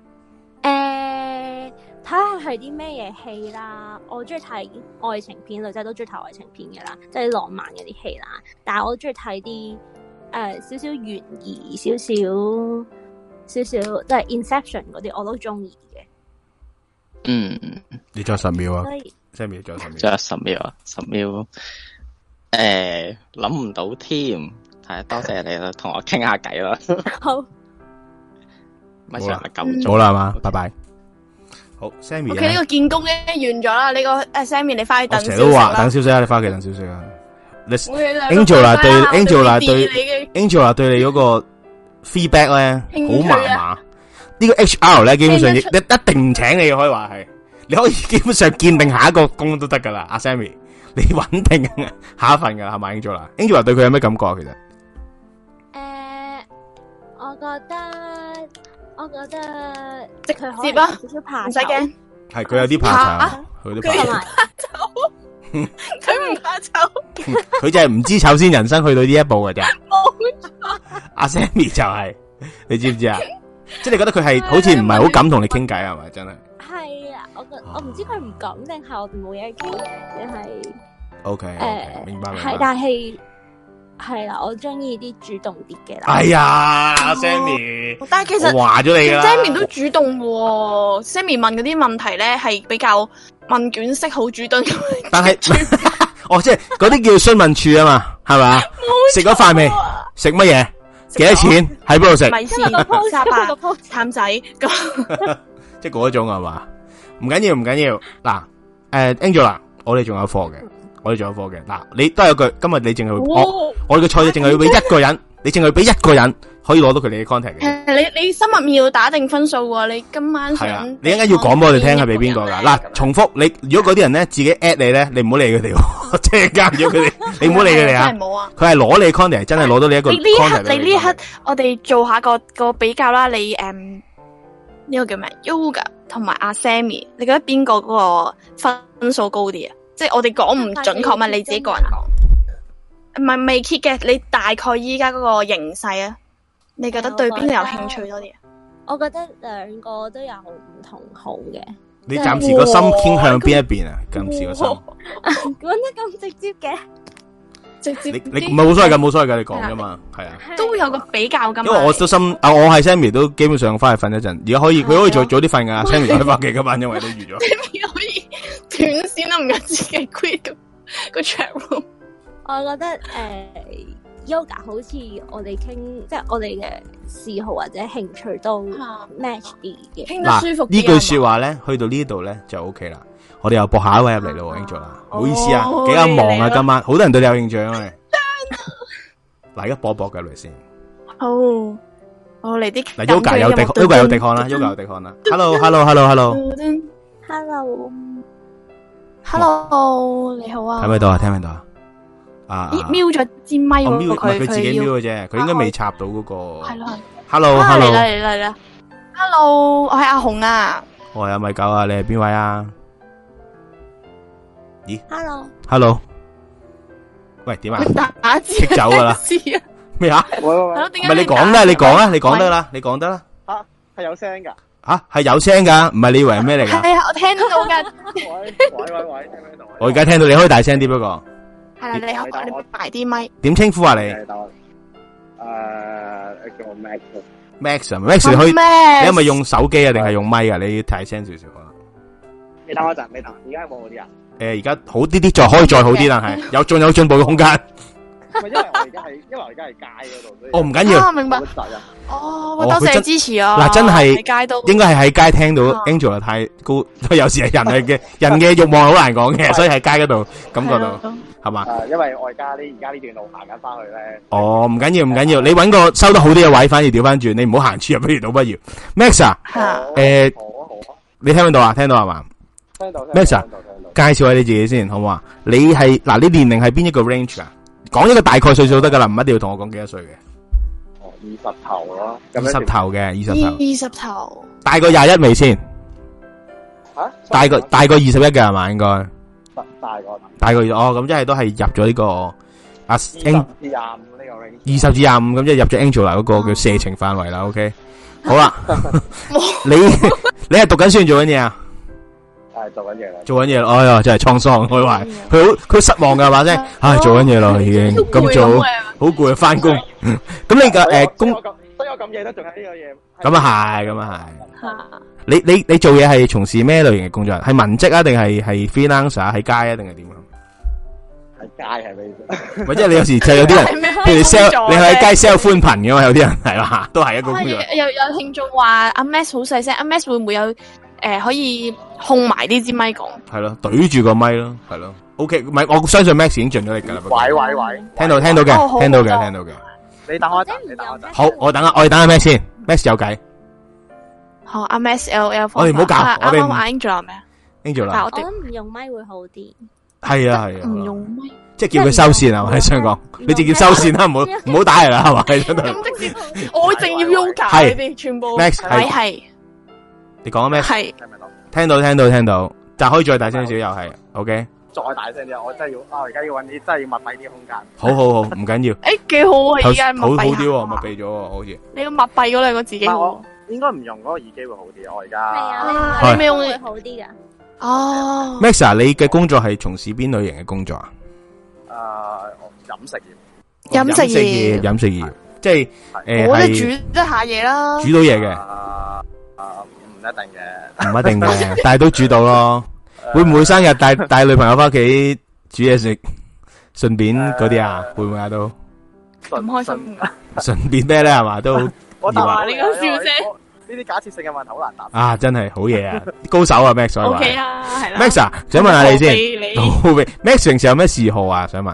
S5: 呃。睇下係啲咩嘢戲啦，我中意睇愛情片，女仔都中意睇愛情片嘅啦，即係浪漫嗰啲戲啦。但係我中意睇啲誒少少懸疑、少少少少即係 Inception 嗰啲，我都中意嘅。
S7: 嗯，
S2: 你仲有十秒啊？Sammy 仲有十秒，
S7: 仲有十秒啊！十秒，誒諗唔到添，係多謝你啦，同我傾下偈啦。
S5: 好，
S7: 咪上咪夠
S2: 咗啦嘛，拜拜。好 ，Sammy。
S4: OK，呢個建功咧完咗啦，呢個誒 Sammy 你翻去等消息啦。
S2: 成日都話等消息啊，你翻屋企等消息啊。Angela 對 Angela 對 Angela 對你嗰個 feedback 咧好麻麻。呢個 H R 咧基本上亦一一定唔請你，可以話係。你可以基本上鑑定下一個工都得噶啦，阿 Sammy，你穩定下一份噶啦，係咪 Angela？Angela 對佢有咩感覺啊？其實？
S5: 誒，我覺得。我覺得
S4: 直
S5: 佢可
S4: 接啊，
S5: 少少怕，
S4: 唔使驚。
S2: 係佢有啲怕醜，佢都怕
S4: 醜。佢唔怕醜，
S2: 佢就係唔知醜先人生去到呢一步嘅啫。
S4: 冇錯。
S2: 阿 Sammy 就係，你知唔知啊？即係你覺得佢係好似唔係好敢同你傾偈係咪？真係。
S5: 係啊，我覺我唔知佢唔敢定係我哋冇嘢傾，定係。
S2: O K，誒，明白明白。
S5: 係，但係。係啦，我中意啲主動啲嘅啦。
S2: 哎呀，阿 Sammy，
S4: 但係其實
S2: 話咗你啦
S4: ，Sammy 都主動喎。Sammy 問嗰啲問題咧係比較問卷式，好主動。
S2: 但係，哦，即係嗰啲叫詢問處啊嘛，係咪？食咗飯未？食乜嘢？幾多錢？喺邊度食？
S4: 米線、沙巴、淡仔咁。
S2: 即係嗰種係嘛？唔緊要，唔緊要。嗱，誒 ，Angela，我哋仲有課嘅。我哋仲有課嘅，嗱，你都有句，今日你淨係我我哋嘅賽制淨係要俾一個人，你淨係俾一個人可以攞到佢哋嘅 contact 嘅。
S4: 你你心入面要打定分數喎，你今晚想
S2: 係啊，你一陣間要講俾我哋聽係俾邊個噶？嗱，重複你，如果嗰啲人咧自己 at 你咧，你唔好理佢哋，即係加咗佢哋，你唔好理佢哋啊。
S4: 真係冇啊！
S2: 佢係攞你 contact，真係攞到你一個 contact。
S4: 你呢刻，你呢刻，我哋做下個個比較啦。你誒呢個叫咩 ？Yoga 同埋阿 Sammy，你覺得邊個嗰個分數高啲啊？即係我哋講唔準確嘛，你自己個人講，唔係未 keep 嘅，你大概依家嗰個形勢啊，你覺得對邊個有興趣多啲啊？
S5: 我覺得兩個都有唔同好嘅。
S2: 你暫時個心傾向邊一邊啊？暫時個心
S5: 講得咁直接嘅，
S4: 直接
S2: 你你唔係冇所謂噶，冇所謂噶，你講噶嘛，係啊，
S4: 都會有個比較噶。
S2: 因為我都心啊，我係 Sammy 都基本上翻去瞓一陣，而家可以佢可以早早啲瞓噶 ，Sammy 可以翻屋企噶嘛，因為都預咗。
S4: 可以斷線都唔緊自己 quit 個個 chat room。
S5: 我覺得誒、呃、yoga 好似我哋傾，即係我哋嘅嗜好或者興趣都 match 啲嘅，
S4: 傾得舒服啲。
S2: 呢句說話咧，去到呢度咧就 OK 啦。我哋又播下一位入嚟咯，Angela 啦，唔好意思啊，幾咁忙啊，今晚好多人對你有興趣啊。嗱，而家播一播嘅嚟先。
S4: 好，我嚟啲
S2: 嗱 ，yoga 有迪，yoga 有迪漢啦，yoga 有迪漢啦。Hello，Hello，Hello，Hello。Hello。
S4: Hello，你好啊。
S3: 睇唔睇到啊？聽唔聽到啊？啊，
S4: 咦，瞄咗支咪喎，
S3: 佢
S4: 佢
S3: 佢自己
S4: 要
S3: 瞄嘅啫，佢應該未插到嗰個。
S4: 係咯。
S3: Hello，Hello。
S4: 嚟啦嚟啦嚟啦。Hello，我係阿紅啊。
S3: 我係阿米九啊，你係邊位啊？咦
S5: ？Hello。
S3: Hello。喂，點啊？
S4: 打字。
S3: 棘走噶啦。咩啊？
S4: 係咯，點解？
S3: 唔係你講啦，你講啦，你講得啦，你講得啦。
S8: 吓，係有聲噶。
S3: 吓，係有聲噶，唔係你以為係咩嚟噶？
S4: 係啊，我聽到噶。
S8: 喂喂喂喂，聽唔聽到？
S3: 我而家聽到，你可以大聲啲，不過。
S4: 係啦，你好，你埋啲咪。
S3: 點稱呼啊你？
S8: 誒，叫我 Max。
S3: Max 啊 ，Max 你可以，你係咪用手機啊，定係用咪啊？你大聲少少啊。
S8: 你等我陣，你等，而家有冇嗰啲啊？
S3: 誒，而家好啲啲，再可以再好啲，但係有仲有進步嘅空間。
S8: 唔係，因為我而家係，因為我而家係街嗰度。
S3: 哦，唔緊要。
S4: 啊，明白。哦，多謝支持啊！
S3: 嗱，真係
S4: 喺街都
S3: 應該係喺街聽到 Angela 太高，有時係人係嘅，人嘅慾望好難講嘅，所以喺街嗰度感覺到係嘛？
S8: 誒，因為我而家呢而家呢段路行緊翻去咧。
S3: 哦，唔緊要唔緊要，你揾個收得好啲嘅位，反而調翻轉，你唔好行出入，不如倒不如。Max 啊，誒，你聽唔聽到啊？聽到係嘛？
S8: 聽到。
S3: Max 啊，介紹下你自己先，好唔好啊？你係嗱，你年齡係邊一個 range 啊？講一個大概歲數得噶啦，唔一定要同我講幾多歲嘅。
S8: 哦，二十頭咯，
S3: 二十頭嘅，二十頭。
S4: 二十頭。
S3: 大過廿一未先？
S8: 吓？
S3: 大過大過二十一嘅係嘛？應該。
S8: 大大過。
S3: 大過哦，咁即係都係入咗呢個阿
S8: Ang 至廿五呢個 range。
S3: 二十至廿五咁即係入咗 Angela 嗰個叫射程範圍啦。OK，好啦，你你係讀緊書定做緊嘢啊？
S8: 係做緊嘢啦，
S3: 做緊嘢，哎呀，真係滄桑，佢話佢好佢失望噶，係嘛啫？唉，做緊嘢咯，已經咁早，好攰啊，翻工。咁你嘅誒工，
S8: 所以我咁夜都仲喺呢個嘢。
S3: 咁啊係，咁啊係。你你你做嘢係從事咩類型嘅工作？係文職啊，定係係 freelancer 喺街啊，定係點啊？
S8: 喺街係咩？
S3: 或者你有時就有啲人，譬如你 sell， 你喺街 sell 寬頻嘅嘛，有啲人係嘛，都係一個工作。
S4: 有有聽眾話阿 Max 好細聲，阿 Max 會唔會有？誒，可以控埋呢支咪講，
S3: 係咯，懟住個咪咯，係咯。O K，唔係，我相信 Max 已經盡咗力噶啦。
S8: 喂喂喂，
S3: 聽到聽到嘅，聽到嘅，聽到嘅。
S8: 你等我一陣，你等我一陣。
S3: 好，我等下，我哋等下 Max 先 ，Max 有計。
S4: 好，阿 Max L L，
S3: 我哋唔好搞，我哋
S4: 阿 Angela 咩啊
S3: ？Angela，
S5: 我諗唔用咪會好啲。
S3: 係啊係啊，
S4: 唔用咪，
S3: 即係叫佢收線啊！我喺香港，你直接收線啦，唔好唔好打嚟啦，係嘛？喺度。
S4: 咁直接，我淨要 Yoga，你哋全部
S3: Max
S4: 係。
S3: 你講咩？
S4: 係。
S3: 聽到聽到聽到，但可以再大聲少又係，OK。
S8: 再大聲啲，我真係要，啊！而家要揾啲真係要密閉啲空間。
S3: 好好好，唔緊要。
S4: 誒，幾好啊！而家密閉
S3: 好好啲，密閉咗，好似。
S4: 你要密閉嗰兩個字幾好。
S8: 應該唔用嗰個耳機會好啲，我而家。
S5: 係啊，你咩用會好啲噶？
S4: 哦。
S3: Max，你嘅工作係從事邊類型嘅工作啊？
S8: 誒，飲食業。
S4: 飲食業。
S3: 飲食業，即係誒，
S4: 我哋煮一下嘢啦。
S3: 煮到嘢嘅。
S8: 唔一定嘅，
S3: 唔一定嘅，但係都煮到咯。會唔會生日帶帶女朋友翻屋企煮嘢食，順便嗰啲啊？會唔會啊？都
S4: 咁開心，
S3: 順便咩咧？係嘛？都
S8: 我答
S4: 話你咁笑聲，
S8: 呢啲假設性嘅問題好難答。
S3: 啊，真係好嘢啊！高手啊，Max。
S4: O K 啊，係啦。
S3: Max 啊，想問下你先。Max 平時有咩嗜好啊？想問。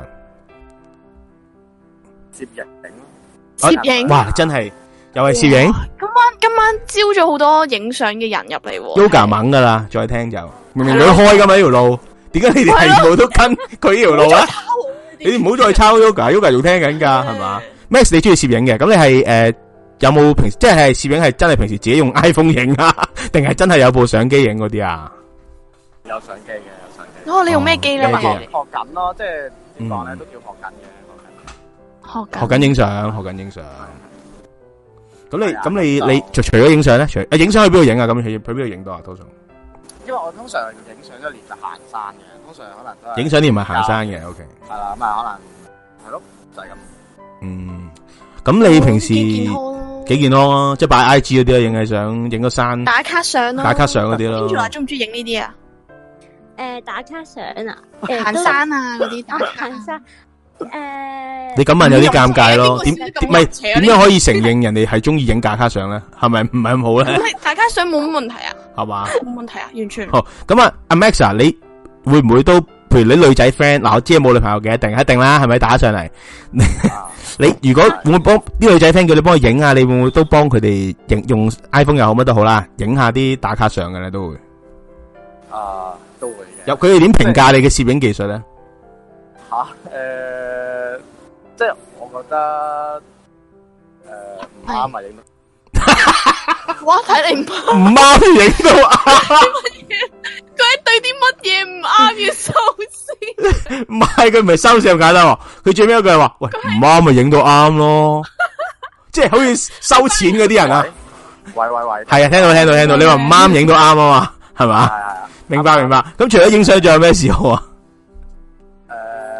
S8: 攝影。
S4: 攝影。
S3: 哇，真係。又係攝影，
S4: 今晚今晚招咗好多影相嘅人入嚟。
S3: Yoga 猛噶啦，再聽就明明佢開噶嘛呢條路，點解你哋係部都跟佢呢條路啊？你哋唔好再抄 Yoga，Yoga 仲聽緊噶係嘛 ？Max 你中意攝影嘅，咁你係誒有冇平時即係攝影係真係平時自己用 iPhone 影啊，定係真係有部相機影嗰啲啊？
S8: 有相機嘅，有相機。
S4: 哦，你用咩機咧？
S8: 學學緊咯，即係點講咧，都叫學緊嘅，學緊。
S4: 學
S3: 學緊影相，學緊影相。咁你咁你你除除咗影相咧，除啊影相去邊度影啊？咁去去邊度影到啊？通常，
S8: 因為我通常影相一年就行山嘅，通常可能都係
S3: 影相你唔係行山嘅，OK。
S8: 係啦，咁啊可能係咯，就係咁。
S3: 嗯，咁你平時幾健康啊？即係擺 I G 嗰啲啊，影嘅相，影個山
S4: 打卡相咯，
S3: 打卡相嗰啲咯。
S4: Angela中唔中意影呢啲啊？
S5: 誒，打卡相啊，
S4: 行山啊嗰啲打卡
S5: 行山。誒，
S3: 你咁問有啲尷尬咯，點唔係點樣可以承認人哋係中意影打卡相咧？係咪唔係咁好咧？
S4: 打卡相冇乜問題啊，係
S3: 嘛？
S4: 冇問題啊，完全。
S3: 好咁啊，阿 Max 啊，你會唔會都譬如你女仔 friend 嗱，我知冇女朋友嘅，一定一定啦，係咪打上嚟？你如果會唔會幫啲女仔 friend 叫你幫佢影啊？你會唔會都幫佢哋影用 iPhone 又好乜都好啦，影下啲打卡相嘅咧都會。
S8: 啊， 都會嘅。
S3: 有佢哋點評價你嘅攝影技術咧？
S8: 吓，誒，即係我覺得誒唔啱咪影到。
S4: 哇！睇你唔啱，
S3: 唔啱影到啱。
S4: 佢喺對啲乜嘢唔啱要收線？
S3: 唔係佢唔係收線咁簡單喎，佢最尾一句係話：喂，唔啱咪影到啱咯，即係好似收錢嗰啲人啊。
S8: 喂喂喂，
S3: 係啊，聽到聽到聽到，你話唔啱影到啱啊嘛，係嘛？
S8: 係係啊，
S3: 明白明白。咁除咗影相，仲有咩嗜好啊？
S8: 誒，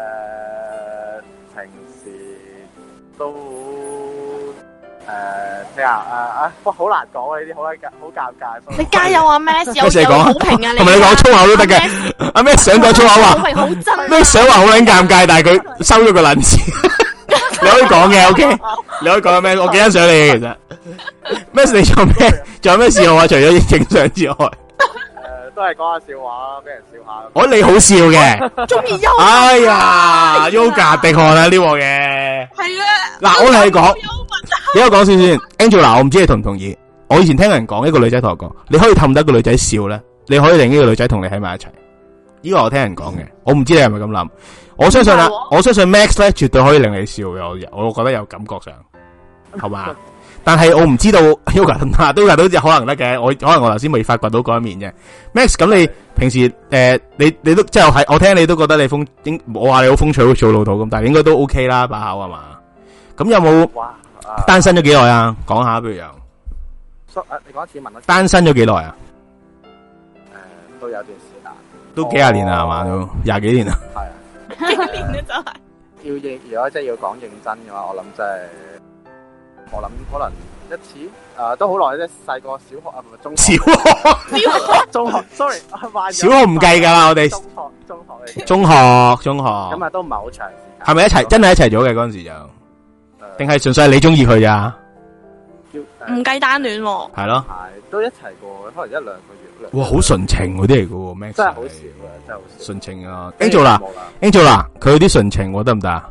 S8: 平時都誒聽下啊啊，哇，好難講啊！呢啲好尷好尷尬。
S4: 你加油啊 Max，有
S3: 咩
S4: 有好評啊你。
S3: 同埋你講粗口都得嘅。阿咩想講粗口
S4: 好
S3: 話？
S4: 評好真。
S3: 咩想話好撚尷尬，但係佢收咗個撚字。你可以講嘅，OK，你可以講咩？我幾欣賞你嘅，其實。咩？你做咩？仲有咩嗜好啊？除咗影相之外，
S8: 誒，都係講下笑話，俾人笑下。
S3: 我你好笑嘅，
S4: 中意優。
S3: 哎呀，Yoga 滴汗啊呢鑊嘢。
S4: 係啊。
S3: 嗱，我同你講，俾我講先先 ，Angel 嗱，我唔知你同唔同意。我以前聽人講，一個女仔同我講，你可以氹得一個女仔笑咧，你可以令呢個女仔同你喺埋一齊。呢個我聽人講嘅，我唔知你係咪咁諗。我相信啦，我相信 Max 咧絕對可以令你笑嘅，我我覺得有感覺上，係嘛？但係我唔知道 Yoga 得唔得，都都可能得嘅。我可能我頭先未發掘到嗰一面啫。Max，咁你平時誒、呃，你你都即係係我聽你都覺得你風，我話你好風趣，好似好老土咁，但係應該都 OK 啦，把口係嘛？咁有冇單身咗幾耐啊？講下，不如又，
S8: 誒，你講一次問啦。
S3: 單身咗幾耐啊？
S8: 誒，都有段時間，
S3: 都幾廿年啦，係嘛？都廿幾年啦。
S8: 係啊。
S4: 幾年咧就係。
S8: 要認，如果真係要講認真嘅話，我諗真係，我諗可能一次，誒都好耐啫。細個小學啊，唔係中學。小學，小學，中學。Sorry，
S3: 小學唔計㗎啦，我哋。
S8: 中學，中學嚟。
S3: 中學，中學。
S8: 咁啊，都唔係好長時間。
S3: 係咪一齊？真係一齊咗嘅嗰陣時就，定係純粹係你中意佢咋？
S4: 唔計單戀喎。
S3: 係咯。
S8: 係，都一齊過，可能一兩個月。
S3: 哇，好純情嗰啲嚟嘅喎，Max。
S8: 真係好少嘅，真係好少。
S3: 純情啊 ，Angel 啦 ，Angel 啦，佢有啲純情，我得唔得啊？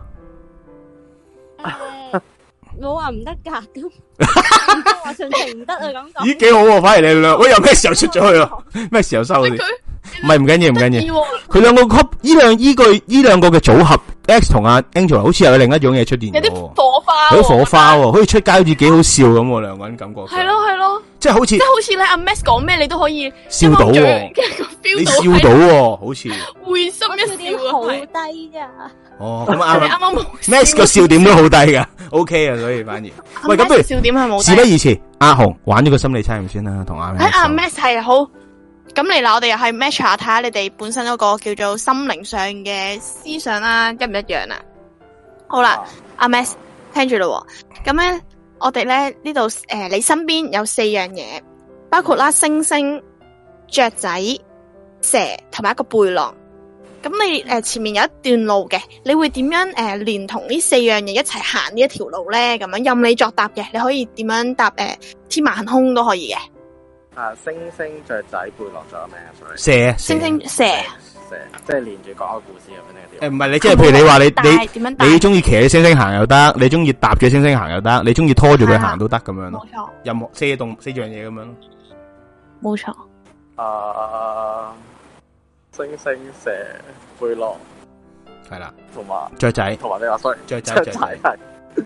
S5: 冇話唔得噶，都都話純情唔得啊咁講。
S3: 咦，幾好喎！反而你兩，喂，又咩時候出咗去啊？咩時候收嗰啲？唔係唔緊要，唔緊要。佢兩個 couple 呢兩呢句呢兩個嘅組合 ，X 同阿 Angel 好似有另一種嘢出現。
S4: 有啲火花。
S3: 有啲火花喎，好似出街好似幾好笑咁喎，兩個人感覺。
S4: 係咯係咯。即係
S3: 好似
S4: 即係好似咧，阿 Max 講咩你都可以
S3: 笑到喎，你笑到喎，好似
S4: 會心一笑
S5: 好低噶。
S3: 哦，咁啱
S4: 啱啱
S3: Max 個笑點都好低噶 ，OK 啊，所以反而喂咁不如
S4: 笑點係冇。
S3: 事不宜遲，阿紅玩咗個心理測驗先啦，同阿
S4: Max。阿 Max 係好，咁嚟啦，我哋又係 match 下睇下你哋本身嗰個叫做心靈上嘅思想啦，一唔一樣啊？好啦，阿 Max 聽住咯，咁咧。我哋咧呢度誒，你身邊有四樣嘢，包括啦星星、雀仔、蛇同埋一個背囊。咁你誒、呃、前面有一段路嘅，你會點樣誒、呃、連同呢四樣嘢一齊行呢一條路咧？咁樣任你作答嘅，你可以點樣答誒、呃？天馬行空都可以嘅。
S8: 啊，星星、雀仔、背囊，仲有咩啊？
S3: 蛇、
S4: 星星、蛇。
S8: 蛇，即係連住講個故事咁樣嘅。
S3: 誒，唔係你即係譬如你話你你你中意騎起星星行又得，你中意搭住星星行又得，你中意拖住佢行都得咁樣咯。
S4: 冇錯。
S3: 任何四動四樣嘢咁樣咯。
S4: 冇錯。
S8: 啊，星星、蛇、背囊，
S3: 係啦，
S8: 同埋
S3: 雀仔，
S8: 同埋你話 sorry，
S3: 雀仔
S8: 雀仔係誒誒，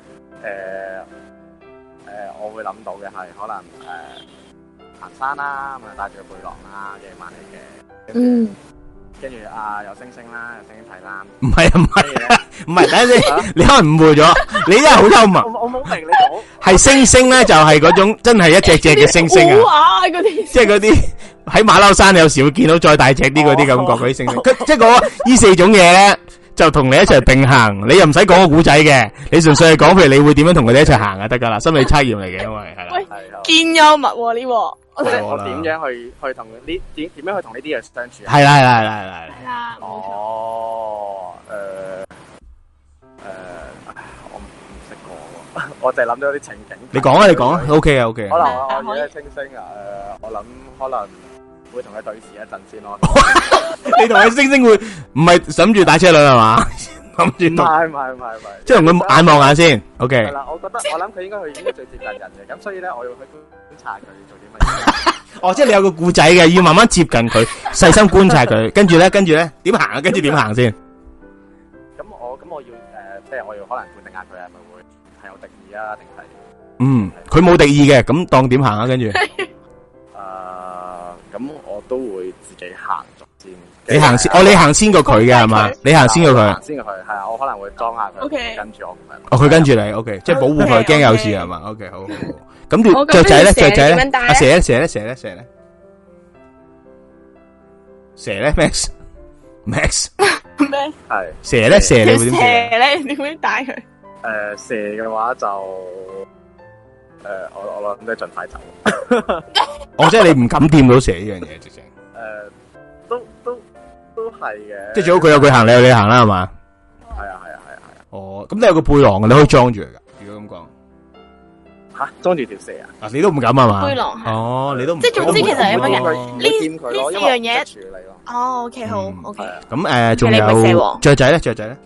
S8: 我會諗到嘅係可能誒行山啦，咁啊帶住個背囊啦，夜晚嚟嘅。
S4: 嗯。
S8: 跟住啊，有星星啦，有星星睇啦。
S3: 唔係啊，唔係，唔係，等陣先，你可能誤會咗，你真係好幽默。
S8: 我我冇明你講。係
S3: 星星咧，就係嗰種真係一隻隻嘅星星啊，即係嗰啲喺馬騮山有時會見到再大隻啲嗰啲感覺嗰啲星星。即係講呢四種嘢咧，就同你一齊並行，你又唔使講個古仔嘅，你純粹係講譬如你會點樣同佢哋一齊行啊得噶啦，心理測驗嚟嘅，因為係啦。
S4: 係堅幽默呢個。
S8: 即係我點樣去去同呢點點樣去同呢啲人相處啊？
S3: 係啦係啦係啦係啦。
S4: 係啦。
S8: 哦，誒誒，我唔唔識講喎，我淨係諗到啲情景。
S3: 你講啊，你講啊 ，OK 啊 OK。
S8: 可能我我而家星星啊，誒，我諗可能會同佢對視一陣先咯。
S3: 你同佢星星會唔係諗住打車輪係嘛？諗住。唔
S8: 係唔係唔係唔係。
S3: 即係同佢眼望眼先 ，OK。
S8: 係啦，我覺得我諗佢應該佢應該最接近人嘅，咁所以咧我要去觀察佢做啲乜嘢。
S3: 哦，即係你有個故仔嘅，要慢慢接近佢，細心觀察佢，跟住咧，跟住咧，點行啊？跟住點行先？
S8: 咁我咁我要誒，即係我要可能判定下佢係咪會係有敵意啊，定係？
S3: 嗯，佢冇敵意嘅，咁當點行啊？跟住，誒，
S8: 咁我都會自己行咗先。
S3: 你行先，哦，你行先過佢嘅係嘛？你行先過佢，
S8: 行先過佢，係啊，我可能會裝下佢，跟住我咁樣。
S3: 哦，佢跟住你 ，OK， 即係保護佢，驚有事係嘛 ？OK， 好好好。咁條雀仔咧，雀仔咧，阿蛇咧，蛇咧，蛇咧，蛇咧，蛇咧 ，Max，Max，
S4: 咩？
S8: 係
S3: 蛇咧，蛇你會點？
S4: 蛇咧，點樣帶佢？
S8: 誒，蛇嘅話就誒，我我諗都係盡快走。
S3: 哦，即係你唔敢掂到蛇呢樣嘢，直情。
S8: 誒，都都都係嘅。即係
S3: 最好佢有佢行，你有你行啦，係嘛？
S8: 係啊，係啊，係啊，係啊。
S3: 哦，咁你有個背囊嘅，你可以裝住佢噶。如果咁講。
S8: 吓，裝住條蛇啊！
S3: 啊，你都唔敢係嘛？
S4: 背囊係。
S3: 哦，你都唔
S4: 即係總之其實係乜嘅？呢
S8: 呢
S4: 呢四樣嘢處理咯。哦，OK，好，OK。
S3: 咁誒，仲有雀仔咧？雀仔咧？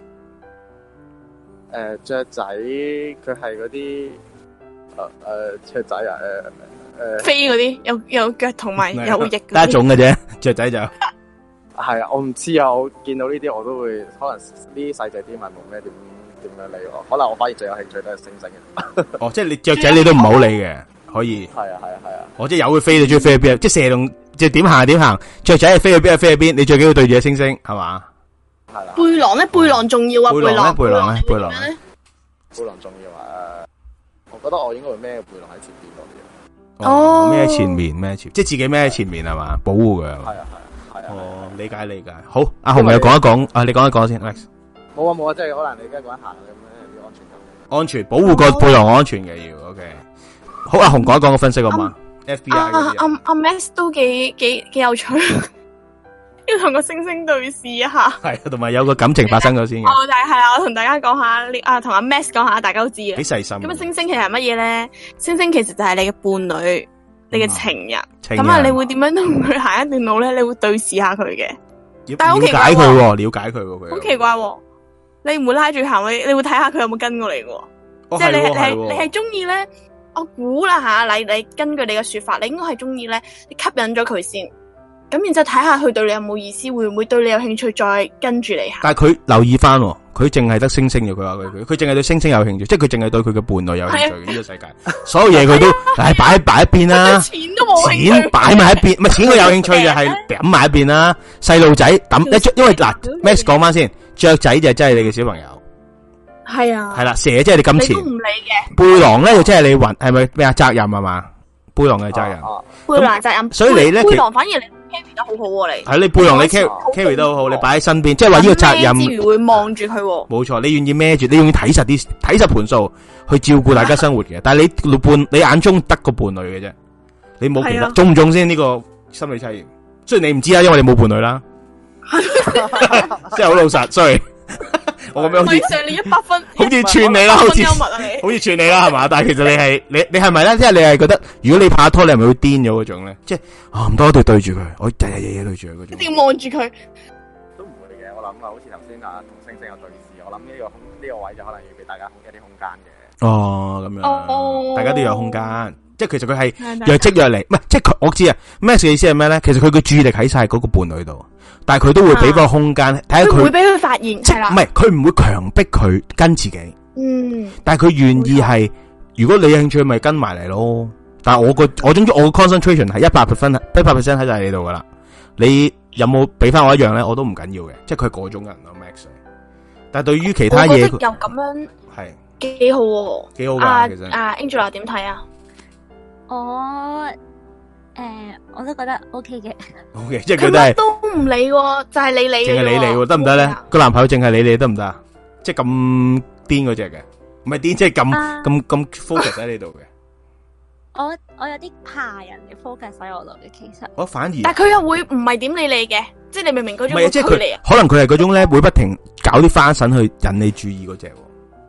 S8: 誒，雀仔佢係嗰啲誒誒雀仔啊，誒誒
S4: 飛嗰啲有有腳同埋有翼。
S3: 得一種嘅啫，雀仔就係
S8: 啊！我唔知啊，我見到呢啲我都會可能呢啲細隻啲咪冇咩點。點樣理我？可能我反而最有興趣都係星星嘅。
S3: 哦，即係你雀仔你都唔好理嘅，可以。係
S8: 啊係啊係啊。
S3: 我即係有佢飛，你中意飛去邊？即係蛇龍，即係點行點行。雀仔係飛去邊就飛去邊，你最緊要對住隻星星，係嘛？係啦。
S4: 背囊咧，背囊重要啊！背囊
S3: 背囊咧，背囊咧，
S8: 背囊重要啊！誒，我覺得我應該會孭背囊喺前邊多啲。
S3: 哦，孭前面，孭前，即係自己孭喺前面係嘛？保護佢。係
S8: 啊係啊係啊。
S3: 哦，理解理解。好，阿紅又講一講，啊，你講一講先 ，Alex。
S8: 冇啊冇啊，即係可能你而家講緊行咁樣要安全感。
S3: 安全保護個背囊安全嘅要 ，OK。好，阿紅講一講個分析好嘛 ？F B I 嗰啲。
S4: 阿阿 Max 都幾幾幾有趣，要同個星星對視一下。
S3: 係，同埋有個感情發生咗先嘅。
S4: 哦，但係係啊，我同大家講下呢，啊，同阿 Max 講下，大家都知嘅。
S3: 幾細心。
S4: 咁啊，星星其實係乜嘢咧？星星其實就係你嘅伴侶，你嘅情人。咁啊，你會點樣同佢行一段路咧？你會對視下佢嘅。但係好奇怪
S3: 喎，了解佢喎，佢。
S4: 好奇怪喎！你唔會拉住行，你你會睇下佢有冇跟過嚟嘅。即係你你係你係中意咧？我估啦吓，你你根據你嘅說法，你應該係中意咧，你吸引咗佢先。咁然之後睇下佢對你有冇意思，會唔會對你有興趣，再跟住你行？
S3: 但係佢留意翻，佢淨係得星星嘅。佢話佢佢佢淨係對星星有興趣，即係佢淨係對佢嘅伴侶有興趣。呢個世界所有嘢佢都唉擺擺一邊啦，
S4: 錢都冇，
S3: 錢擺埋一邊，唔係錢佢有興趣嘅係抌埋一邊啦。細路仔抌一，因為嗱 Max 講翻先，雀仔就真係你嘅小朋友。
S4: 係啊，
S3: 係啦，蛇即係你金錢，
S4: 你都唔理嘅。
S3: 背囊咧就即係你運，係咪咩啊？責任係嘛？背囊嘅責任，
S4: 背囊責任。
S3: 所以你咧，
S4: 背囊反而你 carry 得好好喎，你
S3: 係你背囊你 carry carry 得好好，你擺喺身邊，即係話呢個責任。
S4: 之餘會望住佢。
S3: 冇錯，你願意孭住，你願意睇實啲，睇實盤數去照顧大家生活嘅。但係你伴，你眼中得個伴侶嘅啫，你冇其他，中唔中先呢個心理測驗？雖然你唔知啦，因為你冇伴侶啦，即係好老實，sorry。我咁樣好似
S4: 上你一百分，
S3: 好似串你啦，好似好似串你啦，係嘛？但係其實你係你你係咪咧？即係你係覺得，如果你拍拖，你係咪會癲咗嗰種咧？即係啊，唔多對對住佢，我日日夜夜對住佢嗰種。
S4: 一定要望住佢。
S8: 都唔會嘅，我諗啊，好似頭先啊同星星有對視，我諗呢個空呢個位就可能要俾大家一啲空間嘅。
S3: 哦，咁樣，
S4: 哦，
S3: 大家都有空間。即係其實佢係若即若離，唔係即係佢我知啊。咩嘅意思係咩咧？其實佢嘅注意力喺晒嗰個伴侶度。但係佢都會俾個空間睇下佢，
S4: 唔會俾佢發現，係啦，
S3: 唔係佢唔會強迫佢跟自己，
S4: 嗯，
S3: 但係佢願意係，如果你有興趣咪跟埋嚟咯。但係我個我總之我個 concentration 係一百 percent 一百 percent 喺晒你度噶啦。你有冇俾翻我一樣咧？我都唔緊要嘅，即係佢嗰種人咯 Max。但係對於其他嘢，
S4: 又咁樣係幾好，
S3: 幾好噶。其實
S4: 啊 Angela 點睇啊？
S5: 我。誒、呃，我都覺得 O K 嘅
S3: ，O K， 即係佢都係
S4: 都唔理，就係、是、你理，
S3: 淨係你理，得唔得咧？個男朋友淨係你理得唔得啊？即係咁癲嗰隻嘅，唔係癲，即係咁咁咁 focus 喺你度嘅。
S5: 我我有啲怕人嘅 focus 喺我度嘅，其實
S3: 我反而，
S4: 但係佢又會唔係點理你嘅，即係你明明嗰種
S3: 唔係，即係佢可能佢係嗰種咧，會不停搞啲花臣去引你注意嗰隻。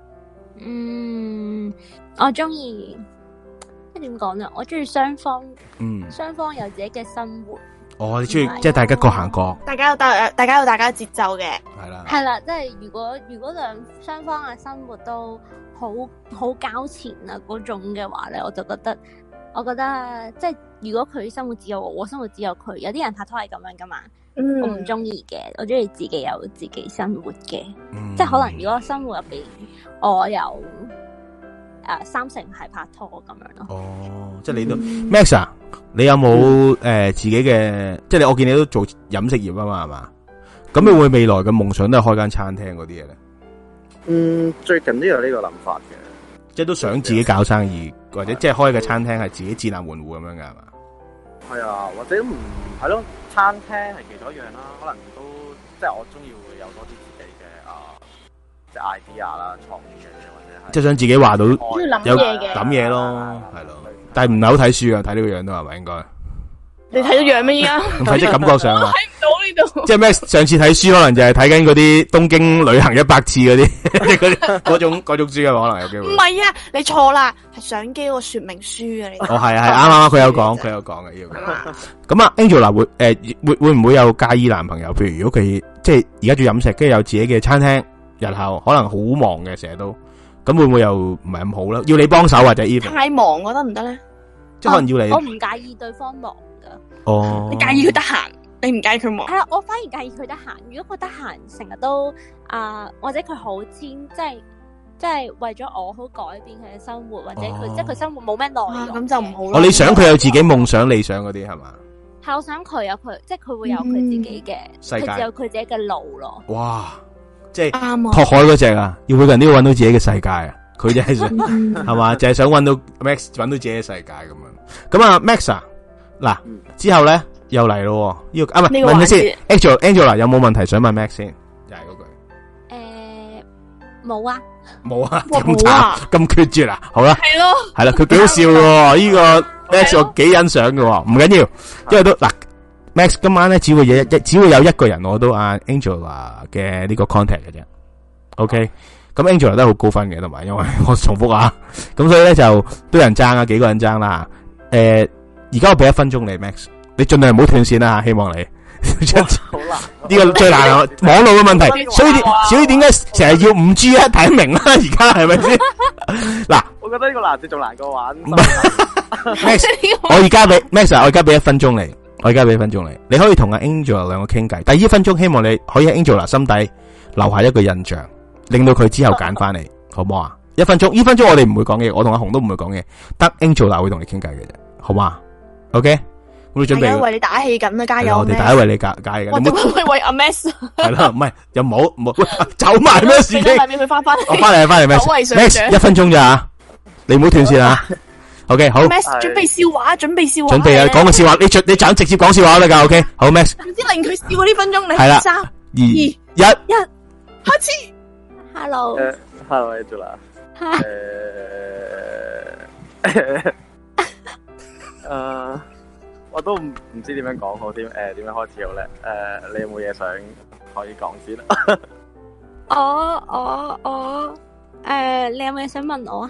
S5: 嗯，我中意。點講咧？我中意雙方，嗯，雙方有自己嘅生活。
S3: 哦，你中意即係大家各行各，
S4: 大家有大，大家有大家節奏嘅，
S3: 係啦，
S5: 係啦，即係如果如果兩雙方嘅生活都好好交纏啊嗰種嘅話咧，我就覺得，我覺得即係如果佢生活只有我，我生活只有佢，有啲人拍拖係咁樣噶嘛。
S4: 嗯、
S5: 我唔中意嘅，我中意自己有自己生活嘅，
S2: 嗯、
S5: 即係可能如果生活入邊我有誒、呃、三成係拍拖咁樣咯。
S2: 哦，即係你都、嗯、Max 啊，你有冇誒、嗯呃、自己嘅？即係你我見你都做飲食業啊嘛，係嘛？咁你會未來嘅夢想都係開間餐廳嗰啲嘢咧？
S8: 嗯，最近都有呢個諗法嘅，
S2: 即係都想自己搞生意，或者即係開個餐廳係自己自立門戶咁樣噶係嘛？
S8: 係啊，或者唔係咯，餐廳係其中一樣啦，可能都即係我中意會有多啲自己嘅啊，即係 idea 啦、創意嘅嘢或者係，
S2: 即係想自己話到有
S4: 諗嘢嘅
S2: 諗嘢咯，係咯。但係唔係好睇書啊，睇呢個樣都係咪應該？
S4: 你睇到樣咩依家？
S2: 睇即係感覺上啊，
S4: 睇唔到呢度。
S2: 即係咩？上次睇書可能就係睇緊嗰啲東京旅行一百次嗰啲，嗰啲嗰種嗰種書啊，可能有機會。
S4: 唔係啊，你錯啦，係相機個說明書啊，你。
S2: 哦，係啊，係啱啱佢有講，佢有講嘅呢個。咁啊 ，Angela 會誒會會唔會有介意男朋友？譬如如果佢即係而家做飲食，跟住有自己嘅餐廳，日後可能好忙嘅，成日都咁會唔會又唔係咁好咧？要你幫手或者 even
S4: 太忙，我覺得唔得咧。
S2: 即係可能要你。
S5: 我唔介意對方忙。
S2: 哦，
S4: 你介意佢得閒，你唔介意佢忙？
S5: 係啊，我反而介意佢得閒。如果佢得閒，成日都啊、呃，或者佢好遷，即係即係為咗我好改變佢嘅生活，或者佢、哦、即係佢生活冇咩內容，咁、啊、就唔好咯。
S2: 哦，你想佢有自己夢想、理想嗰啲係嘛？
S5: 係，我想佢有佢，即係佢會有佢自己嘅世界，佢有佢自己嘅路咯。
S2: 哇，即係拓海嗰隻啊，要每個人都要搵到自己嘅世界啊！佢就係想係嘛，就係想搵到 Max 搵到自己嘅世界咁樣。咁啊 ，Max 啊。嗱，之後咧又嚟咯，呢個啊唔係問你先 ，Angela Angela 有冇問題想問 Max 先？又係嗰句。
S5: 誒，冇啊，
S2: 冇啊，咁慘，咁決絕啊，好啦，
S4: 係咯，
S2: 係啦，佢幾好笑嘅，呢個 Max 我幾欣賞嘅，唔緊要，因為都嗱 ，Max 今晚咧只會有一只會有一個人攞到阿 Angela 嘅呢個 contact 嘅啫 ，OK，咁 Angela 都係好高分嘅，同埋因為我重複啊，咁所以咧就都有人爭啊，幾個人爭啦，誒。而家我俾一分鐘你 Max，你盡量唔好斷線啦，希望你。
S8: 好難，
S2: 呢個最難啊，網絡嘅問題，所以所以點解成日要五 G 啊？睇得明啦，而家係咪先？嗱，
S8: 我覺得呢個難字仲難過玩。
S2: Max，我而家俾 Max，我而家俾一分鐘你，我而家俾一分鐘你，你可以同阿 Angela 兩個傾偈。第二一分鐘，希望你可以喺 Angela 心底留下一個印象，令到佢之後揀翻你，好唔好啊？一分鐘，呢分鐘我哋唔會講嘢，我同阿紅都唔會講嘢，得 Angela 會同你傾偈嘅啫，好嘛？OK，我哋準備
S4: 為你打氣緊啊，加油！
S2: 我哋大家為你加加氣緊。
S4: 我點解為阿 Max？
S2: 係啦，唔係又冇冇走埋咩事情？
S4: 俾佢翻翻嚟。
S2: 我翻嚟翻嚟 Max，Max 一分鐘咋吓？你唔好斷線啊 ！OK， 好。
S4: Max 準備笑話，準備笑話。
S2: 準備啊，講個笑話，你你就直接講笑話得噶 ？OK， 好 Max。
S4: 總之令佢笑呢分鐘，你
S2: 係啦，
S4: 三二
S2: 一
S4: 一開始。
S5: Hello，
S8: 誒，Hello Angela。誒。誒，我都唔唔知點樣講好，點誒點樣開始好咧？誒，你有冇嘢想可以講先啊？
S5: 我我我誒，你有冇嘢想問我啊？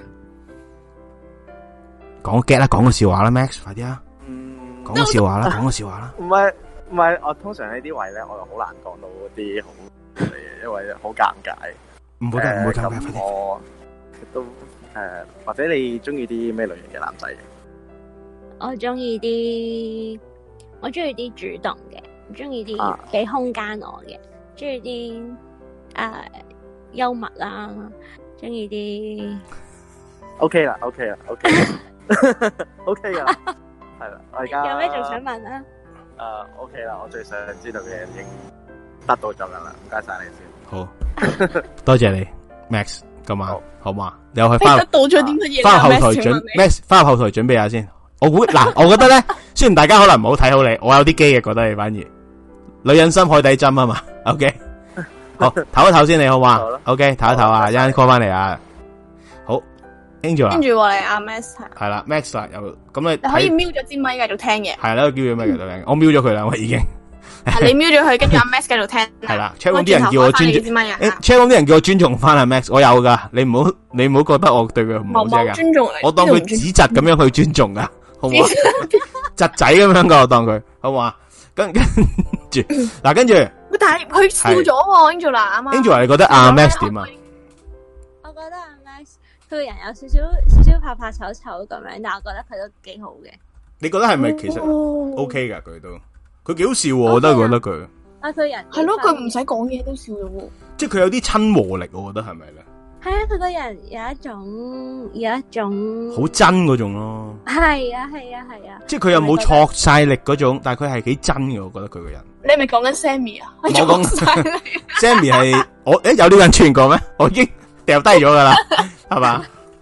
S2: 講 get 啦，講個笑話啦 ，Max，快啲啊！
S8: 嗯，
S2: 講個笑話啦，講個笑話啦。
S8: 唔係唔係，我通常呢啲位咧，我又好難講到啲好嘅嘢，因為好尷尬。
S2: 唔會得，唔會尷尬，快啲。
S8: 我都誒，或者你中意啲咩類型嘅男仔？
S5: 我中意啲，我中意啲主動嘅，中意啲俾空間我嘅，中意啲誒幽默啦，中意啲。O K 啦，O K 啦，O K，O K 噶啦，係啦，我而家有咩仲想問啊？
S8: 誒 ，O K 啦，我最想知道嘅嘢已經得到咗啦，唔該晒你先。
S2: 好，多謝你 ，Max，今晚好嘛？你又去翻
S4: 得到咗啲乜嘢？
S2: 翻後台準 ，Max 翻後台準備下先。我估嗱，我覺得咧，雖然大家可能唔好睇好你，我有啲機嘅，覺得你反而女人心海底針啊嘛。OK， 好，唞一唞先，你好嘛 ？OK，唞一唞啊，一陣 call 翻嚟啊。好 ，Angela，跟
S4: 住我嚟阿 Max
S2: 係啦 ，Max 啦，又咁你
S4: 你可以瞄咗支咪繼續聽嘅。係
S2: 啦，叫咗咪繼續聽，我瞄咗佢啦，我已經。
S4: 係你瞄咗佢，跟住阿 Max 繼續聽。
S2: 係啦 ，check 啲人叫我尊重，check 啲人叫我尊重翻阿 Max，我有噶，你唔好你唔好覺得我對佢唔好啫噶。尊重，我當佢指責咁樣去尊重噶。好唔好？侄仔咁樣噶，我當佢好唔好啊？跟跟住嗱，跟住，
S4: 但係佢笑咗喎 ，Angela 啊嘛。
S2: Angela，你覺得阿 Max 點啊？
S5: 我覺得阿 Max 佢個人有少少少少怕怕醜醜咁樣，但係我覺得佢都幾好嘅。
S3: 你覺得係咪其實 OK 噶？佢都佢幾好笑，我覺得覺得佢
S5: 啊，佢人
S4: 係咯，佢唔使講嘢都笑咗喎。
S3: 即係佢有啲親和力，我覺得係咪咧？
S5: 係啊，佢個人有一種有一種
S3: 好真嗰種咯。
S5: 係啊係啊係啊！
S3: 即係佢又冇挫晒力嗰種，但係佢係幾真嘅，我覺得佢個人。
S4: 你係咪講緊 Sammy 啊？
S3: 我講 Sammy 係我誒有呢個人傳過咩？我已經掉低咗噶啦，係嘛？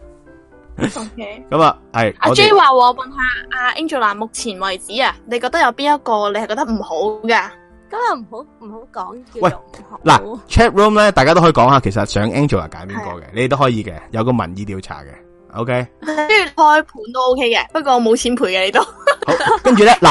S4: OK，
S3: 咁啊，係
S4: 阿 J 話我問下阿 Angela， 目前為止啊，你覺得有邊一個你係覺得唔好噶？
S5: 咁又唔好唔好講。
S3: 喂，嗱 chat room 咧，大家都可以講下，其實想 Angela 揀邊個嘅，你哋都可以嘅，有個民意調查嘅 ，OK。
S4: 跟住開盤都 OK 嘅，不過我冇錢賠嘅你都。
S3: 好，跟住咧，嗱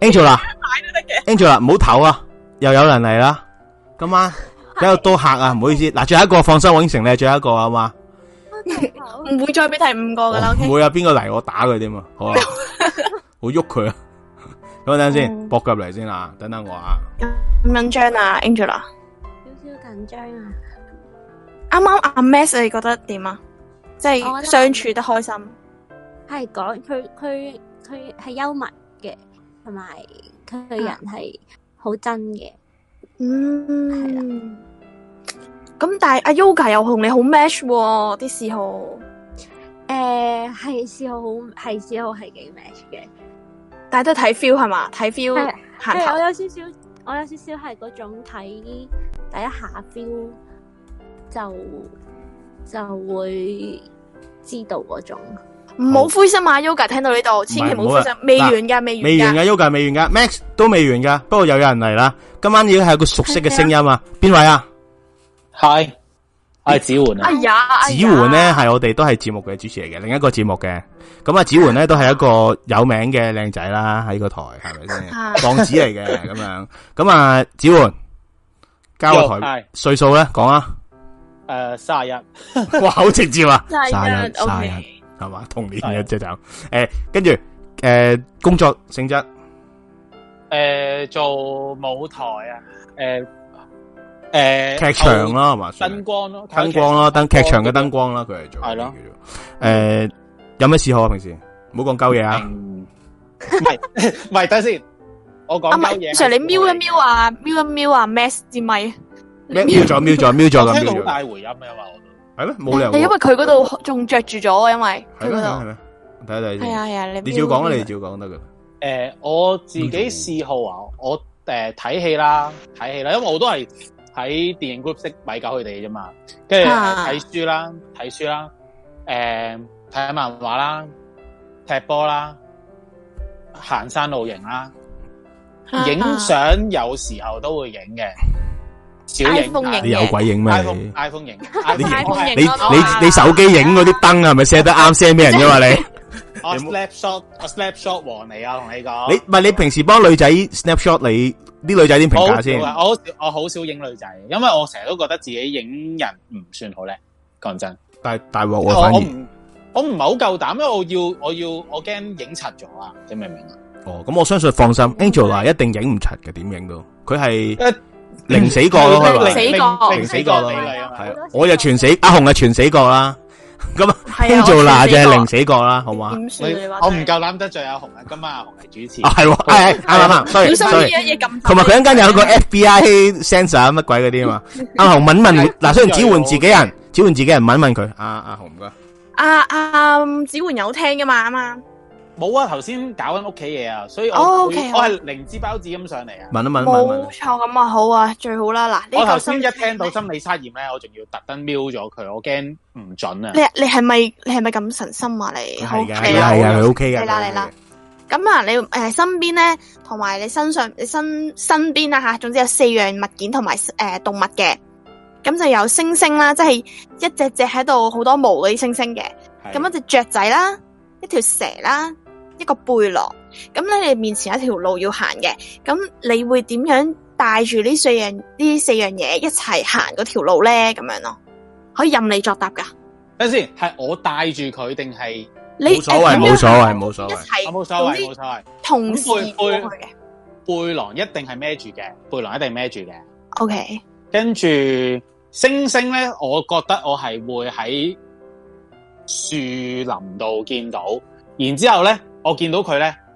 S3: ，Angela，Angela 唔好唞啊，又有人嚟啦，今晚比較多客啊，唔好意思，嗱，最後一個放心，我應承你係最後一個啊嘛。
S4: 唔會再俾第五個噶啦，
S3: 唔會啊！邊個嚟我打佢添嘛？好啊，我喐佢啊！咁等陣先，搏入嚟先啊！等等我啊！
S4: 咁緊張啊 ，Angela，
S5: 少少緊張啊！
S4: 啱啱阿 Max 你覺得點啊？即係相處得開心。
S5: 係講佢佢佢係幽默嘅，同埋佢個人係好真嘅。
S4: 嗯，係啦。咁但係阿 Yoga 又同你好 match 喎，啲嗜好。
S5: 誒，係嗜好，係嗜好，係幾 match 嘅。
S4: 但係都睇 feel 係嘛？睇 feel 行頭。
S5: 係我有少少，我有少少係嗰種睇第一下 feel 就就會知道嗰種。
S4: 唔好灰心啊 ，Yoga 聽到呢度，千祈唔好灰心，未完噶，未完噶。
S3: 未完噶 ，Yoga 未完噶 ，Max 都未完噶。不過又有人嚟啦，今晚已經係有個熟悉嘅聲音啊，邊位啊？
S9: 係，我係子桓啊！
S4: 哎呀，
S3: 子桓咧係我哋都係節目嘅主持嚟嘅，另一個節目嘅。咁啊，子桓咧都係一個有名嘅靚仔啦，喺個台係咪先？浪子嚟嘅咁樣。咁啊，子桓交個台歲數咧，講啊。
S9: 誒，卅一。
S3: 哇，好直接啊！
S4: 卅一，
S3: 卅一係嘛？同年嘅即係就誒，跟住誒工作性質。
S9: 誒，做舞台啊，誒。誒，
S3: 劇場啦，係嘛？
S9: 燈光咯，
S3: 燈光啦，燈劇場嘅燈光啦，佢係做係咯。誒，有咩嗜好啊？平時唔好講鳩嘢啊！
S9: 唔係唔係，等先，我講鳩嘢。
S4: Sir，你瞄一瞄啊，瞄一瞄啊 ，Max 支咪。
S3: 瞄咗，瞄咗，瞄咗咁。
S9: 聽到好大回音啊嘛，我
S3: 係咩？冇理由。
S4: 係因為佢嗰度仲着住咗，因為佢嗰度。
S3: 係咩？睇睇先。
S4: 係啊係啊，你
S3: 你照講啦，你照講得噶。
S9: 誒，我自己嗜好啊，我誒睇戲啦，睇戲啦，因為我都係。喺電影 group 識米狗佢哋啫嘛，跟住睇書啦，睇書啦，誒睇漫畫啦，踢波啦，行山露營啦，影相有時候都會影嘅，小影。
S3: 你有鬼影咩
S9: ？iPhone iPhone 影，
S3: 你你你你手機影嗰啲燈係咪 set 得啱 set 咩人啫嘛你？
S9: 我 snapshot 我 snapshot 王嚟啊，同你講。
S3: 你唔係你平時幫女仔 snapshot 你？啲女仔點評價先？
S9: 我好我好少影女仔，因為我成日都覺得自己影人唔算好叻，講真。
S3: 但係大鑊我反而
S9: 我唔係好夠膽，因為我要我要我驚影柒咗啊！你明唔明啊？
S3: 哦，咁我相信放心 ，Angela 一定影唔柒嘅，點影都佢係零死角咯，係嘛？
S4: 零死角，
S9: 零死角咯，
S3: 係啊！我就全死，阿紅係全死角啦。咁啊 Angela 就係零死角啦，好嘛？
S9: 我唔夠膽得罪阿紅啊！今晚阿紅係主持，
S3: 係係啱啱啱，
S4: 小心啲嘢咁。
S3: 同埋佢一陣間有個 F B I sensor 乜鬼嗰啲啊嘛。阿紅問問嗱，雖然子桓自己人，子桓自己人問問佢。阿阿紅唔該。
S4: 阿阿子桓有聽噶嘛？啱啱。
S9: 冇啊！頭先搞緊屋企嘢啊，所以我我係靈芝包子咁上嚟啊。
S3: 問一問，問
S4: 冇錯，咁啊好啊，最好啦。嗱，
S9: 我頭先一聽到心理測驗咧，我仲要特登瞄咗佢，我驚唔準啊。
S4: 你你係咪你係咪咁神心啊？你
S3: 係噶係啊係啊，佢 OK 噶。
S4: 嚟啦嚟啦。咁啊，你誒身邊咧，同埋你身上你身身邊啦吓，總之有四樣物件同埋誒動物嘅。咁就有猩猩啦，即係一隻隻喺度好多毛嗰啲猩猩嘅。咁一隻雀仔啦，一條蛇啦。一個背囊，咁咧你面前有一條路要行嘅，咁你會點樣帶住呢四樣呢四樣嘢一齊行嗰條路咧？咁樣咯，可以任你作答噶。
S9: 等先，係我帶住佢定係？
S3: 冇所謂，冇所謂，冇所謂，
S4: 一齊
S9: 冇所謂，冇所謂。
S4: 同時過去嘅
S9: 背囊一定係孭住嘅，背囊一定孭住嘅。
S4: OK，
S9: 跟住星星咧，我覺得我係會喺樹林度見到，然之後咧。我見到佢咧，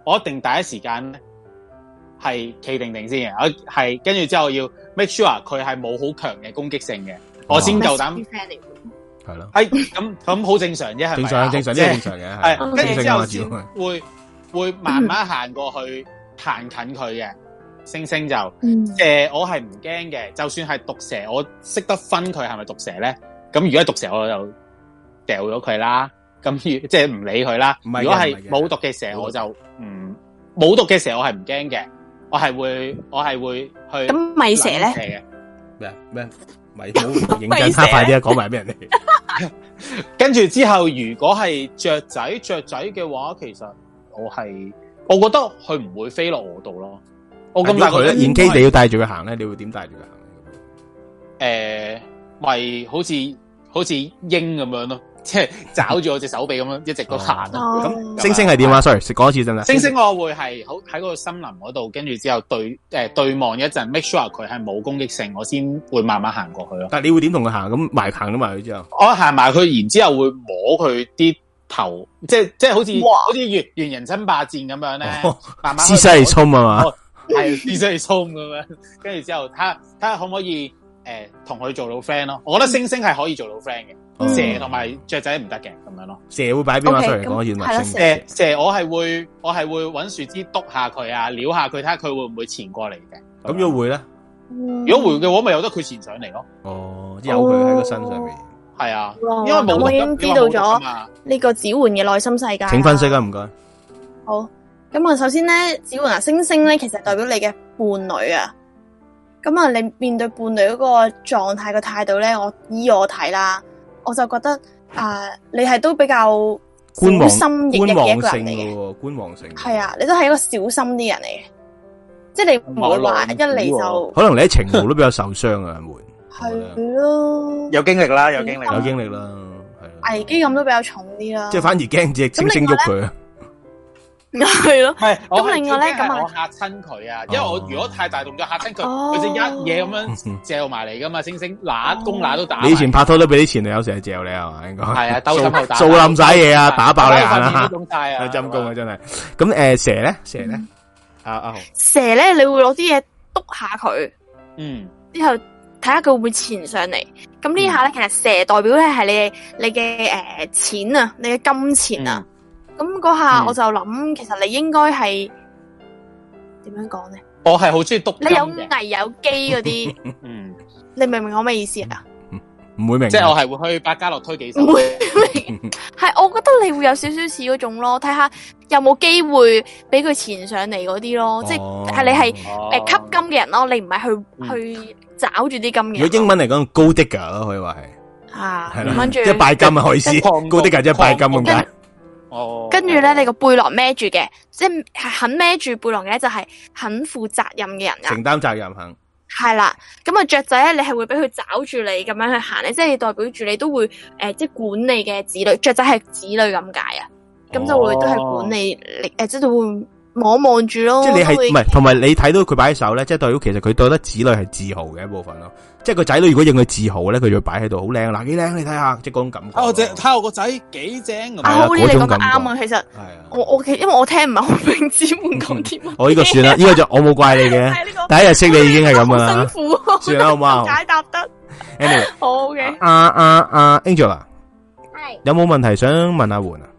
S9: 我一定第一時間咧係企定定先嘅，我係跟住之後要 make sure 佢係冇好強嘅攻擊性嘅，哦、我先夠膽。係咯，係咁咁好正常啫，係咪？正常正常啲正常嘅，係跟住之後先會會慢慢行過去，行近佢嘅。星星就誒、嗯呃，我係唔驚嘅，就算係毒蛇，我識得分佢係咪毒蛇咧。咁如果係毒蛇，我就掉咗佢啦。咁即係唔理佢啦。如果係冇毒嘅蛇，我就唔冇毒嘅蛇，我係唔驚嘅。我係會我係會去。
S4: 咁米蛇咧？
S2: 咩咩？咪好認真，他快啲啊！講埋俾人哋。
S9: 跟住之後，如果係雀仔，雀仔嘅話，其實我係，我覺得佢唔會飛落我度咯。我咁大個
S2: 咧，現機你要帶住佢行咧，你會點帶住佢行？
S9: 誒、呃，咪好似好似鷹咁樣咯，即係抓住我隻手臂咁樣，一直都行咯。咁、哦、
S2: 星星係點啊 ？Sorry，講一次真啦。
S9: 星星我會係好喺嗰個森林嗰度，跟住之後對誒、呃、對望一陣 ，make sure 佢係冇攻擊性，我先會慢慢行過去咯。
S2: 但係你會點同佢行？咁埋行咗埋去之後，
S9: 我行埋佢，然之後會摸佢啲頭，即係即係好似好似猿猿人爭霸戰咁樣咧、哦，慢慢。
S2: 獅西衝啊嘛，
S9: 係獅西衝咁樣，跟住之後睇下睇下可唔可以誒同佢做到 friend 咯？我覺得星星係可以做到 friend 嘅。嗯、蛇同埋雀仔唔得嘅咁樣咯，蛇
S2: 會擺邊啊？出嚟講完咪星。
S9: 誒，蛇我係會我係會搵樹枝督下佢啊，撩下佢睇下佢會唔會潛過嚟嘅。
S2: 咁如果會咧？
S9: 如果會嘅話，咪由得佢潛上嚟咯。
S2: 哦，有佢喺個身上面。係、
S9: 哦、啊，因為冇
S4: 我已經知道咗呢個子桓嘅內心世界。
S2: 請分析啊，唔該。
S4: 好，咁我首先咧，子桓啊，星星咧，其實代表你嘅伴侶啊。咁啊，你面對伴侶嗰個狀態嘅態度咧，我依我睇啦。我就覺得啊、呃，你係都比較小心翼翼嘅一個人嚟嘅，
S2: 觀望性
S4: 係啊，你都係一個小心啲人嚟嘅，即係你唔會話一嚟就
S2: 可能你喺情路都比較受傷啊，會
S4: 係咯，
S8: 有經歷啦，有經歷，
S2: 有經歷啦，
S4: 係危機感都比較重啲啦，
S2: 即係反而驚隻星星喐佢啊。
S4: 係咯，
S9: 係
S4: 咁另外咧，咁
S9: 我嚇親佢啊，因為我如果太大動作嚇親佢，佢就一嘢咁樣嚼埋嚟噶嘛，星星乸公乸都打。
S2: 你以前拍拖都俾啲前女友成日嚼你係嘛？應該
S9: 係啊，兜心口打，
S2: 掃冧晒嘢啊，打爆你眼啊，
S9: 有
S2: 陰功啊，真係。咁誒，蛇咧，蛇咧，阿阿豪，
S4: 蛇咧，你會攞啲嘢督下佢，
S9: 嗯，
S4: 之後睇下佢會唔會潛上嚟。咁呢下咧，其實蛇代表咧係你你嘅誒錢啊，你嘅金錢啊。咁嗰下我就諗、嗯，其實你應該係點樣講咧？
S9: 我係好中意篤。
S4: 你有危有機嗰啲，嗯，你明唔明我咩意思啊？
S2: 唔會明，
S9: 即係我係會去百家樂推幾手。
S4: 唔會明，係我覺得你會有少少似嗰種咯，睇下有冇機會俾佢潛上嚟嗰啲咯，哦、即係係你係誒、哦呃、吸金嘅人咯，你唔係去、嗯、去找住啲金嘅。
S2: 如果英文嚟講，gold digger 咯，可以話係
S4: 啊，
S2: 係啦，即係拜金啊，可以思 gold digger 即係拜金咁解。
S9: 哦，
S4: 跟住咧，你個背囊孭住嘅，即係肯孭住背囊嘅，就係肯負責任嘅人啊，
S2: 承擔責任肯。
S4: 係啦，咁啊雀仔咧，你係會俾佢找住你咁樣去行咧，即係代表住你都會誒、呃，即係管理嘅子女，雀仔係子女咁解啊，咁就會都係管理你誒，即係會望望住咯。
S2: 即係你係唔係？同埋你睇到佢擺喺手咧，即係代表其實佢覺得子女係自豪嘅一部分咯。即係個仔女如果認佢自豪咧，佢就會擺喺度好靚嗱，幾靚你睇下，即係嗰種感覺。
S9: 我只睇我個仔幾正。
S4: 阿 Holly 你講得啱啊，其實我我因為我聽唔係好明子桓講啲乜。
S2: 我呢個算啦，呢個就我冇怪你嘅。第一日識你已經係咁噶啦。
S4: 辛苦，
S2: 算啦好嘛。
S4: 解答得。
S2: Anyway，
S4: 好嘅。
S2: 阿阿阿 Angel 啊，
S5: 係
S2: 有冇問題想問阿桓啊？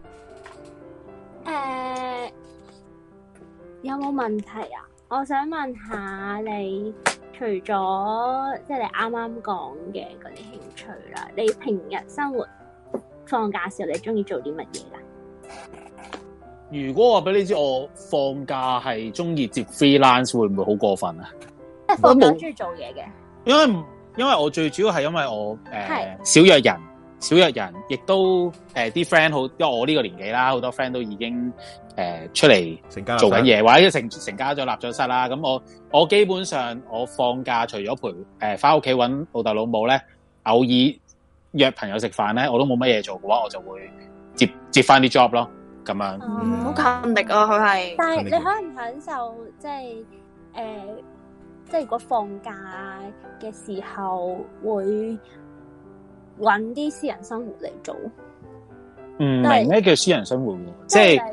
S5: 誒，有冇問題啊？我想問下你。除咗即係你啱啱講嘅嗰啲興趣啦，你平日生活放假時候你中意做啲乜嘢噶？
S9: 如果我俾你知我放假係中意接 freelance， 會唔會好過分啊？
S5: 即係放假中意做嘢嘅，
S9: 因為因為我最主要係因為我誒、呃、少約人，少約人，亦都誒啲 friend 好，因為我呢個年紀啦，好多 friend 都已經。誒、呃，出嚟做緊嘢，或者成成家咗立咗室啦。咁我我基本上我放假除咗陪誒翻屋企搵老豆老母咧，偶爾約朋友食飯咧，我都冇乜嘢做嘅話，我就會接接翻啲 job 咯。咁樣，
S4: 好、嗯、勤力啊，佢係。
S5: 但係你享唔享受即係誒，即係如果放假嘅時候會搵啲私人生活嚟做？
S9: 唔明咩叫私人生活喎？即係
S5: 例如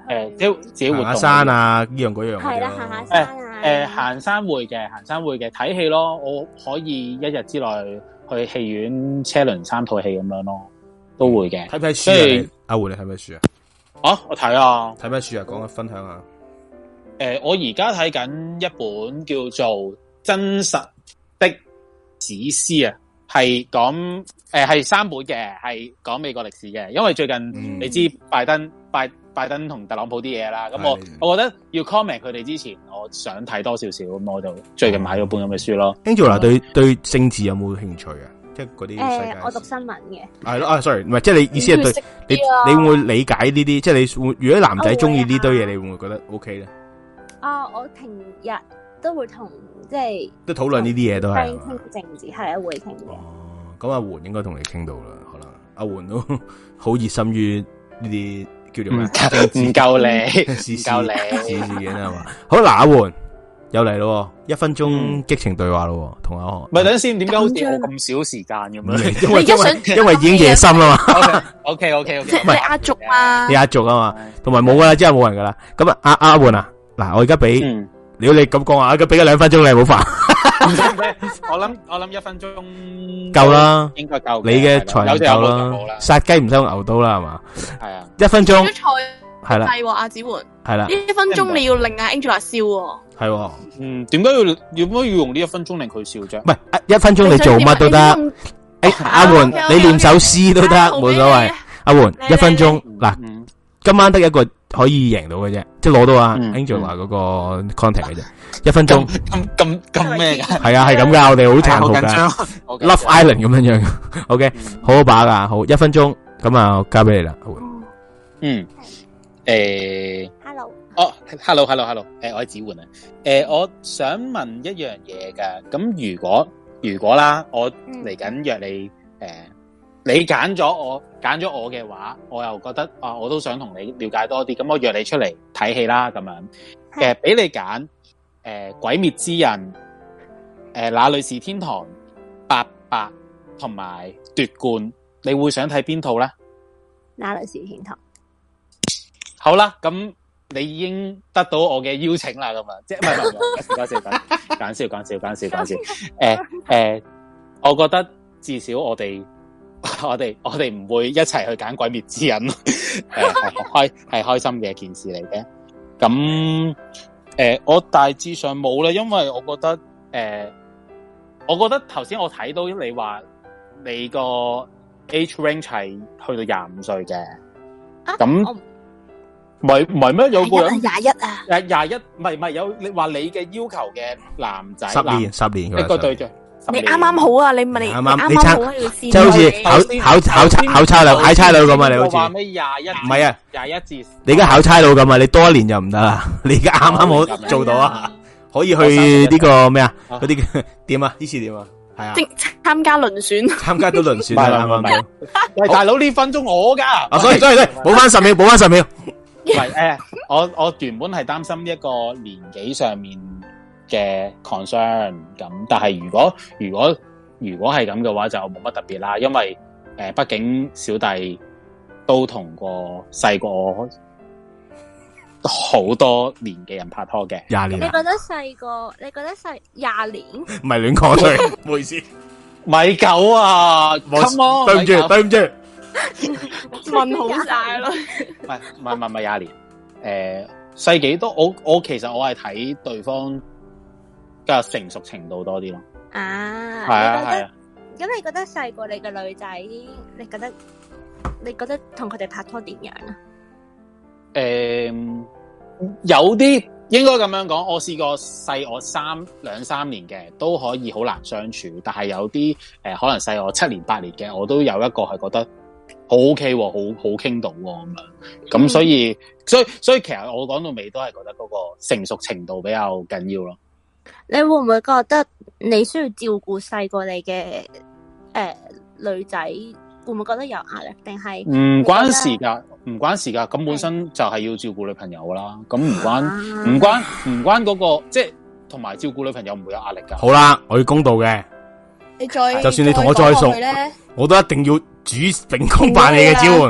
S5: 誒，
S9: 即係自己活動
S3: 行下山啊，呢樣嗰樣。
S5: 係啦，行下山啊。
S9: 誒，行山會嘅，行山會嘅，睇戲咯。我可以一日之內去戲院車輪三套戲咁樣咯，都會嘅。
S3: 睇咩書啊？阿胡你睇咩書啊？
S9: 啊，我睇啊。
S3: 睇咩書啊？講下分享下。
S9: 誒，我而家睇緊一本叫做《真實的史詩》啊，係講誒係三本嘅，係講美國歷史嘅。因為最近、嗯、你知拜登拜拜登同特朗普啲嘢啦，咁我我覺得要 comment 佢哋之前，我想睇多少少，咁我就最近買咗本咁嘅書咯。
S3: Angela 對對政治有冇興趣啊？即係嗰啲世界。
S5: 誒，我讀新聞嘅。係
S3: 咯，啊，sorry，唔係，即係你意思係對你你會唔會理解呢啲？即係你會如果男仔中意呢堆嘢，你會唔會覺得 OK 咧？
S5: 啊、哦！我平日都會同即係
S3: 都討論呢啲嘢，都係
S5: 傾政治，係啊，會傾嘅。
S3: 哦，咁阿媛應該同你傾到啦，可能阿媛都好熱心於呢啲叫做咩？
S9: 唔夠你，
S3: 唔夠你，事件係嘛？好嗱，阿媛又嚟咯，一分鐘激情對話咯，同阿韓。
S9: 咪等先，點解好似我咁少時間咁樣？
S3: 因為因為因為已經夜深啦嘛。
S9: O K O K O K，
S4: 唔係壓軸啊，
S3: 你壓軸啊嘛，同埋冇噶啦，之後冇人噶啦。咁啊，阿阿媛啊。嗱，我而家俾，如果你咁講話，而家俾咗兩分鐘你，唔好煩。
S9: 我諗我諗一分鐘
S3: 夠啦，
S9: 應該夠。
S3: 你嘅才能夠啦，殺雞唔使用牛刀啦，係嘛？
S9: 係啊，
S3: 一分鐘係啦，
S4: 係阿子媛
S3: 係啦，
S4: 呢一分鐘你要令阿 Angela 笑，
S3: 係，
S9: 嗯，點解要點解要用呢一分鐘令佢笑啫？
S3: 唔係一分鐘你做乜都得，誒，阿媛你練首詩都得，冇所謂。阿媛一分鐘嗱，今晚得一個。可以贏到嘅啫，即係攞到啊 Angela 嗰個 contact 嘅啫，一分鐘
S9: 咁咁咁咩噶？
S3: 係啊，係咁噶，我哋好殘酷噶 ，Love Island 咁樣樣。OK，好好把噶，好一分鐘，咁啊交俾你啦。
S9: 嗯，誒
S5: ，Hello，
S9: 哦 ，Hello，Hello，Hello，誒，我係子媛啊，誒，我想問一樣嘢噶，咁如果如果啦，我嚟緊約你誒。你揀咗我揀咗我嘅話，我又覺得啊，我都想同你了解多啲，咁我約你出嚟睇戲啦，咁樣誒，俾你揀誒，呃《鬼滅之刃》誒，《那裡是天堂》、八佰同埋奪冠，你會想睇邊套咧？
S5: 那裡是天堂。
S9: 好啦，咁你已經得到我嘅邀請啦，咁啊，即係唔係唔係，講笑講笑講笑講笑講笑講笑，誒誒，我覺得至少我哋。我哋我哋唔會一齊去揀鬼滅之刃，誒係開係開心嘅一件事嚟嘅。咁誒、呃，我大致上冇啦，因為我覺得誒、呃，我覺得頭先我睇到你話你個 age range 係去到廿五歲嘅，咁唔係唔係咩？有個人
S4: 廿一啊，
S9: 誒廿一，唔係唔係有你話你嘅要求嘅男仔
S3: 十年十年
S9: 一個對象。
S4: 你啱啱好啊！你問你
S3: 啱啱，你
S4: 啱
S3: 差即係好似考考考差考差佬考差佬咁啊！你好似
S9: 話咩廿一？
S3: 唔係啊，
S9: 廿一至
S3: 你而家考差佬咁啊！你多一年就唔得啦！你而家啱啱好做到啊！可以去呢個咩啊？嗰啲點啊？呢次點啊？係啊！
S4: 參加輪選，
S3: 參加到輪選係啱啱。
S9: 喂，大佬呢分鐘我噶
S3: 啊！所以所以所以補翻十秒，補翻十秒。
S9: 唔係誒，我我原本係擔心一個年紀上面嘅 concern 咁，但係如果如果如果係咁嘅話，就冇乜特別啦，因為誒，畢、呃、竟小弟都同過細過我好多年嘅人拍拖嘅，
S3: 廿年。
S5: 你覺得細個？你覺得細廿年？
S3: 唔係亂講對，唔好意思。
S9: 米九啊，
S3: 我對唔住，對唔住，
S4: 問好晒咯。
S9: 唔係唔係唔係廿年，誒、呃，細幾多？我我其實我係睇對方嘅成熟程度多啲咯。
S5: 啊，
S9: 係啊係啊。
S5: 咁你覺得細過你嘅女仔，你覺得你覺得同佢哋拍拖點樣啊？
S9: 誒、呃，有啲應該咁樣講，我試過細我三兩三年嘅都可以好難相處，但係有啲誒、呃、可能細我七年八年嘅，我都有一個係覺得好 OK，好好傾到咁樣。咁、嗯、所以所以所以其實我講到尾都係覺得嗰個成熟程度比較緊要咯。
S5: 你會唔會覺得你需要照顧細過你嘅誒、呃、女仔？會唔會覺得有壓力？定係
S9: 唔關事噶，唔關事噶。咁本身就係要照顧女朋友啦。咁唔關唔關唔關嗰個，即係同埋照顧女朋友唔會有壓力噶。
S3: 好啦，我要公道嘅。
S4: 你再
S3: 就算你同我再熟，我都一定要主秉公辦理嘅支援。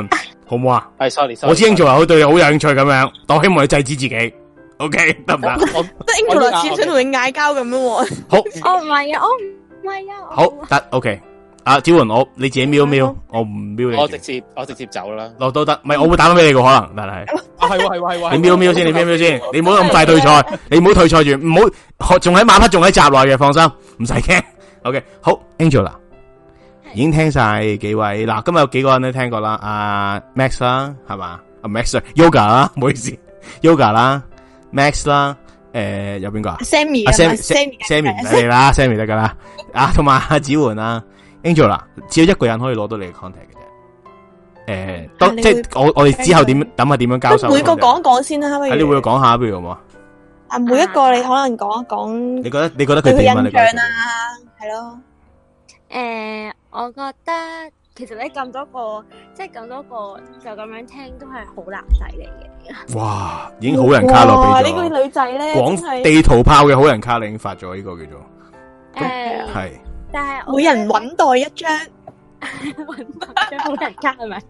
S3: 好唔好啊？
S9: 係 sorry，
S3: 我知 Angela 好對你好有興趣咁樣，但我希望你制止自己。OK 得唔得？
S4: 即係 Angela 似想同你嗌交咁樣喎。
S3: 好，
S5: 哦唔係啊，我唔係啊。
S3: 好得 OK。啊，子桓，我你自己瞄瞄，我唔瞄你。
S9: 我直接我直接走啦。
S3: 落都得，唔係我會打翻俾你個可能，但係。
S9: 啊係喎係喎係喎。
S3: 你瞄瞄先，你瞄瞄先，你唔好咁快退賽，你唔好退賽住，唔好仲喺馬匹仲喺閘內嘅，放心，唔使驚。OK， 好 ，Angela 已經聽晒幾位，嗱，今日有幾個人都聽過啦，阿 Max 啦，係嘛？阿 Max，Yoga 啦，唔好意思 ，Yoga 啦 ，Max 啦，誒，有邊個啊
S4: ？Sammy
S3: 啊 ，Sammy，Sammy 唔使你啦 ，Sammy 得噶啦，啊，同埋阿子桓啦 ，Angela，只有一個人可以攞到你嘅 contact 嘅啫，誒，當即係我我哋之後點諗下點樣交手？
S4: 每個講一講先啦，
S3: 係你會講下，不如好唔好啊？
S4: 啊，每一個你可能講一講，
S3: 你覺得你覺得佢點啊？
S4: 印象啊，係咯。
S5: 誒，我覺得其實你咁多個，即係咁多個就咁樣聽，都係好男仔嚟嘅。
S3: 哇，已經好人卡咯，俾咗
S4: 呢個女仔咧，
S3: 廣地圖炮嘅好人卡，你已經發咗呢個叫做
S5: 誒，
S3: 係。
S5: 但係
S4: 每人搵袋一張，
S5: 搵袋張好人卡係咪？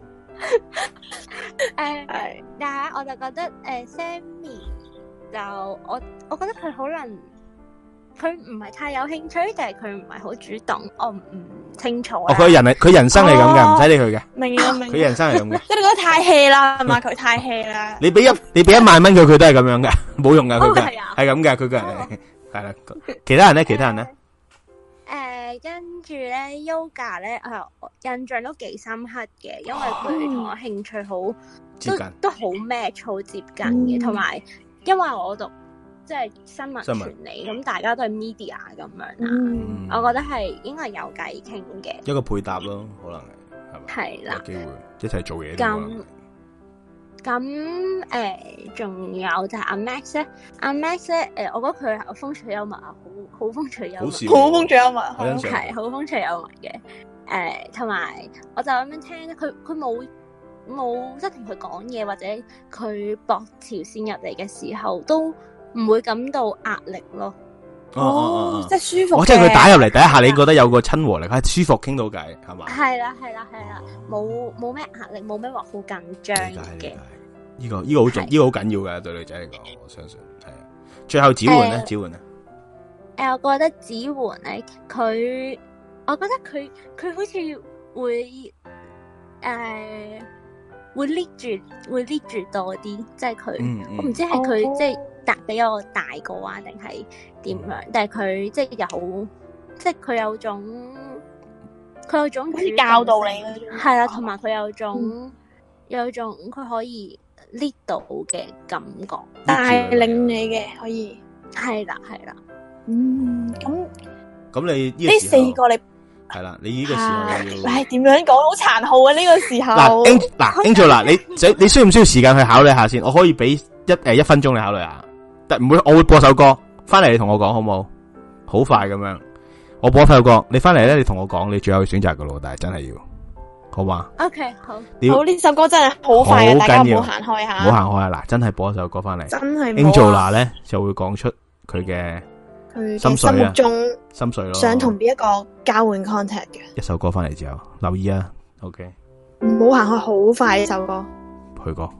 S5: 誒，係，但係我就覺得誒 ，Sammy 就我我覺得佢可能。佢唔係太有興趣，定係佢唔係好主動，我唔唔清楚。
S3: 哦，佢人係佢人生係咁嘅，唔使理佢嘅。
S4: 明啊明。
S3: 佢人生係咁嘅。
S4: 即係你覺得太 hea 啦，係嘛？佢太 hea 啦。
S3: 你俾一你俾一萬蚊佢，佢都係咁樣嘅，冇用噶，佢嘅
S5: 係
S3: 係咁嘅，佢個人係啦。其他人咧，其他人咧，
S5: 誒，跟住咧 Yoga 咧，誒，印象都幾深刻嘅，因為佢同我興趣好
S3: 接近，
S5: 都好 match，好接近嘅，同埋因為我讀。即係新聞傳理，咁大家都係 media 咁樣啦，嗯、我覺得係應該有偈傾嘅，
S3: 一個配搭咯，可能係係咪？
S5: 係啦，
S3: 有機會一齊做嘢。
S5: 咁咁誒，仲、呃、有就係阿 Max 咧，阿 Max 咧，誒、呃，我覺得佢係風趣幽默啊，好好風趣幽默，
S4: 好風趣幽默，
S5: 係好風趣幽默嘅。誒、呃，同埋我就咁樣聽咧，佢佢冇冇即係同佢講嘢，或者佢駁條線入嚟嘅時候都。唔會感到壓力咯，
S3: 哦，哦
S4: 即係舒服。
S3: 哦，即係佢打入嚟第一下，你覺得有個親和力，係舒服傾到偈，係嘛？
S5: 係啦，係啦，係啦，冇冇咩壓力，冇咩話好緊張嘅。
S3: 呢個呢個好重，呢個好緊要嘅對女仔嚟講，我相信係啊。最後子桓咧，子桓啊，
S5: 誒，我覺得子桓咧，佢，我覺得佢佢好似會誒會 lead 住會 lead 住多啲，即係佢，我唔知係佢即係。大比我大個啊，定係點樣？嗯、但係佢即係又好，即係佢有種，佢有種
S4: 教導你嗰種，
S5: 係啦，同埋佢有種，嗯、有種佢可以 lead 到嘅感覺，
S4: 帶領你嘅可以，
S5: 係啦係啦，
S4: 嗯，咁
S3: 咁你呢
S4: 呢四個你
S3: 係啦，你呢個時候要，
S4: 唉，點樣講好殘酷啊！呢、這個時候，
S3: 嗱嗱 Angel 嗱，你你需唔需要時間去考慮下先？我可以俾一誒一分鐘你考慮下。但唔會，我會播首歌翻嚟，你同我講好唔好？好快咁樣，我播首歌，你翻嚟咧，你同我講，你最後選擇噶咯，但係真係要，好嘛
S5: ？OK，好。
S4: 好，呢首歌真係好快嘅，大家唔好行開下。
S3: 唔好行開啊！嗱，真係播一首歌翻嚟，
S4: 真係。
S3: Angela 咧就會講出佢嘅
S4: 佢
S3: 心水啊，
S4: 心目中
S3: 心水咯，
S4: 想同邊一個交換 contact 嘅
S3: 一首歌翻嚟之後，留意啊 ，OK。
S4: 唔好行開，好快呢首歌。
S3: 去過。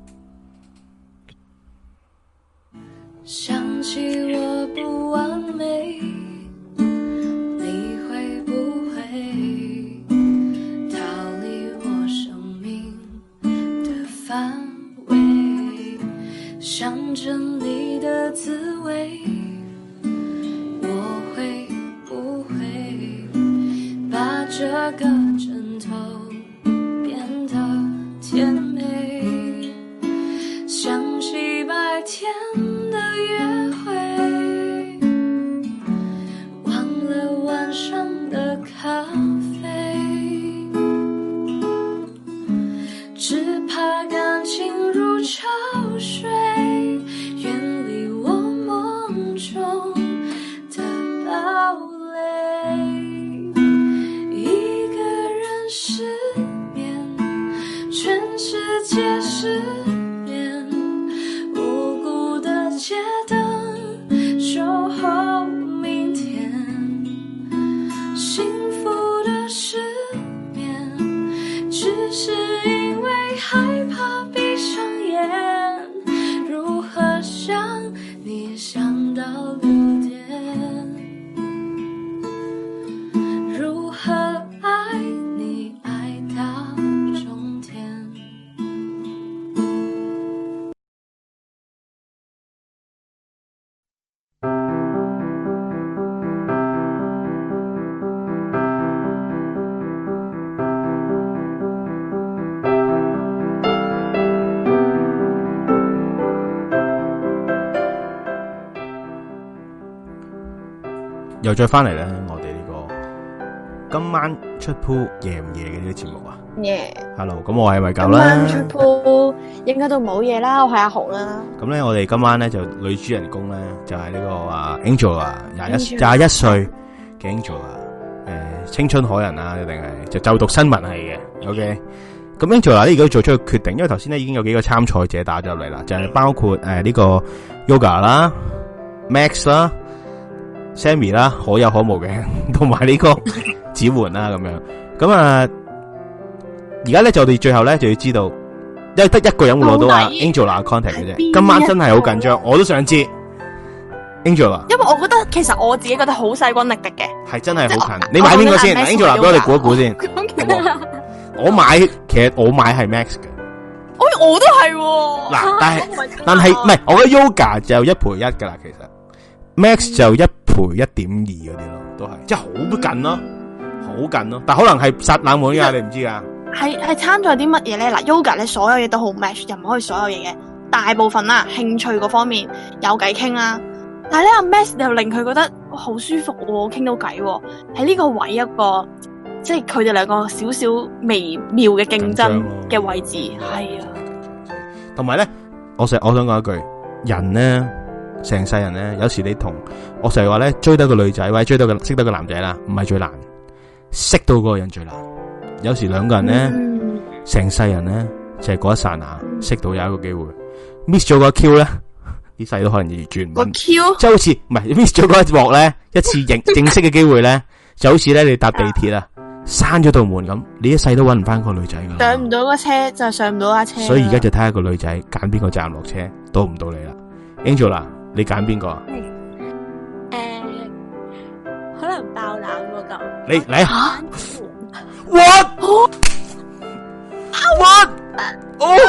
S1: 想起我不完美，你會不會逃離我生命的範圍？想着你的滋味，我會不會把這個枕頭變得甜美？想起白天的約會，忘了晚上的咖啡，只怕感情如潮水，遠離我夢中的堡壘。一個人
S3: 又再翻嚟咧，我哋呢個今晚出 pool 夜唔夜嘅呢個節目啊？
S4: 夜。
S3: Hello，咁我係米九啦。
S4: 今晚出 pool 應該都冇嘢啦，我係阿豪啦。
S3: 咁咧，我哋今晚咧就女主人公咧就係呢個啊 Angela 啊，廿一廿一歲嘅 Angela 啊，誒青春可人啊，一定係就就讀新聞系嘅。OK，咁 Angela 咧而家做出個決定，因為頭先咧已經有幾個參賽者打咗入嚟啦，就係包括誒呢個 Yoga 啦、Max 啦、Sammy 啦，可有可無嘅，同埋呢個子桓啦咁樣。咁啊，而家咧就我哋最後咧就要知道，因為得一個人會攞到啊 Angela contact 嘅啫。今晚真係好緊張，我都想知 Angela。
S4: 因為我覺得其實我自己覺得好勢均力敵嘅，
S3: 係真係好近。你買邊個先 ？Angela 俾我哋估一估先。我買，其實我買係 Max 嘅。
S4: 我我都係。
S3: 嗱，但係但係唔係，我覺得 Yoga 就一賠一噶啦，其實 Max 就一賠一點二嗰啲咯，都係即係好近咯，好近咯。但可能係殺冷門噶，你唔知噶。
S4: 係係參咗啲乜嘢咧？嗱 ，Yoga 咧所有嘢都好 match，又唔可以所有嘢嘅。大部分啦，興趣嗰方面有偈傾啦。但係咧，阿 Max 又令佢覺得好舒服喎，傾到偈喎。喺呢個位一個，即係佢哋兩個少少微妙嘅競爭嘅位置，係啊。
S3: 同埋咧，我成我想講一句，人咧成世人咧，有時你同我成日話咧，追得個女仔或者追得個識得個男仔啦，唔係最難，識到嗰個人最難。有時兩個人咧，成、嗯、世人咧就係、是、嗰一剎那識到有一個機會 ，miss 咗個 Q 咧，呢世都可能要轉
S4: 個 Q，即
S3: 係好似唔係 miss 咗嗰一幕咧，一次認正式嘅機會咧，就好似咧你搭地鐵啊，閂咗道門咁，你一世都搵唔翻個女仔噶，
S4: 上唔到個車就上唔到架車。
S3: 所以而家就睇下個女仔揀邊個站落車，到唔到你啦 ，Angela， 你揀邊個啊？
S5: 誒、呃，可能爆冷嗰個。
S3: 你嚟啊！What? What? Oh,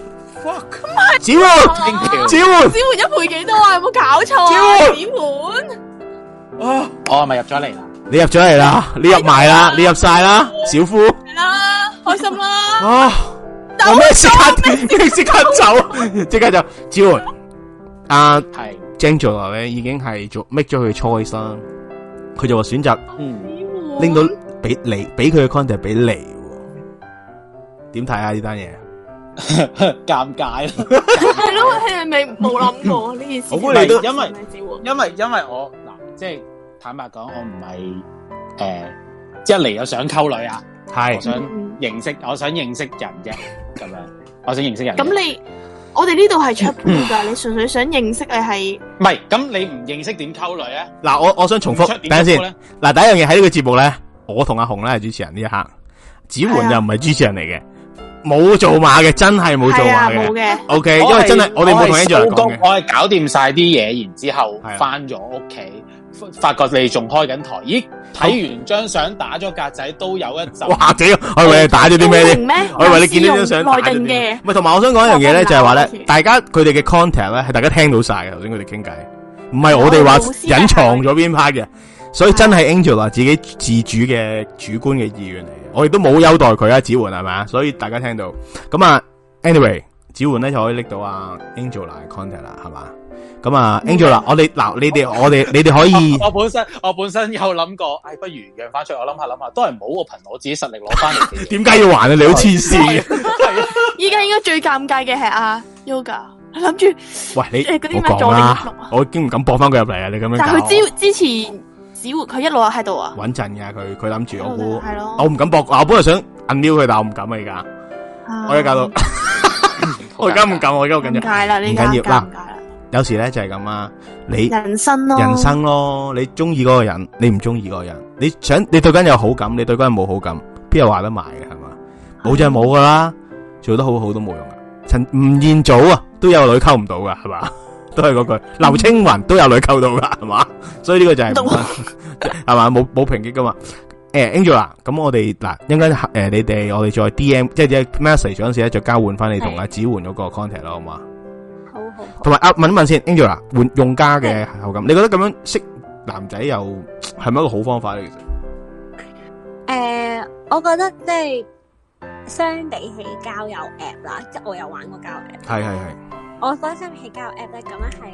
S3: fuck! 子桓，子桓，
S4: 子桓一賠幾多啊？有冇搞錯啊？子桓，
S9: 啊，我係咪入咗嚟啦？
S3: 你入咗嚟啦，你入埋啦，你入晒啦，小夫。
S4: 係啦，開心啦。
S3: 啊，有咩即刻？即刻走，即刻走。子桓，阿係 Angela 咧，已經係做 make 咗佢 choice 啦。佢就話選擇，嗯，拎到。俾你俾佢嘅 contact 俾你，點睇啊呢單嘢？
S9: 尷尬咯，
S4: 係咯，係咪冇諗過呢件事？
S9: 我估你都因為因為因為我嗱，即係坦白講，我唔係誒，即係嚟又想溝女啊，係我想認識，我想認識人啫，咁樣，我想認識人。咁你我哋呢度係出 pool 噶，你純粹想認識你係？ 唔係，咁你唔認識點溝女啊？
S3: 嗱，我我想重複，等陣先。嗱，第一樣嘢喺呢個節目咧。我同阿紅咧係主持人呢一刻，子桓又唔係主持人嚟嘅，冇做馬嘅，真係冇做馬嘅。冇嘅。O K， 因為真係我哋冇同 Angela 講嘅。
S9: 我係搞掂晒啲嘢，然之後翻咗屋企，發覺你仲開緊台。咦，睇完張相打咗格仔都有一陣。哇！屌，我以為你打咗啲咩咧？我以為你見到張相打咗啲咩？唔係，同埋我想講一樣嘢咧，就係話咧，大家佢哋嘅 contact 咧係大家聽到晒嘅。頭先佢哋傾偈，唔係我哋話隱藏咗邊 part 嘅。所以真係 Angela 自己自主嘅主觀嘅意願嚟嘅，我亦都冇優待佢啊，子桓係咪啊？所以大家聽到咁啊 ，anyway， 子桓咧就可以拎到啊 Angela 嘅 contact 啦，係嘛？咁啊 ，Angela，我哋嗱，你哋我哋你哋可以我，我本身我本身有諗過，哎，不如讓翻出嚟，我諗下諗下，都係唔好，我憑我自己實力攞翻嚟。
S3: 點解要還啊？你好黐線嘅！
S4: 依家應該最尷尬嘅係阿 Yoga，諗住
S3: 喂你
S4: 誒嗰啲咩
S3: 我講啦，我已經唔敢播翻佢入嚟啊！你咁樣，
S4: 但係佢之之前。子桓佢一路喺度啊，
S3: 穩陣嘅佢，佢諗住我估，
S4: 係咯，
S3: 我唔敢搏，我本來想 unmute 佢，但我唔敢啊而家，我而家搞到，我而家唔敢，我而家好緊張，
S4: 唔緊啦，唔緊要啦，
S3: 有時咧就係咁啊，你
S4: 人生咯，
S3: 人生咯，你中意嗰個人，你唔中意嗰個人，你想你對嗰人有好感，你對嗰人冇好感，邊有話得埋嘅係嘛？冇就係冇噶啦，做得好好都冇用噶，陳吳彥祖啊都有女溝唔到噶係嘛？都係嗰句，劉青雲都有女溝到噶，係嘛？所以呢個就係係嘛，冇冇評擊噶嘛？誒 ，Angela，咁我哋嗱，應該誒，你哋我哋再 D M，即係即係 message 嗰陣時咧，再交換翻你同阿子桓嗰個 contact 咯，好嘛？
S5: 好好。同
S3: 埋啊，問一問先 ，Angela，換用家嘅口感，你覺得咁樣識男仔又係咪一個好方法咧？其實，
S5: 誒，我覺得即係相比起交友 app 啦，即係我有玩過交友 app，
S3: 係係係。
S5: 我覺得相比起交友 app 咧，咁樣係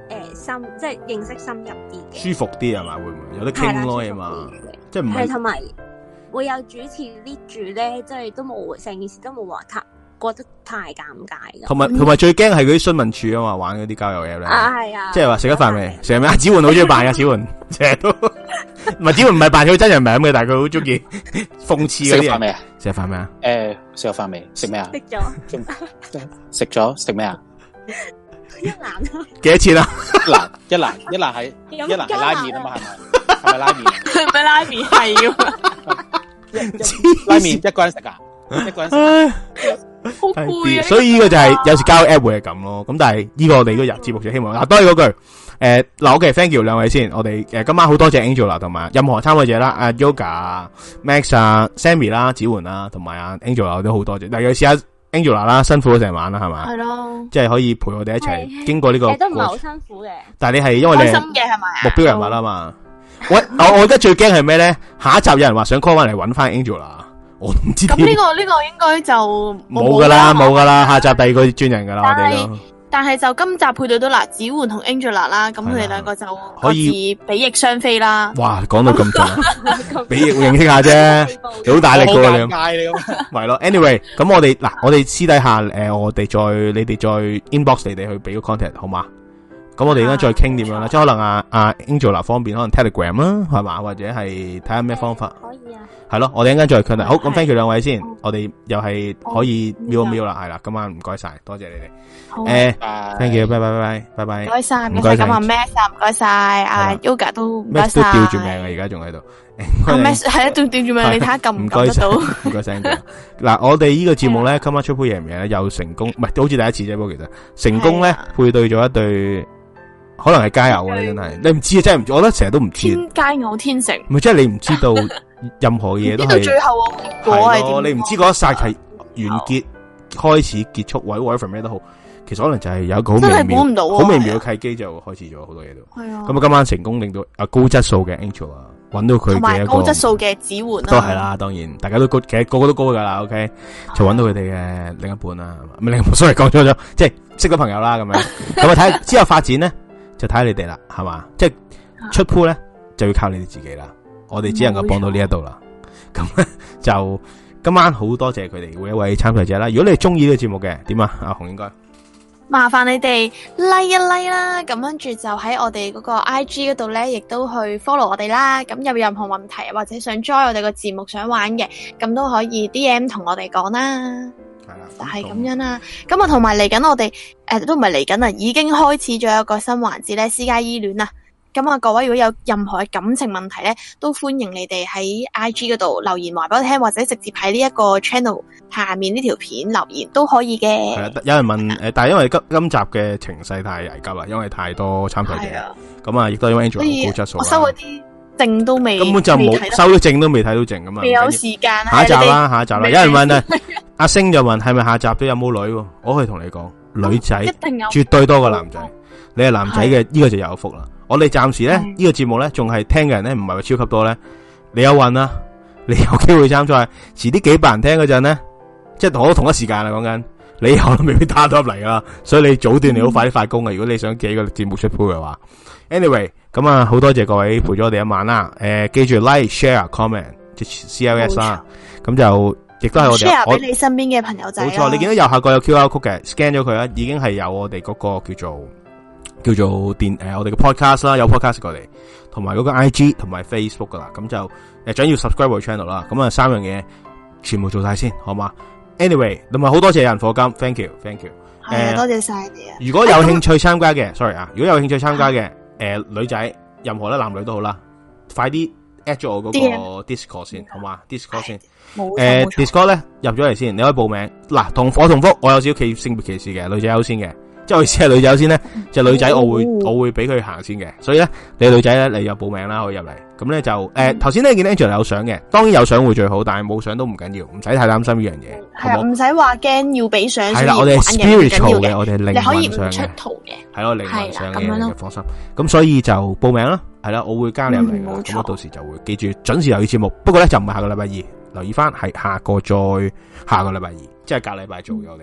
S5: 誒深，即係認識深入啲嘅，
S2: 舒服啲係嘛？會唔會有得傾咯？係嘛？即係唔係
S5: 同埋會有主持 lead 住咧，即係都冇成件事都冇話太覺得太尷尬嘅。
S2: 同埋同埋最驚係嗰啲詢問處啊嘛，玩嗰啲交友嘢咧。
S5: 啊係啊，
S2: 即係話食咗飯未？成日阿子煥好中意扮嘅，子煥成日都唔係子煥唔係扮佢真人名嘅，但係佢好中意諷刺嗰啲。
S9: 食飯未啊？
S2: 食飯未啊？
S9: 誒，食咗飯未？食咩啊？
S5: 食咗。
S9: 食咗食咩啊？
S5: 一蘭
S2: 幾多錢啊？
S9: 一蘭一蘭一蘭係一蘭係拉麵啊嘛，係咪？係咪拉麵？
S4: 係咪拉麵係啊？
S9: 拉麵一個人食噶，一個人食。
S4: 好攰啊！
S2: 所以呢個就係有時交友 app 會係咁咯。咁但係呢個我哋都入節目就希望嗱，多謝嗰句誒嗱，OK，thank you 兩位先。我哋誒今晚好多謝 Angela 同埋任何參與者啦，阿 Yoga、Max 啊、Sammy 啦、子桓啦，同埋阿 Angela 都好多謝。嗱，有試下 Angela 啦，辛苦咗成晚啦，係嘛？
S4: 係咯，
S2: 即係可以陪我哋一齊經過呢個。
S5: 都唔係好辛苦嘅。
S2: 但係你係因為你
S4: 開心嘅係咪？
S2: 目標人物啊嘛。喂，我我而家最驚係咩咧？下一集有人話想 call 翻嚟揾翻 Angela。我唔知
S4: 咁呢個呢個應該就
S2: 冇噶啦，冇噶啦，下集第二個專人噶啦，我哋都。
S4: 但係就今集配對到嗱，子桓同 Angela 啦，咁佢哋兩個就可以比翼雙飛啦。
S2: 哇，講到咁盡，比翼會認識下啫，你好大力噶你。好尷尬你咁。係咯 ，anyway，咁我哋嗱，我哋私底下誒，我哋再你哋再 inbox 你哋去俾個 contact 好嘛？咁我哋而家再傾點樣啦，即係可能阿阿 Angela 方面可能 Telegram 啦，係嘛，或者係睇下咩方法。
S5: 可以啊。係
S2: 咯，我哋一陣間再傾啦。好，咁 thank you 兩位先，我哋又係可以瞄一瞄啦，係啦，今晚唔該晒，多謝你哋。誒，thank you，拜拜拜拜拜拜。
S4: 唔該晒，唔該晒。咁阿 Max 啊，唔該晒，阿 Yoga 都唔該晒。
S2: Max 都吊住命啊，而家仲喺度。
S4: 阿 Max 係啊，仲吊住命，你睇下撳唔撳得到？
S2: 唔該晒。嗱，我哋呢個節目咧，今晚出杯嘢唔嘢咧，又成功，唔係好似第一次啫，不過其實成功咧配對咗一對。可能係加油啊！你真係，你唔知啊，真係唔知。我覺得成日都唔知。
S4: 天加我天成。
S2: 唔係，即係你唔知道任何嘢都係。
S4: 到最後個結果係點？
S2: 你唔知嗰一剎係完結、開始、結束，或者 whatever 咩都好，其實可能就係有一個好微妙、好微妙嘅契機就開始咗好多嘢都。係啊。咁啊，今晚成功令到啊高質素嘅 Angela 揾到佢嘅一個
S4: 高質素嘅子桓啦。
S2: 都係啦，當然大家都高，其實個個都高噶啦。OK，就揾到佢哋嘅另一半啦，唔係另一半，sorry講錯咗，即係識咗朋友啦咁樣。咁啊，睇之後發展咧。就睇下你哋啦，係嘛？即係出 pool 咧，就要靠你哋自己啦。我哋只能夠幫到呢一度啦。咁咧就今晚好多謝佢哋每一位參賽者啦。如果你係中意呢個節目嘅，點啊？阿紅應該
S4: 麻煩你哋 like 一 like 啦。咁跟住就喺我哋嗰個 I G 嗰度咧，亦都去 follow 我哋啦。咁有任何問題或者想 join 我哋個節目想玩嘅，咁都可以 D M 同我哋講啦。係啦，就係咁樣啦。咁啊，同埋嚟緊我哋誒、呃、都唔係嚟緊啦，已經開始咗一個新環節咧，私家醫戀啦。咁啊，各位如果有任何嘅感情問題咧，都歡迎你哋喺 I G 嗰度留言話俾我聽，或者直接喺呢一個 channel 下面呢條片留言都可以嘅。
S2: 係啦，有人問誒，但係因為今今集嘅情勢太危急啦，因為太多參賽者，咁啊，亦都因為 Angela 高質素。
S4: 我收嗰啲證都未，
S2: 根本就冇收到證都未睇到證咁啊，
S4: 未有時間。
S2: 下一集啦，下一集啦，有人問啊，阿星就問係咪下集都有冇女？我可以同你講，女仔一定有，絕對多過男仔。你係男仔嘅呢個就有福啦。我哋暫時咧呢、這個節目咧仲係聽嘅人咧唔係話超級多咧，你有運啦，你有機會參賽，遲啲幾百人聽嗰陣咧，即係我同一時間啦講緊，你可能未必打到入嚟噶啦，所以你早段你好快啲發工啊！如果你想幾個節目出 pool 嘅話 ，anyway 咁啊好多謝各位陪咗我哋一晚啦，誒、呃、記住 like share comment 即 C L S 啦，咁就亦都係我哋
S4: share 俾你身邊嘅朋友仔。
S2: 冇錯，你見到右下角有 Q R code 嘅 scan 咗佢啦，已經係有我哋嗰個叫做。叫做電誒、呃，我哋嘅 podcast 啦，有 podcast 過嚟，同埋嗰個 I G 同埋 Facebook 噶啦，咁就誒，想要 subscribe 個 channel 啦，咁啊三樣嘢全部做晒先，好嘛 ？Anyway，同埋好多謝人課金 ，thank you，thank you，
S4: 係啊，多謝晒你啊！
S2: 如果有興趣參加嘅，sorry 啊，如果有興趣參加嘅，誒、呃、女仔，任何咧男女都好啦，快啲 at 咗我嗰個 Discord 先，好嘛 ？Discord 先，誒、呃、Discord 咧入咗嚟先，你可以報名。嗱，同我同福，我有少少企性別歧視嘅，女仔優先嘅。即係我意思係女仔優先咧，就女仔我會、哦、我會俾佢行先嘅，所以咧你女仔咧你有報名啦，可以入嚟。咁咧就誒頭先咧見 Angela 有相嘅，當然有相會最好，但係冇相都唔緊要，唔使太擔心呢樣嘢。
S4: 係啊，唔使話驚要俾相。
S2: 係啦，我哋係 spiritual 嘅，我哋靈魂上嘅。
S4: 你可以唔出圖嘅。
S2: 係咯，靈魂上嘅，放心。咁所以就報名啦，係啦，我會加你入嚟噶，咁我到時就會記住準時留意節目。不過咧就唔係下個禮拜二，留意翻係下個再下個禮拜二，即係隔禮拜做嘅我哋。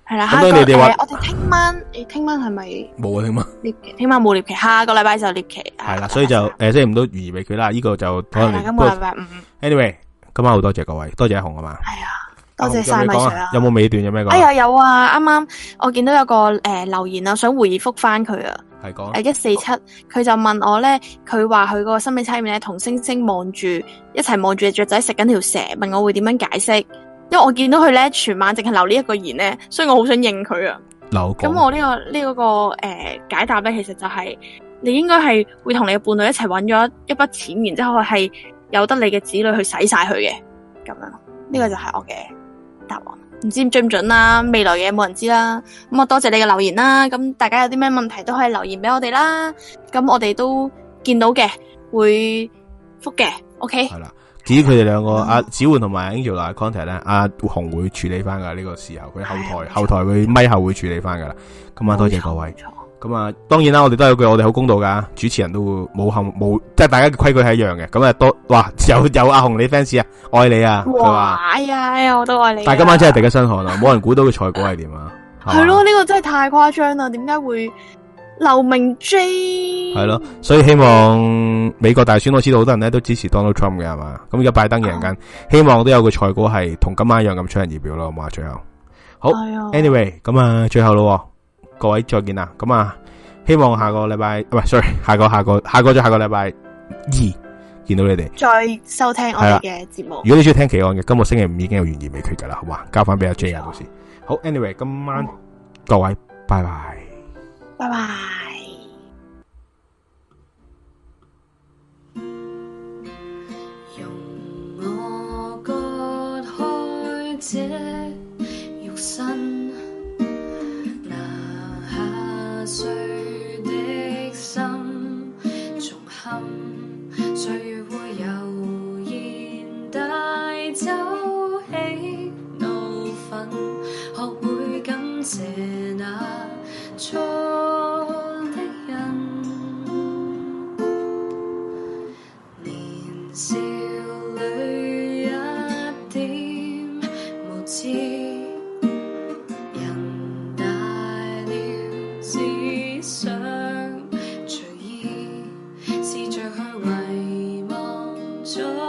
S4: 係啦，
S2: 咁你哋話
S4: 我哋聽晚，你聽晚係咪
S2: 冇啊？聽晚
S4: 獵奇，聽晚冇獵奇，下個禮拜就獵奇。
S2: 係啦，所以就誒，星期五都懸疑未決啦。呢個就可能
S4: 今個禮拜五。
S2: Anyway，今晚好多謝各位，多謝阿紅啊嘛。
S4: 係啊，多謝晒米 Sir 啊。
S2: 有冇尾段有咩講？
S4: 哎呀，有啊！啱啱我見到有個誒留言啊，想回覆翻佢啊。
S2: 係講
S4: 誒一四七，佢就問我咧，佢話佢個心理測驗咧，同星星望住一齊望住隻雀仔食緊條蛇，問我會點樣解釋？因為我見到佢咧全晚淨係留呢一個言咧，所以我好想應佢啊。
S2: 留
S4: 咁我呢、這個呢嗰、這個誒、呃、解答咧，其實就係、是、你應該係會同你嘅伴侶一齊揾咗一筆錢，然之後係由得你嘅子女去使晒佢嘅，咁樣。呢、這個就係我嘅答案。唔知準唔準啦，未來嘅冇人知啦。咁我多謝你嘅留言啦。咁大家有啲咩問題都可以留言俾我哋啦。咁我哋都見到嘅，會覆嘅。OK。係啦。
S2: 至於佢哋兩個阿子煥同埋 Angel 嘅 contact 咧，阿紅會處理翻噶呢個時候，佢後台後台佢咪後會處理翻噶啦。咁啊，多謝各位。咁啊，當然啦，我哋都有句我哋好公道噶，主持人都會冇後冇，即係大家嘅規矩係一樣嘅。咁啊，多哇有有阿紅你 fans 啊，愛你啊，佢話
S4: 哎呀哎呀，我都愛你。
S2: 但係今晚真係第一身汗啊，冇人估到佢賽果係點啊。
S4: 係咯，呢個真係太誇張啦，點解會？劉明 J
S2: 係咯，所以希望美國大選，我知道好多人咧都支持 Donald Trump 嘅係嘛，咁而家拜登贏緊，希望都有個賽果係同今晚一樣咁出人意表咯，好嘛？最後好、哎、，anyway 咁啊，最後咯，各位再見啦，咁啊，希望下個禮拜唔係 sorry，下個下個下個再下個禮拜二見到你哋，
S4: 再收聽我哋嘅節目。
S2: 如果你中意聽奇案嘅，今個星期五已經有懸疑未決噶啦，好嘛？交翻俾阿 J 啊，到時好 ，anyway 今晚、嗯、各位拜拜。
S4: 拜拜。
S1: 容我割開這肉身，拿下碎的心，重憾歲月會悠然帶走起怒憤，學會感謝那錯的人，年少裏一點無知，人大了只想隨意，試着去遺忘咗。